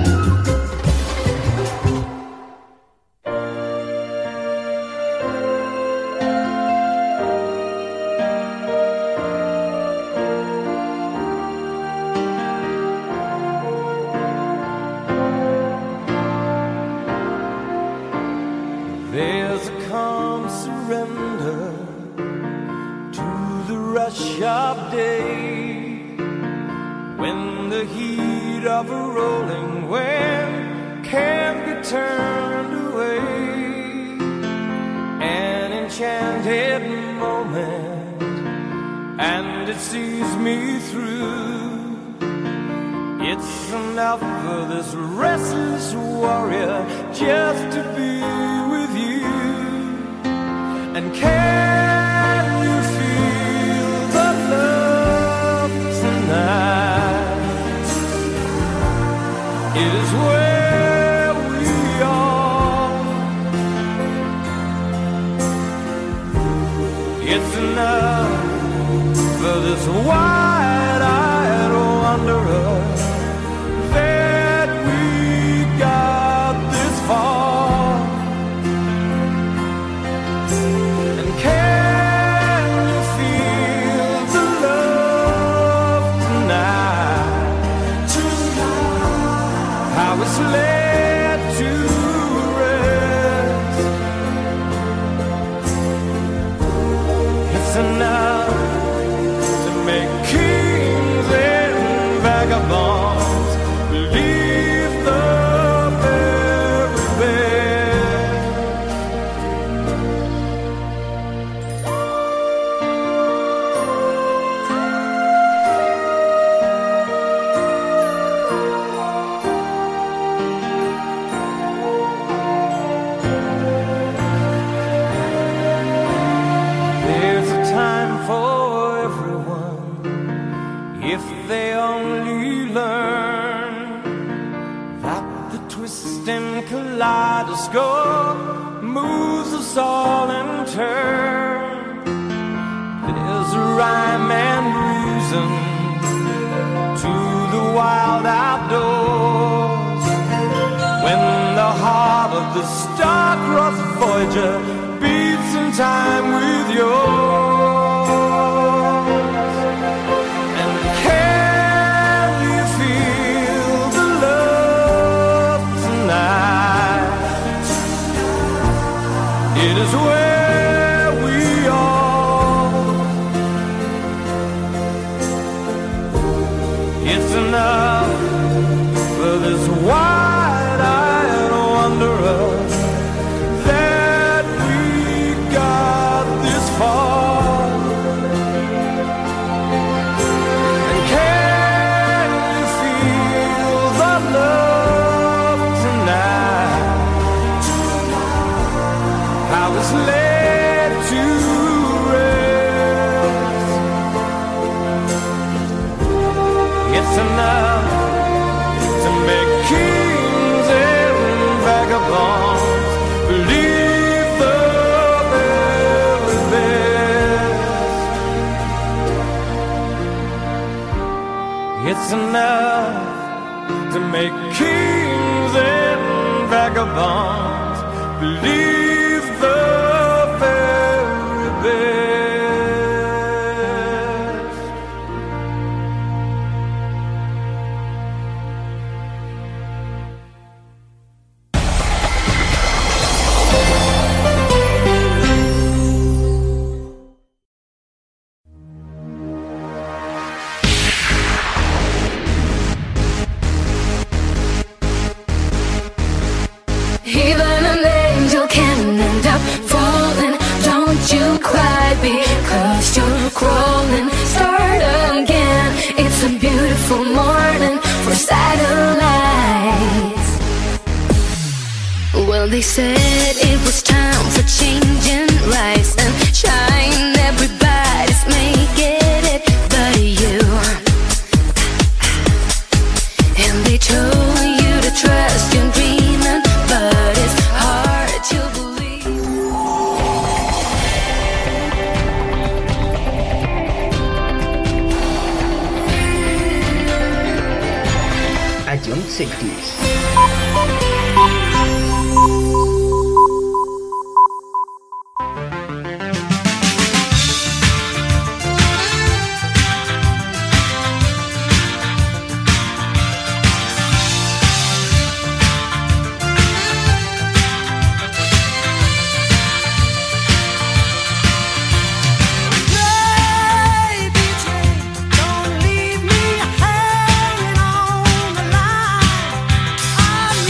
There's a calm surrender to the rush of day, when the heat of a rolling wind can't be turned away. An enchanted moment, and it sees me through. It's enough for this restless warrior just to be with you. And can you feel the love? for this wide-eyed wanderer that we got this far. And can you feel the love tonight? How it's led to rest. It's enough to make kings and vagabonds believe the very best. There's a time for everyone if they only learn that the twisting kaleidoscope moves us all in turn. There's a rhyme and reason to the wild outdoors when the heart of the star-crossed Voyager beats in time with yours. And can you feel the love tonight? It is where we are. It's enough for this wide-eyed wanderer that we got this far. And can you feel the love tonight? How it's led to rest. It's enough to make kings and vagabonds believe the very best. It's enough to make kings and vagabonds believe the very best. Even an angel can end up falling. Don't you cry because you're crawling. Start again. It's a beautiful morning for satellites. Well, they said it was time for changing lives and shine. Everybody's making it but you. And they told you to trust your dreaming, but it's hard to believe. Adjunct Sectors. Baby Jane, don't leave me hanging on the line. I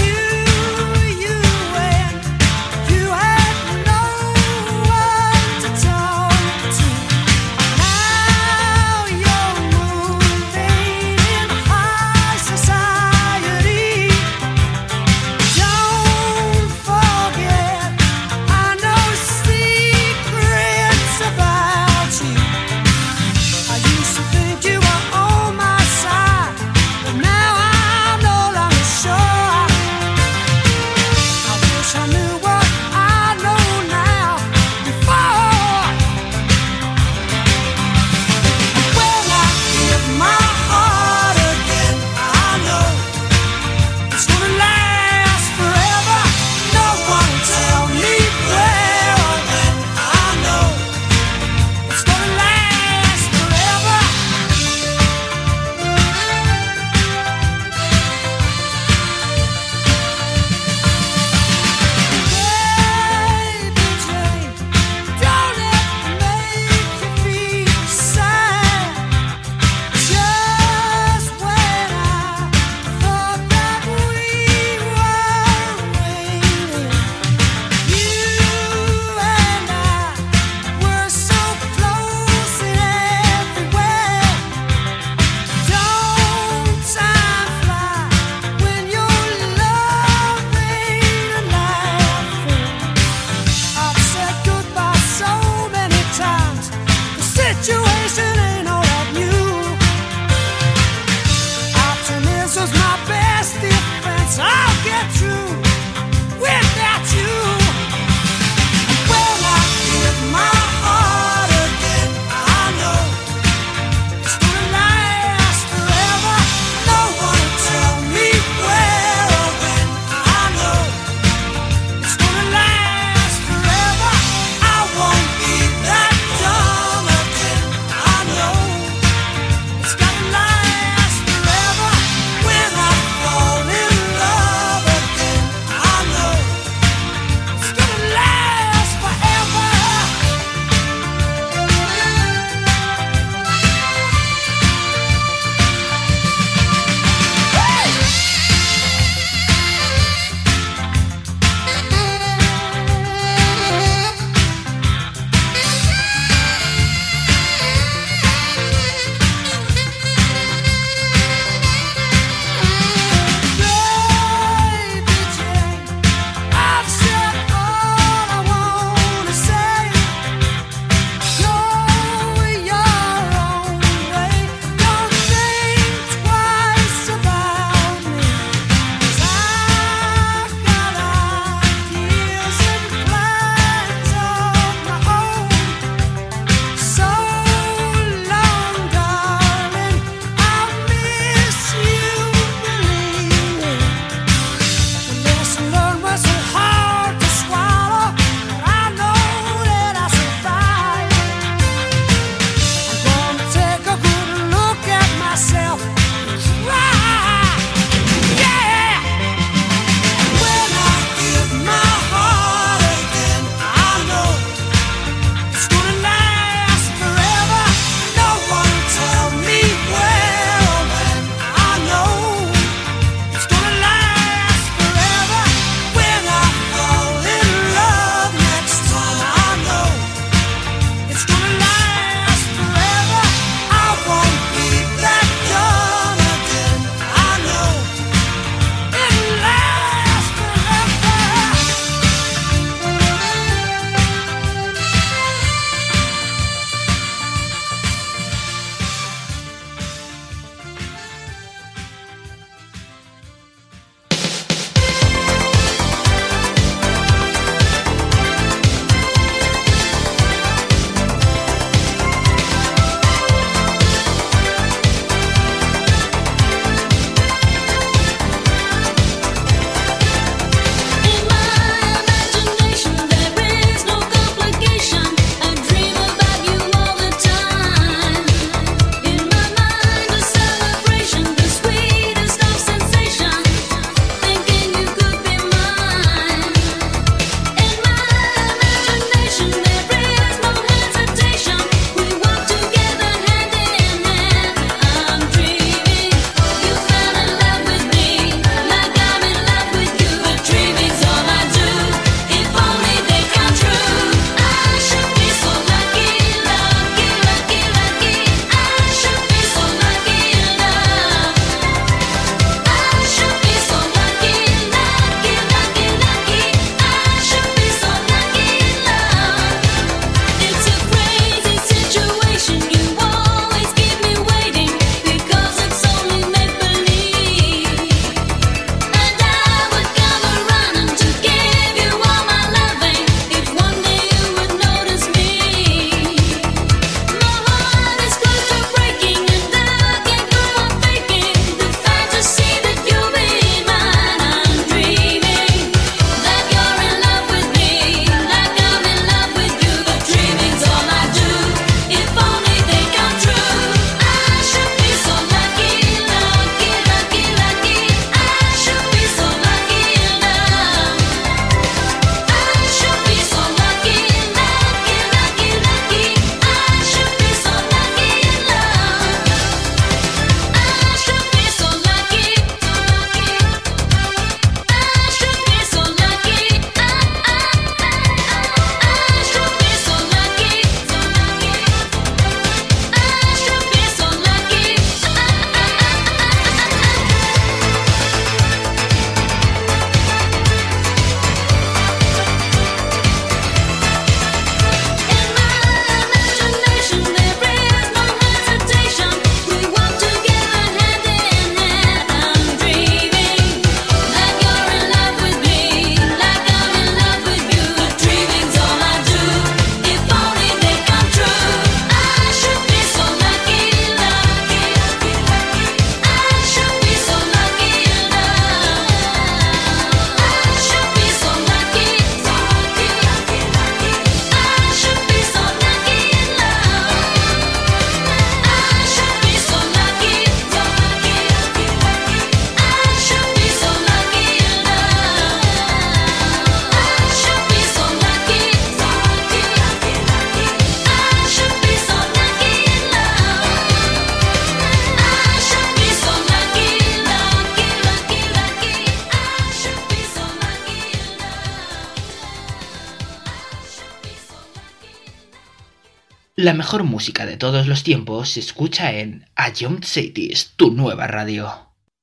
La mejor música de todos los tiempos se escucha en A Jump Cities, tu nueva radio.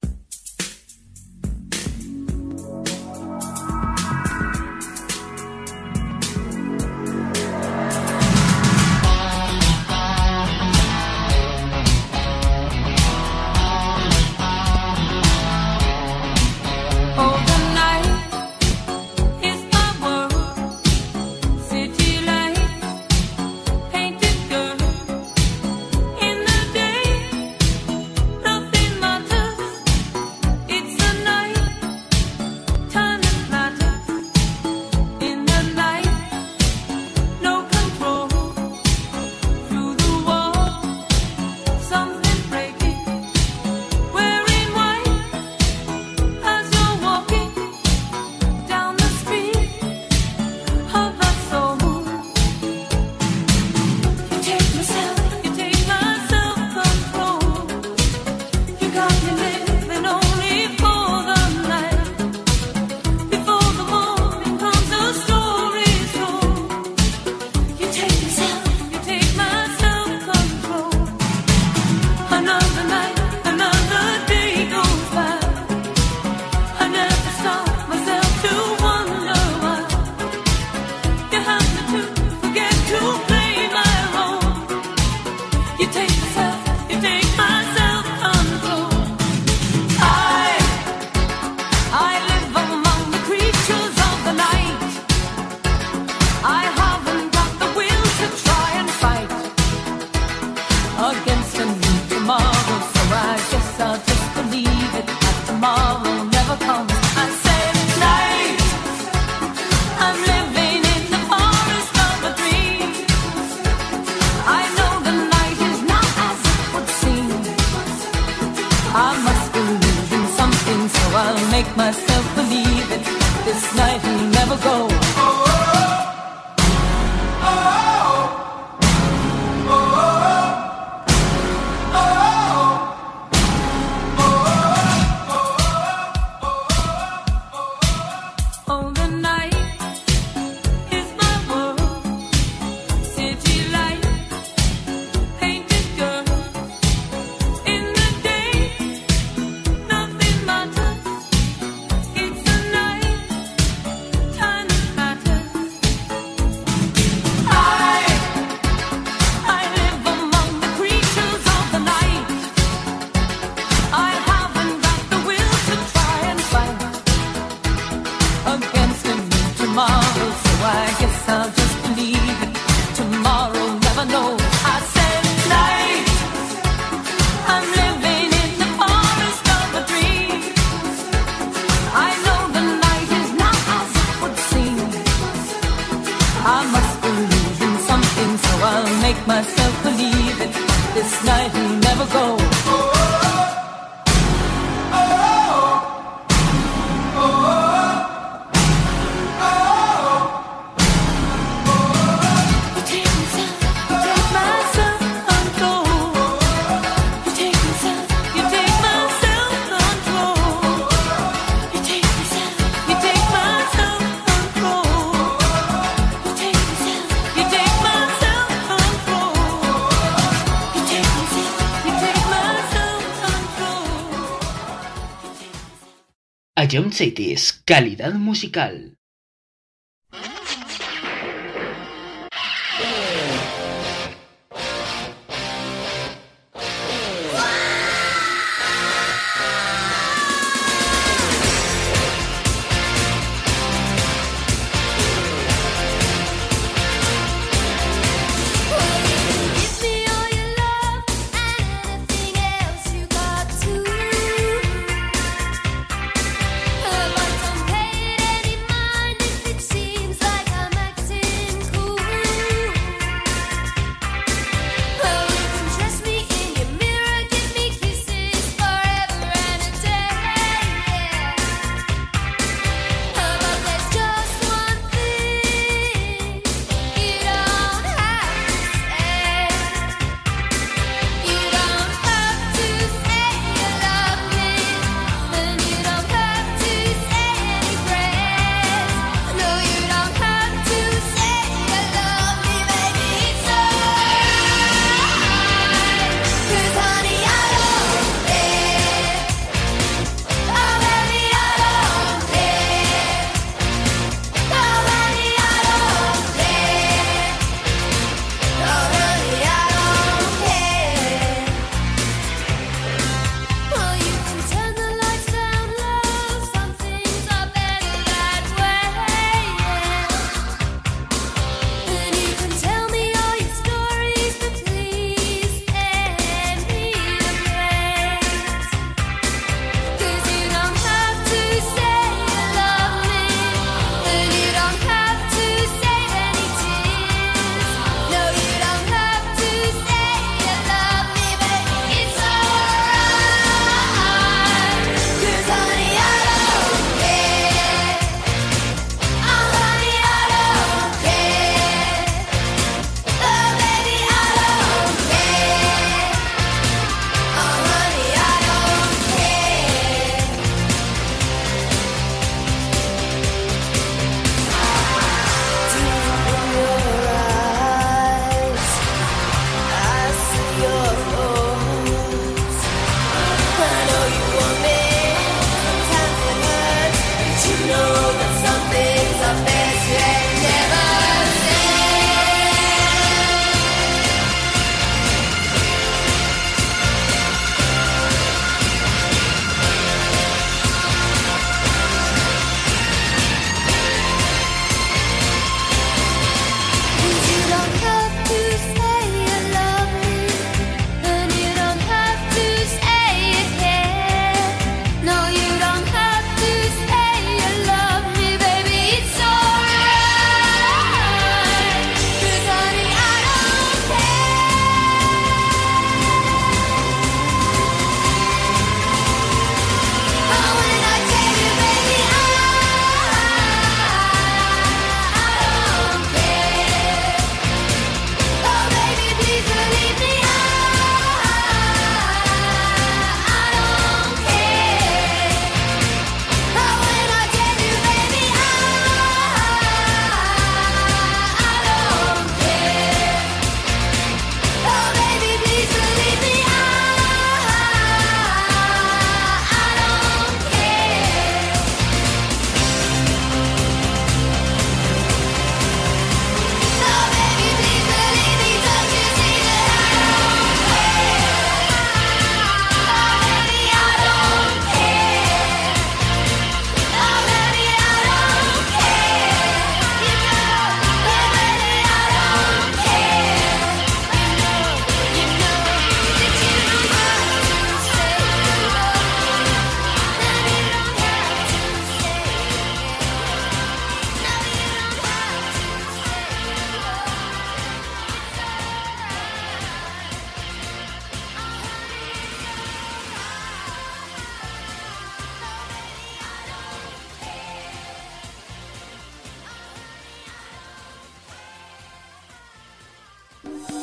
A Jump Cities, calidad musical. But don't pay it any mind.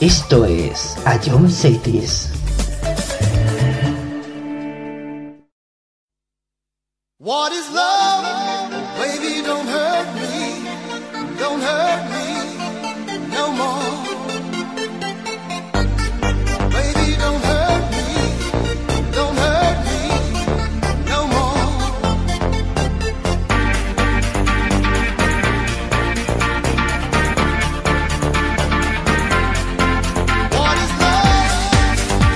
Esto es Ion Cities. What is love? Baby, don't hurt me no more. Baby, don't hurt me no more. What is love?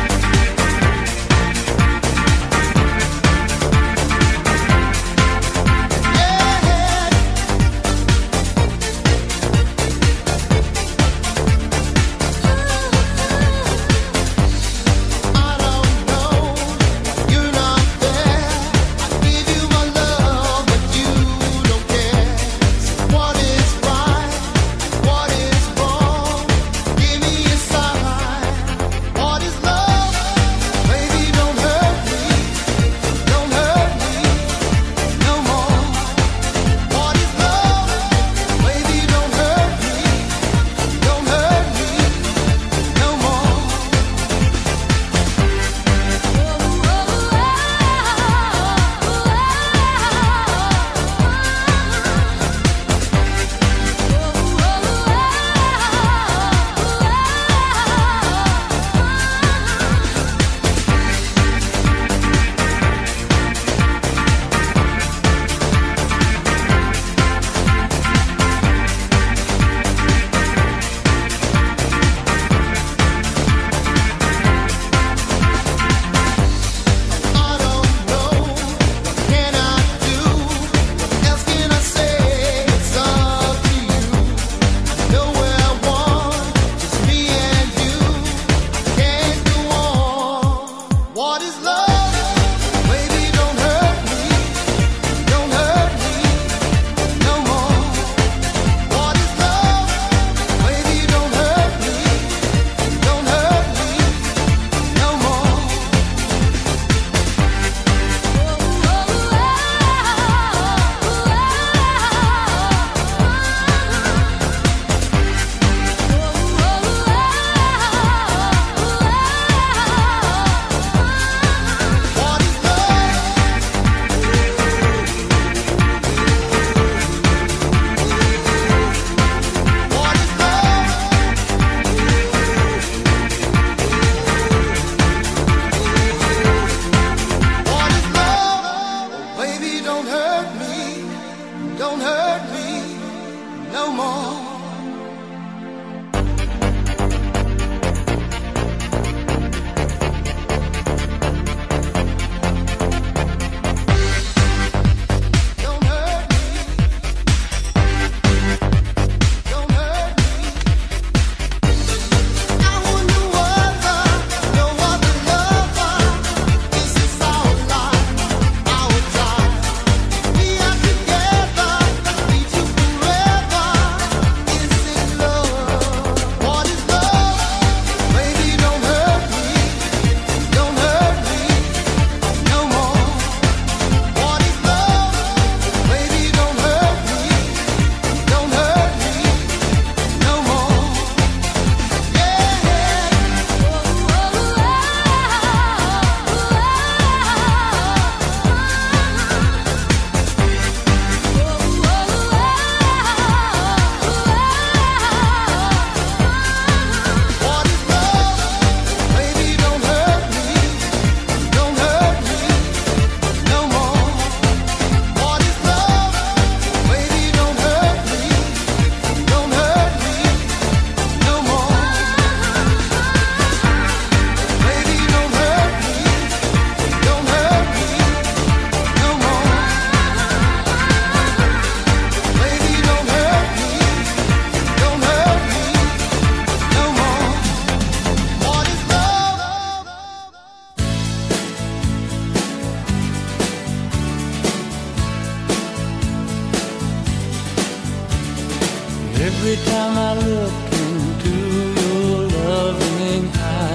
Every time I look into your loving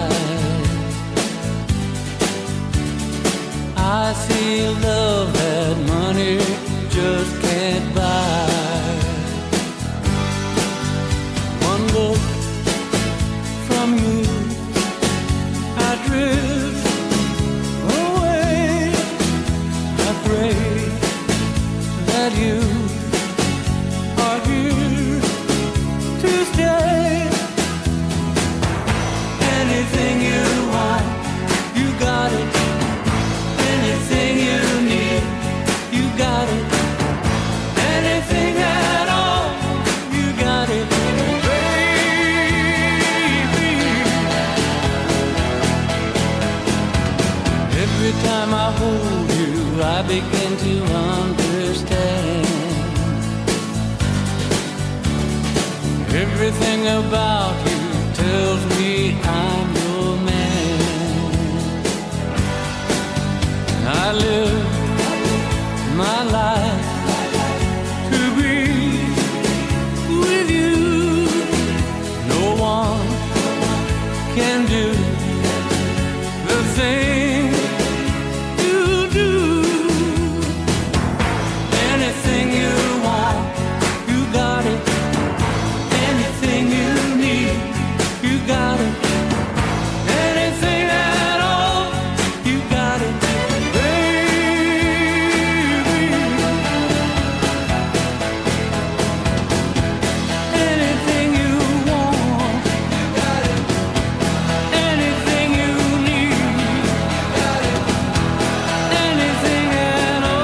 eyes, I see love that money just can't buy. One look from time I hold you, I begin to understand. Everything about you tells me I'm your man. I live my life to be with you. No one can do the thing you do. Anything you want, you got it. Anything you need, you got it. Anything at all, you got it, baby. Anything you want, you got it. Anything you need, you got it. Anything at all.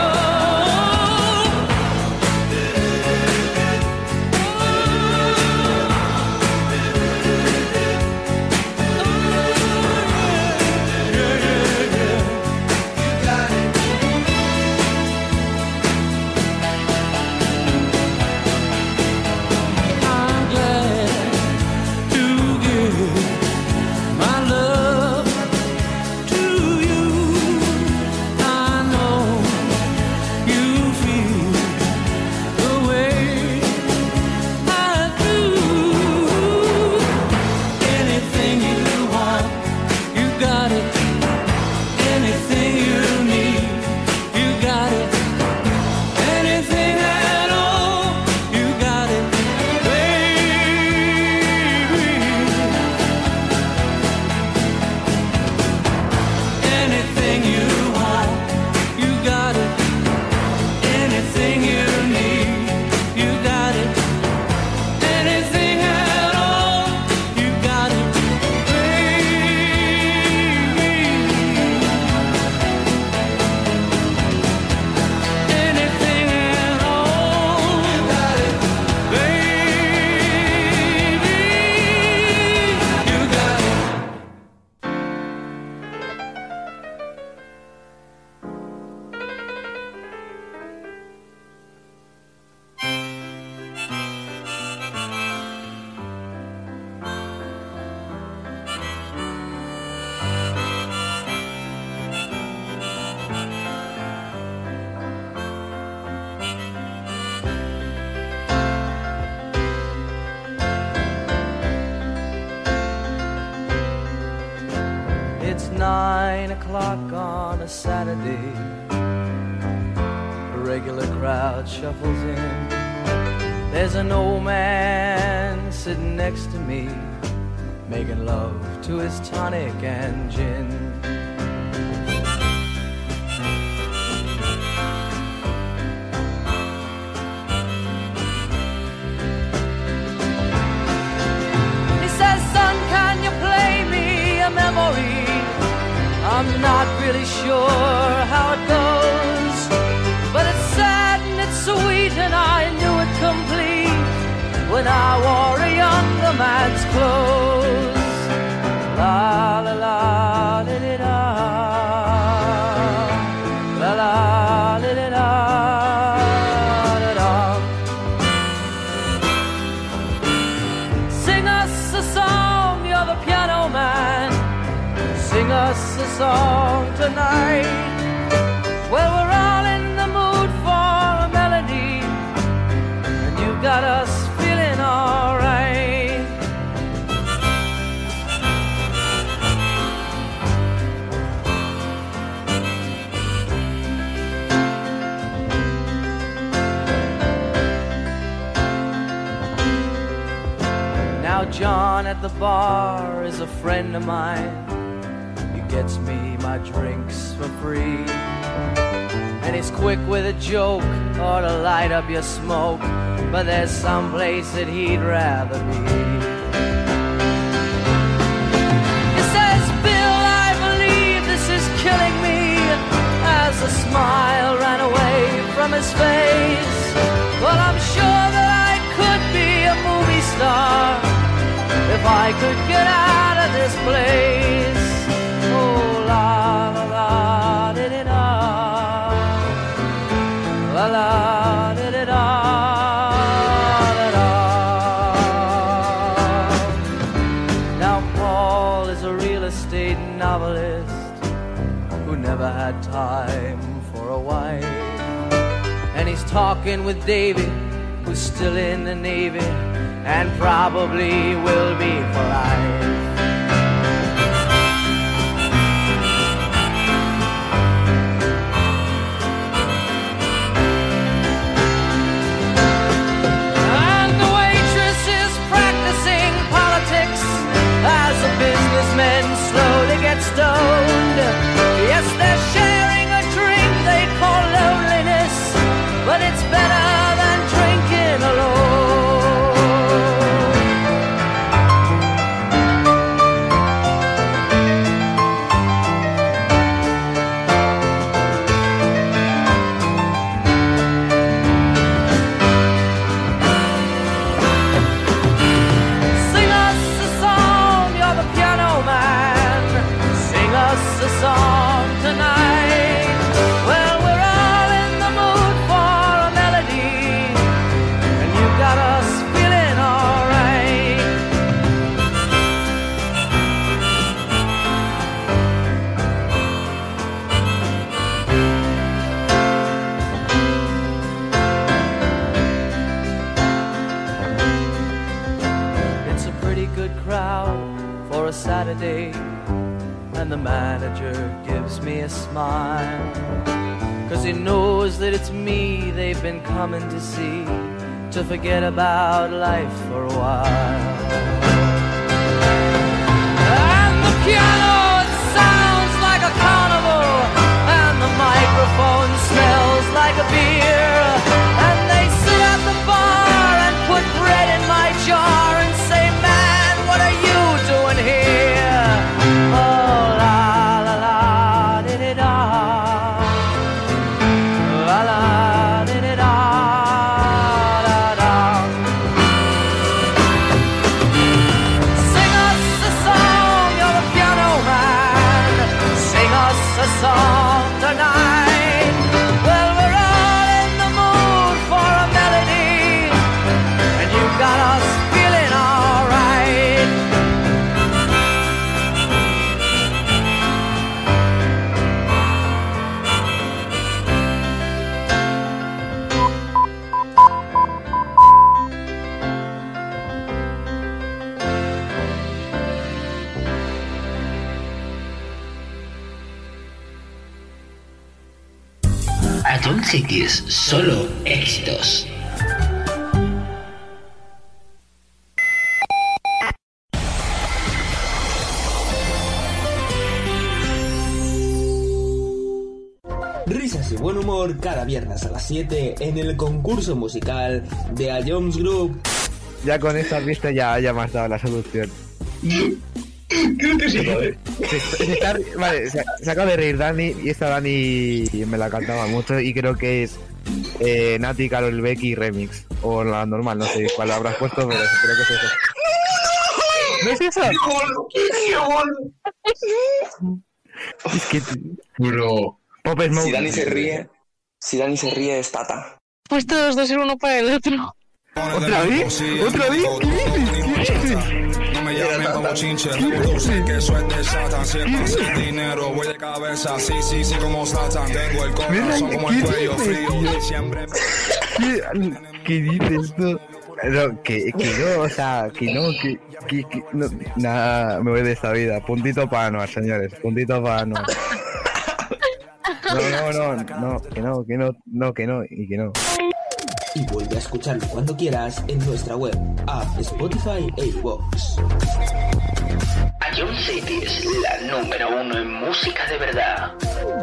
I'm glad to give my love to you. I know you feel the way I do. Anything you want, you got it. Anything you need, you got it. Anything at all, you got it, baby. Anything you want, you got it. Anything you need, you got it. Anything at all, you got it, baby. Anything at all, you got it, baby. You got it. It's 9 o'clock on a Saturday. A regular crowd shuffles in. There's an old man sitting next to me, making love to his tonic and gin. He says, son, can you play me a memory? I'm not really sure how it goes, but it's sad and it's sweet, and I knew it complete when I wore a younger man's clothes. La la la li li da, la la li li da da da. Sing us a song, you're the piano man. Sing us a song tonight. Well, we're all in the mood for a melody, and you got us feeling alright. Now John at the bar is a friend of mine. Gets me my drinks for free, and he's quick with a joke or to light up your smoke, but there's some place that he'd rather be. He says, Bill, I believe this is killing me, as a smile ran away from his face. Well, I'm sure that I could be a movie star if I could get out of this place. Oh, la la la. who never had time for a wife. And he's talking with Davy, who's still in the Navy, and probably will be for life. And the waitress is practicing politics as the businessmen slowly get stoned. Yes, they're sharing a drink they call loneliness, but it's better than drinking alone. Sing us a song, you're the piano man. Sing us a song tonight. Well, we're all in the mood for a melody, and you got us feeling alright. It's a pretty good crowd for a Saturday, and the manager gives me a smile, 'cause he knows that it's me they've been coming to see, to forget about life for a while. And the piano, it sounds like a carnival, and the microphone smells like a beer, and they sit at the bar and put bread in my jar and say, man, what are you doing here? Oh, la la la, di-di-da. La la, di-di-da, da-da. Sing us a song, you're the piano man. Sing us a song tonight. Well, we're all in the mood for a melody, and you got us feeling alright. A John Cities, solo éxitos. Risas y buen humor cada viernes a las 7 en el concurso musical de A Jones Group. Ya con esta pista ya me has dado la solución. Creo que sí, joder. Vale, se acaba de reír Dani, y esta Dani me la cantaba mucho, y creo que es Nati, Karol Becky remix, o la normal, no sé cuál habrás puesto, pero creo que es eso. ¿No es eso? ¡Qué bueno! Es que... Bro. Pop Smoke. Si Dani se ríe es Tata. Pues todos dos ser uno para el otro. ¿Otra vez? ¿Otra vez? ¿Qué dices? No me llamen como chinche, tú sé que eso es de Satan. Siempre sin dinero, voy de cabeza, sí, como Satan. Tengo el corazón como el cuello frío, siempre. ¿Qué dices tú? No, que no, o sea, que no, nada, me voy de esta vida. Puntito para Anuar, señores, puntito para Anuar. No, que no. Y vuelve a escucharlo cuando quieras en nuestra web, app, Spotify e iVoox. A John Cities, la número 1 en música de verdad.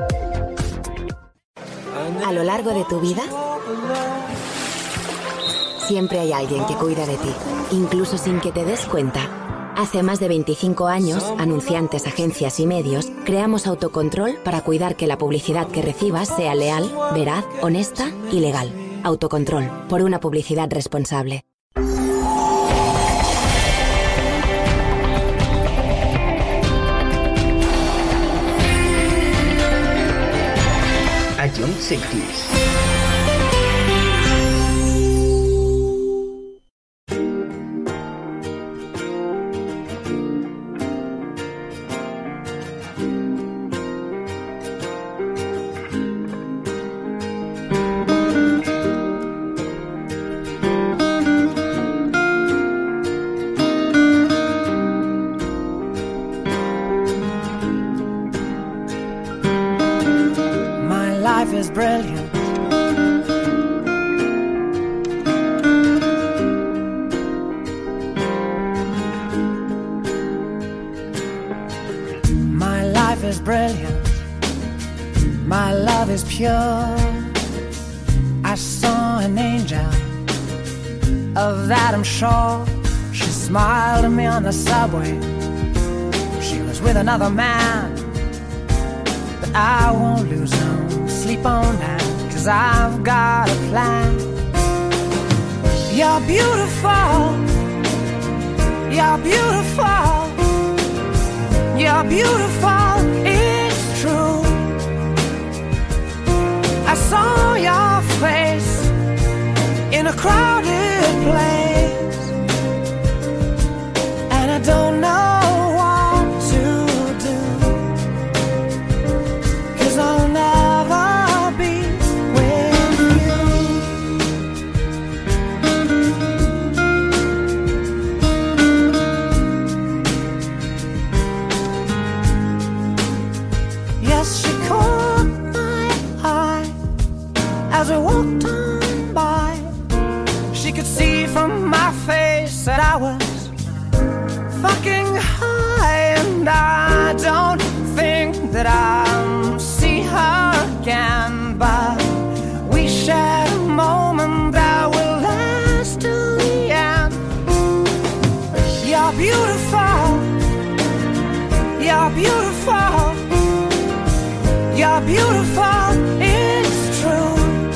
A lo largo de tu vida, siempre hay alguien que cuida de ti, incluso sin que te des cuenta. Hace más de 25 años, anunciantes, agencias y medios, creamos Autocontrol para cuidar que la publicidad que recibas sea leal, veraz, honesta y legal. Autocontrol, por una publicidad responsable. A John Cities. life is brilliant. My life is brilliant. My love is pure. I saw an angel, of that I'm sure. She smiled at me on the subway. She was with another man, but I won't lose no sleep on that, 'cause I've got a plan. You're beautiful. You're beautiful. You're beautiful, it's true. I saw your face in a crowded place, and I don't know what to do, 'cause I'll never be with you. Yes, she caught my eye as we walked on by. She could see from my face that I was fucking high, and I don't think that I'll see her again, but we shared a moment that will last till the end. You're beautiful. You're beautiful. You're beautiful, it's true.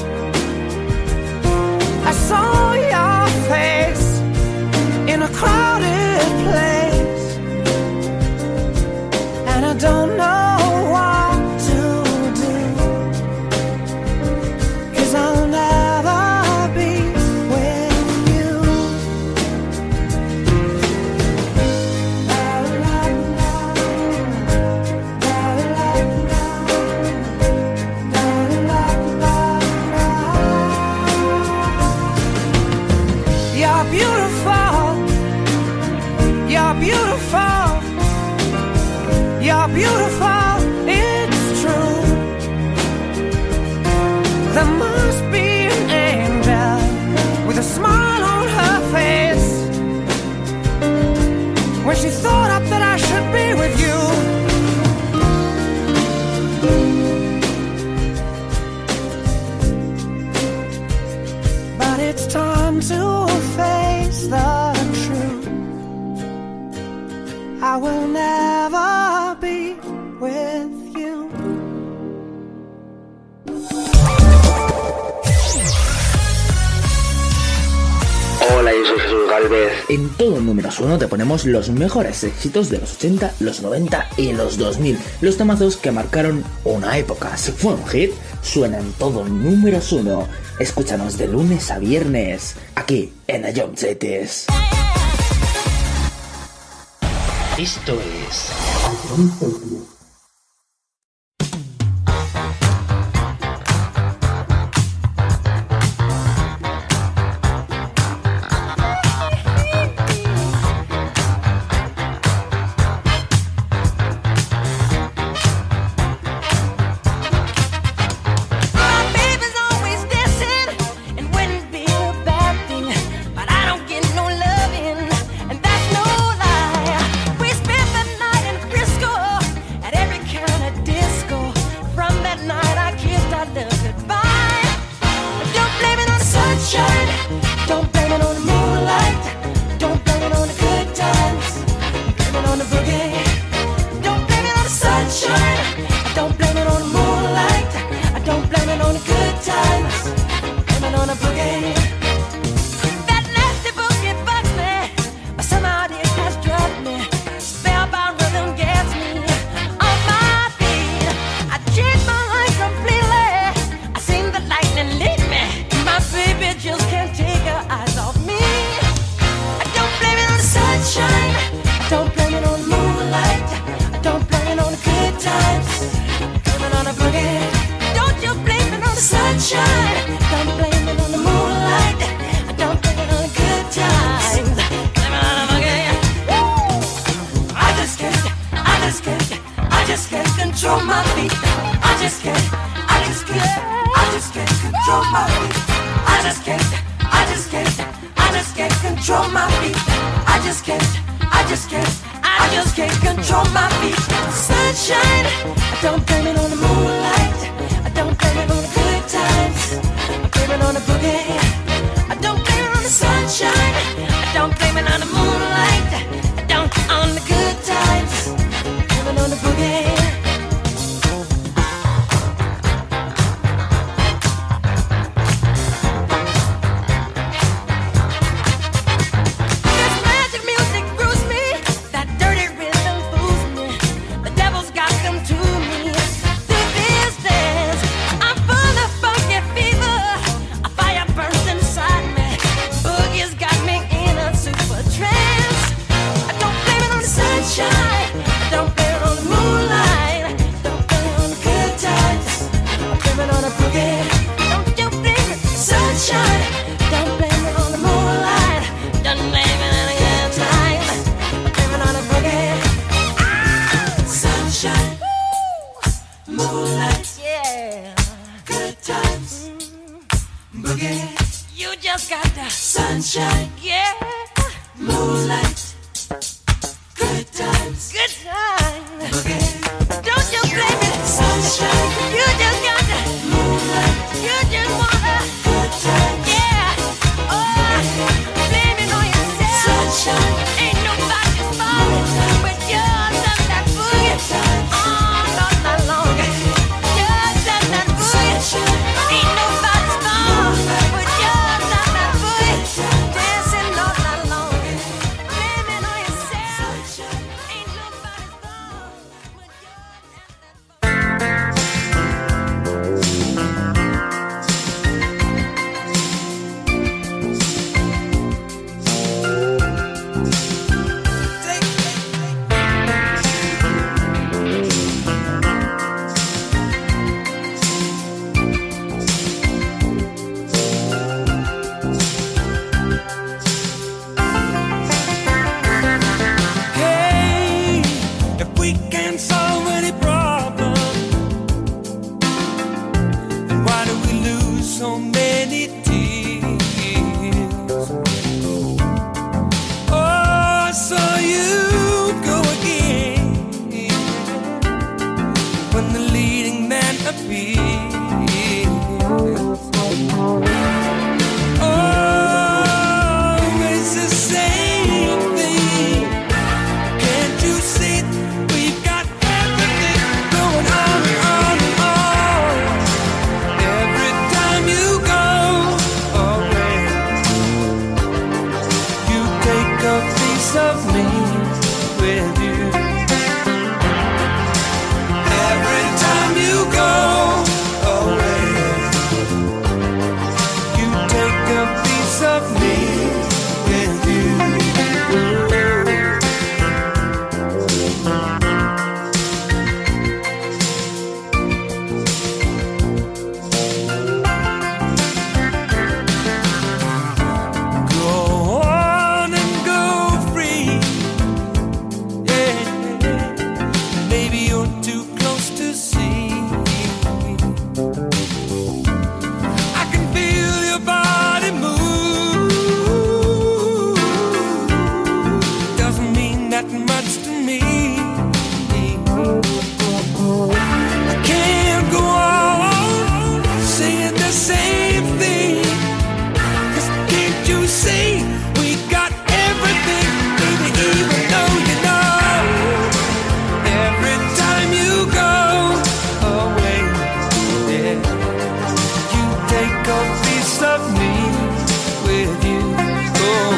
I saw your face in a crowded place, and I don't know what to do, 'cause I'll never be with you. You're beautiful. You're beautiful. You're beautiful, it's true. There must be an angel with a smile on her face when she thought up that I should be with you. But it's time to face the truth. I will never be with you. Hola, yo soy Jesús Galvez. En todo números 1 te ponemos los mejores éxitos de los 80, los 90 y los 2000. Los temazos que marcaron una época. Si fue un hit, suena en todo números 1. Escúchanos de lunes a viernes, aquí en Ion Cities. Esto es And that's no lie. We spent the night in Frisco control my feet. I just can't control my feet. I just can't control my feet. Sunshine, I don't blame it on the moonlight. I don't blame it on the good times. I blame it on the boogie. I don't blame it on the sunshine. I don't blame it on the moonlight. I don't on the good times. I blame it on the boogie. Sunshine, yeah, moonlight, good times, boogie. Don't you blame it, sunshine. You just got the moonlight. You just wanna good times, yeah. Oh, blame it on yourself, sunshine. Ain't nobody's fault but yours and that boogie. Oh, not that long. Yours and that boogie. Ain't nobody's fault but yours and that boogie. Dancing all night long. Blame it on yourself. Ain't nobody's fault but Hey, if we can't solve any problem, then why do we lose so many tears? Oh, so you go again when the leading man appears. Oh, it's the same thing. Can't you see we've got everything going on? Every time you go away, you take a piece of me with you. Every time you go away, you take a piece of me with you. Go on and go free. Yeah, maybe you're too close to see. I can feel your body move. Doesn't mean that much to me. I can't go on saying the same thing. 'Cause can't you see we got everything, baby, even though you know every time you go away, yeah, you take a piece of me with you. Oh,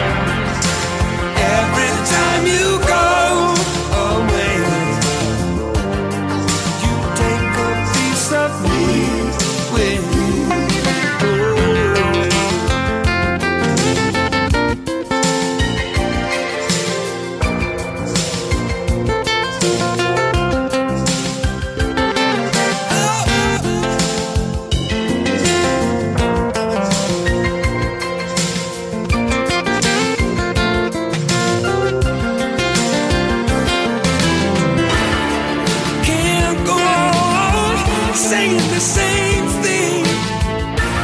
every time you go away, you take a piece of me with you. Can't go on saying the same thing.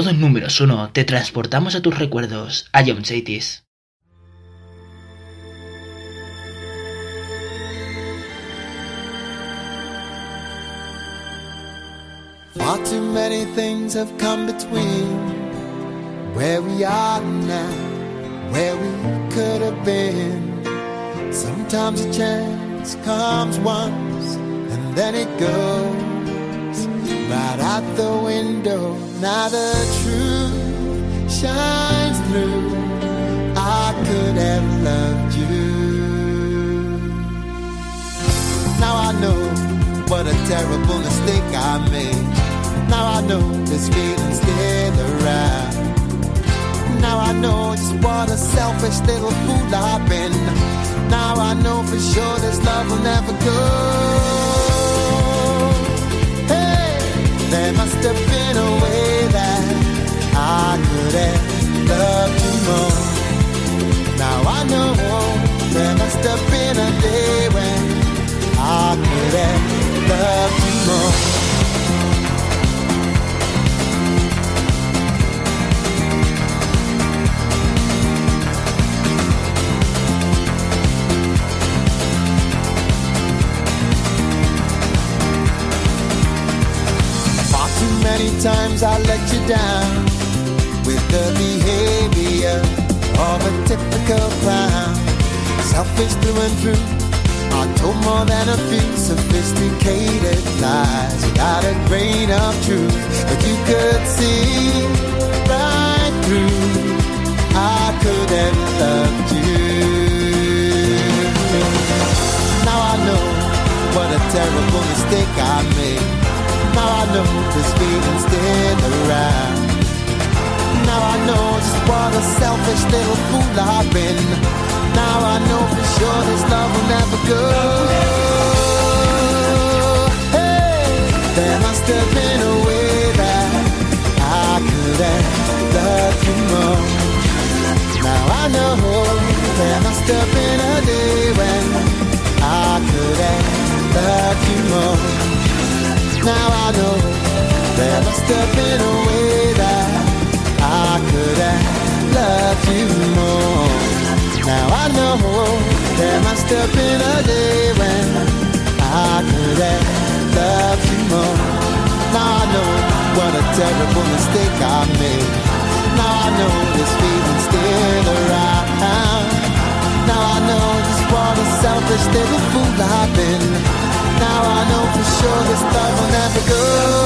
todo en números 1, te transportamos a tus recuerdos, a John Chaitis. Far too many things have come between where we are now, where we could have been. Sometimes a chance comes once and then it goes right out the window. Now the truth shines through. I could have loved you. Now I know what a terrible mistake I made. Now I know this feeling's still around. Now I know just what a selfish little fool I've been. Now I know for sure this love will never go. Hey, there must have been a way that I could have loved you more. Now I know there must have been a day when I could have loved you more. Many times I let you down with the behavior of a typical clown. Selfish through and through, I told more than a few sophisticated lies without a grain of truth, but you could see right through. I could have loved you. Now I know what a terrible mistake I made. Now I know this feeling's still around. Now I know just what a selfish little fool I've been. Now I know for sure this love will never go. Hey, there must have been a way that I could have loved you more. Now I know there must have been a day when I could have loved you more. Now I know there must have been a way that I could have loved you more. Now I know there must have been a day when I could have loved you more. Now I know what a terrible mistake I made. Now I know this feeling's still around. Now I know just what a selfish little fool I've been. Now I know for sure this love will never go.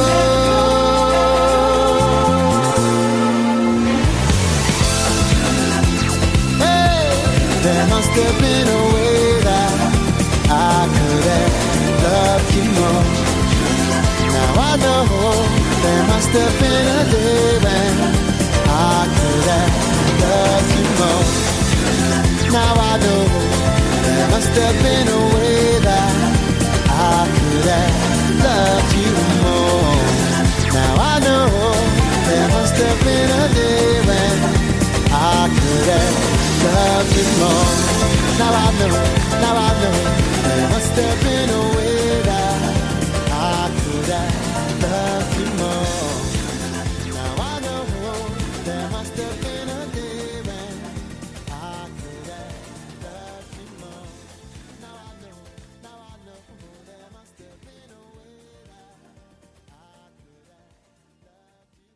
Hey, there must have been a way that I could have loved you more. Now I know there must have been a day when I could have loved you more. Now I know there must have been a way that I could have loved you more. Now I know there must have been a day when I could have loved you more. Now I know there must have been a way that I could have loved you more. Now I know there must have been a day when I could have loved you more. Now I know there must have been a way that I could have loved you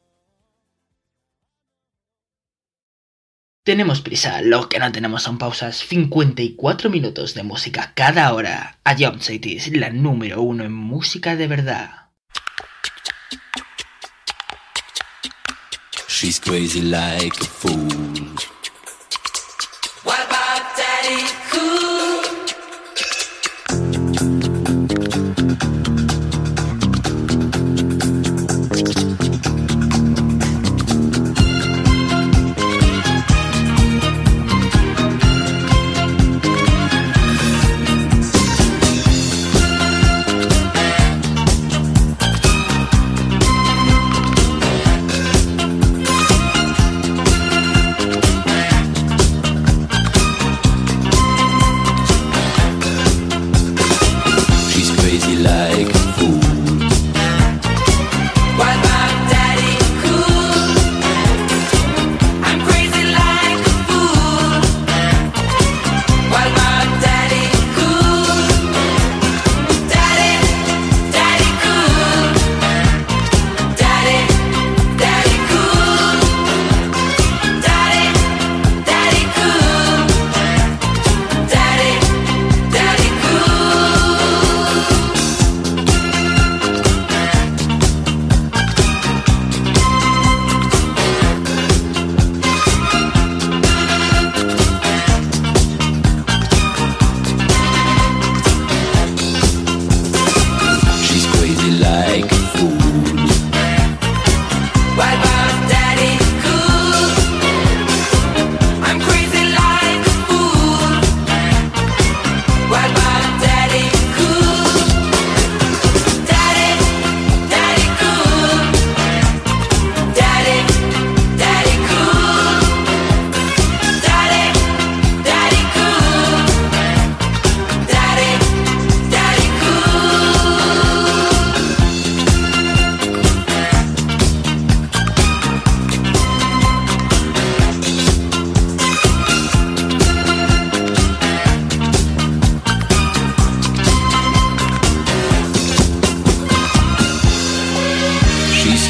more. Tenemos prisa, lo que no tenemos son pausas. 54 minutos de música cada hora. A John Chaitis, la número 1 en música de verdad. She's crazy like a fool. What about Daddy Cool?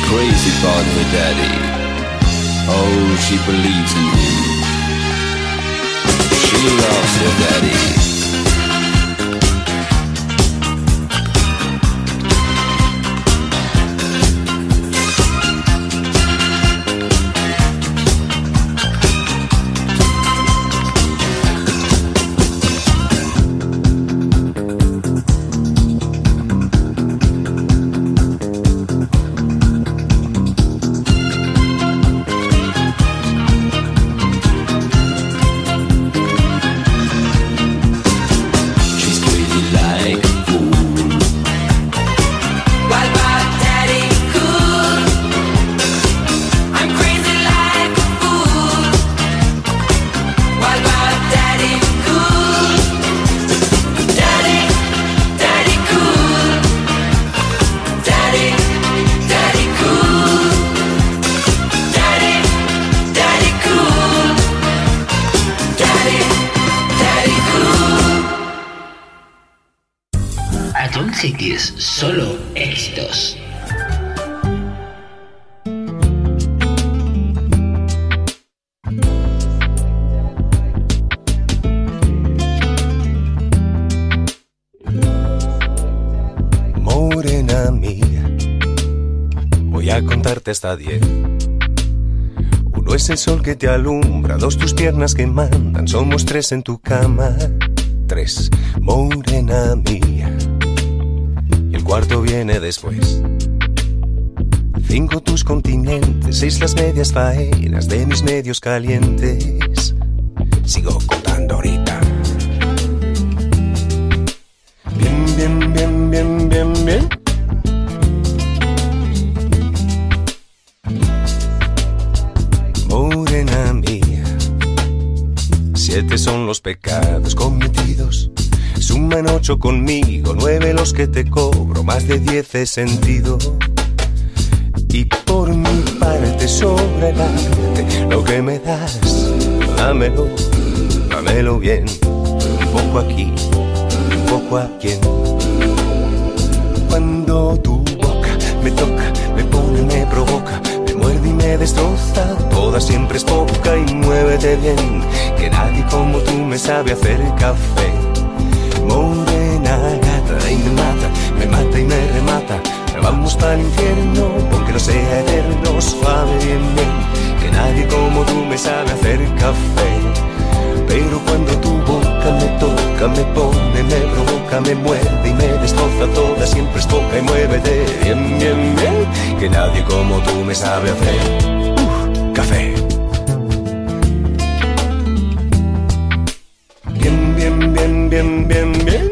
crazy about her daddy. Oh, she believes in him. She loves her daddy. Solo éxitos. Morena mía, voy a contarte hasta 10. 1 es el sol que te alumbra, 2 tus piernas que mandan, somos 3 en tu cama. 3, morena mía, el cuarto viene después. 5 tus continentes, 6 las medias faenas de mis medios calientes. Sigo contando ahorita. Bien, bien, bien, bien, bien, bien. Morena mía, 7 son los pecados cometidos. Suman 8 conmigo, 9 los que te cobro, más de 10 he sentido. Y por mi parte sobra el arte, lo que me das, dámelo, dámelo bien. Un poco aquí, un poco aquí. Cuando tu boca me toca, me pone, me provoca, me muerde y me destroza, toda siempre es poca y muévete bien, que nadie como tú me sabe hacer café. Morena gata y me mata y me remata. Vamos pa'l infierno, aunque no sea eterno, suave bien bien, que nadie como tú me sabe hacer café. Pero cuando tu boca me toca, me pone, me provoca, me muerde y me destroza, toda siempre es poca y muévete bien bien bien, que nadie como tú me sabe hacer café. Bien bien bien bien bien bien.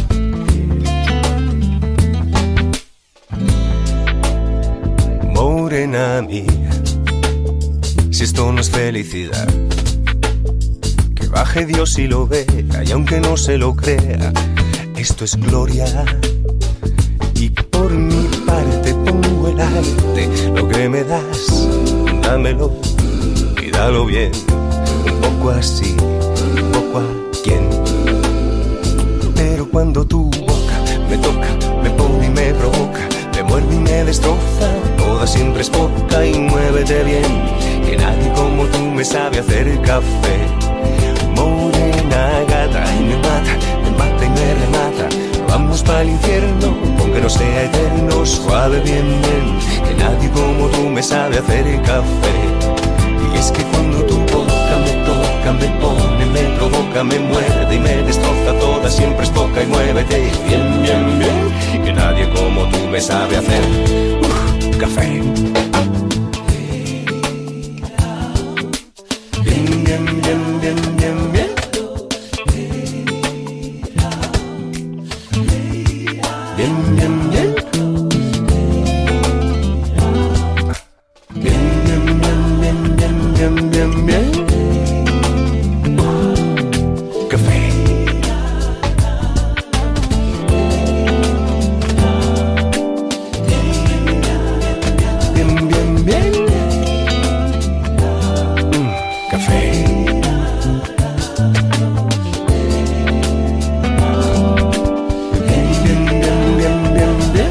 Morena mía, si esto no es felicidad, que baje Dios y lo vea, y aunque no se lo crea, esto es gloria. Y por mi parte pongo el arte, lo que me das, dámelo y dalo bien, un poco así, un poco a quien. Pero cuando tu boca me toca, me pone y me provoca, me muerde y me destroza, toda siempre es poca y muévete bien, que nadie como tú me sabe hacer café. Morena gata y me mata y me remata. Vamos pa'l infierno, aunque no sea eterno, suave bien bien, que nadie como tú me sabe hacer café. Y es que cuando tu boca me toca, me pone, me provoca, me muerde y me destroza, toda siempre es poca y muévete bien bien bien, que nadie como tú me sabe hacer café. Bien, bien, bien, bien, bien, bien. Bien, bien, bien. Bien, bien, bien, bien, bien, bien, bien, bien. Café. Bien, bien, bien. Café. Bien, bien, bien, bien, bien.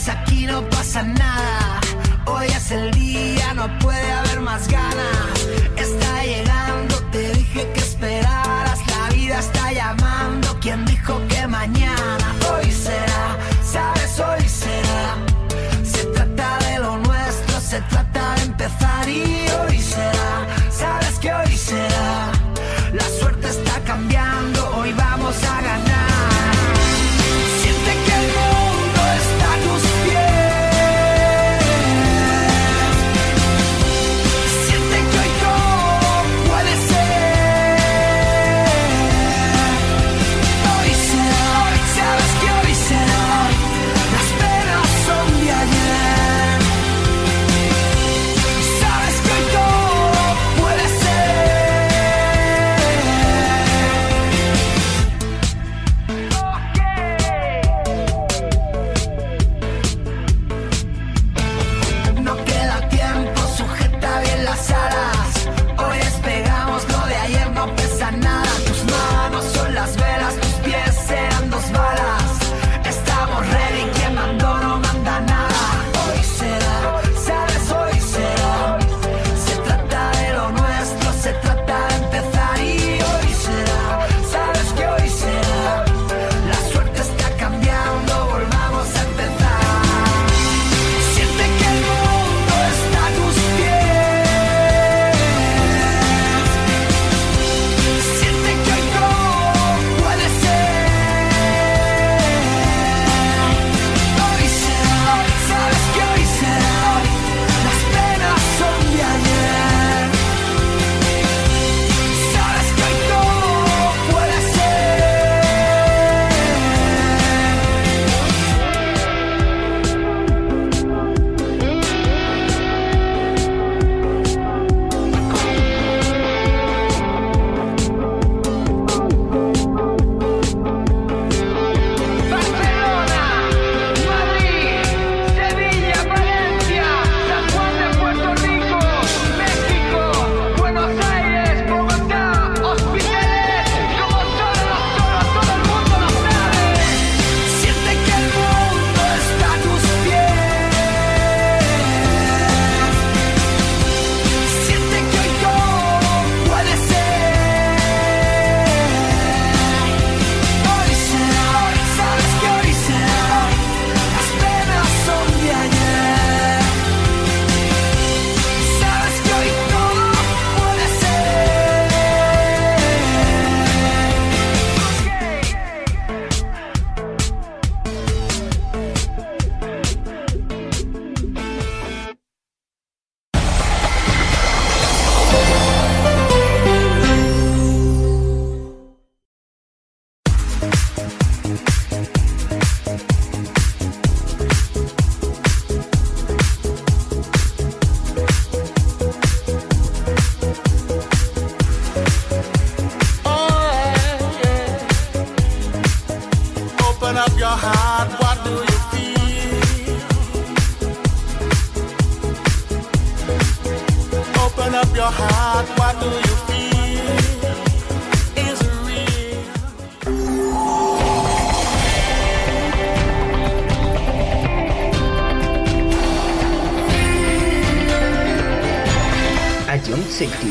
aquí no pasa nada. Hoy es el día, no puede haber más ganas. Está llegando, te dije que esperaras. La vida está llamando, ¿quién dijo que mañana? Hoy será, sabes, hoy será. Se trata de lo nuestro, se trata de empezar. Y hoy será, sabes que hoy será. La suerte está cambiando, hoy vamos a ganar. Siente que el mundo está a tus pies. Siente que hoy todo puede ser. Hoy será, sabes que hoy será. Las penas son de ayer. Sabes que hoy todo puede ser. No queda tiempo, sujeta bien las alas. Hoy despegamos, lo de ayer no pesa nada. Tus manos son las velas, tus pies serán 2 balas. Estamos ready, quien mandó no manda nada. Hoy será, sabes, hoy será. Se trata de lo nuestro, se trata de empezar. Y hoy será, sabes que hoy será. La suerte está cambiando, volvamos a empezar. Siente que el mundo está a tus pies. Siente que hoy todo puede ser. Hoy será, sabes que hoy será. Las penas son de ayer. Sabes que hoy todo puede ser. Barcelona, Madrid, Sevilla, Valencia, San Juan de Puerto Rico, México, Buenos Aires, Bogotá, Hospitales, como solo todo el mundo lo sabe. Siente que el mundo está a tus pies. Siente que hoy todo puede ser. Hoy será, sabes que hoy será. Las penas son de ayer. Sabes que hoy todo puede Open up your heart, what do you feel? Open up your heart, what do you feel? Is it real? Agent Safety.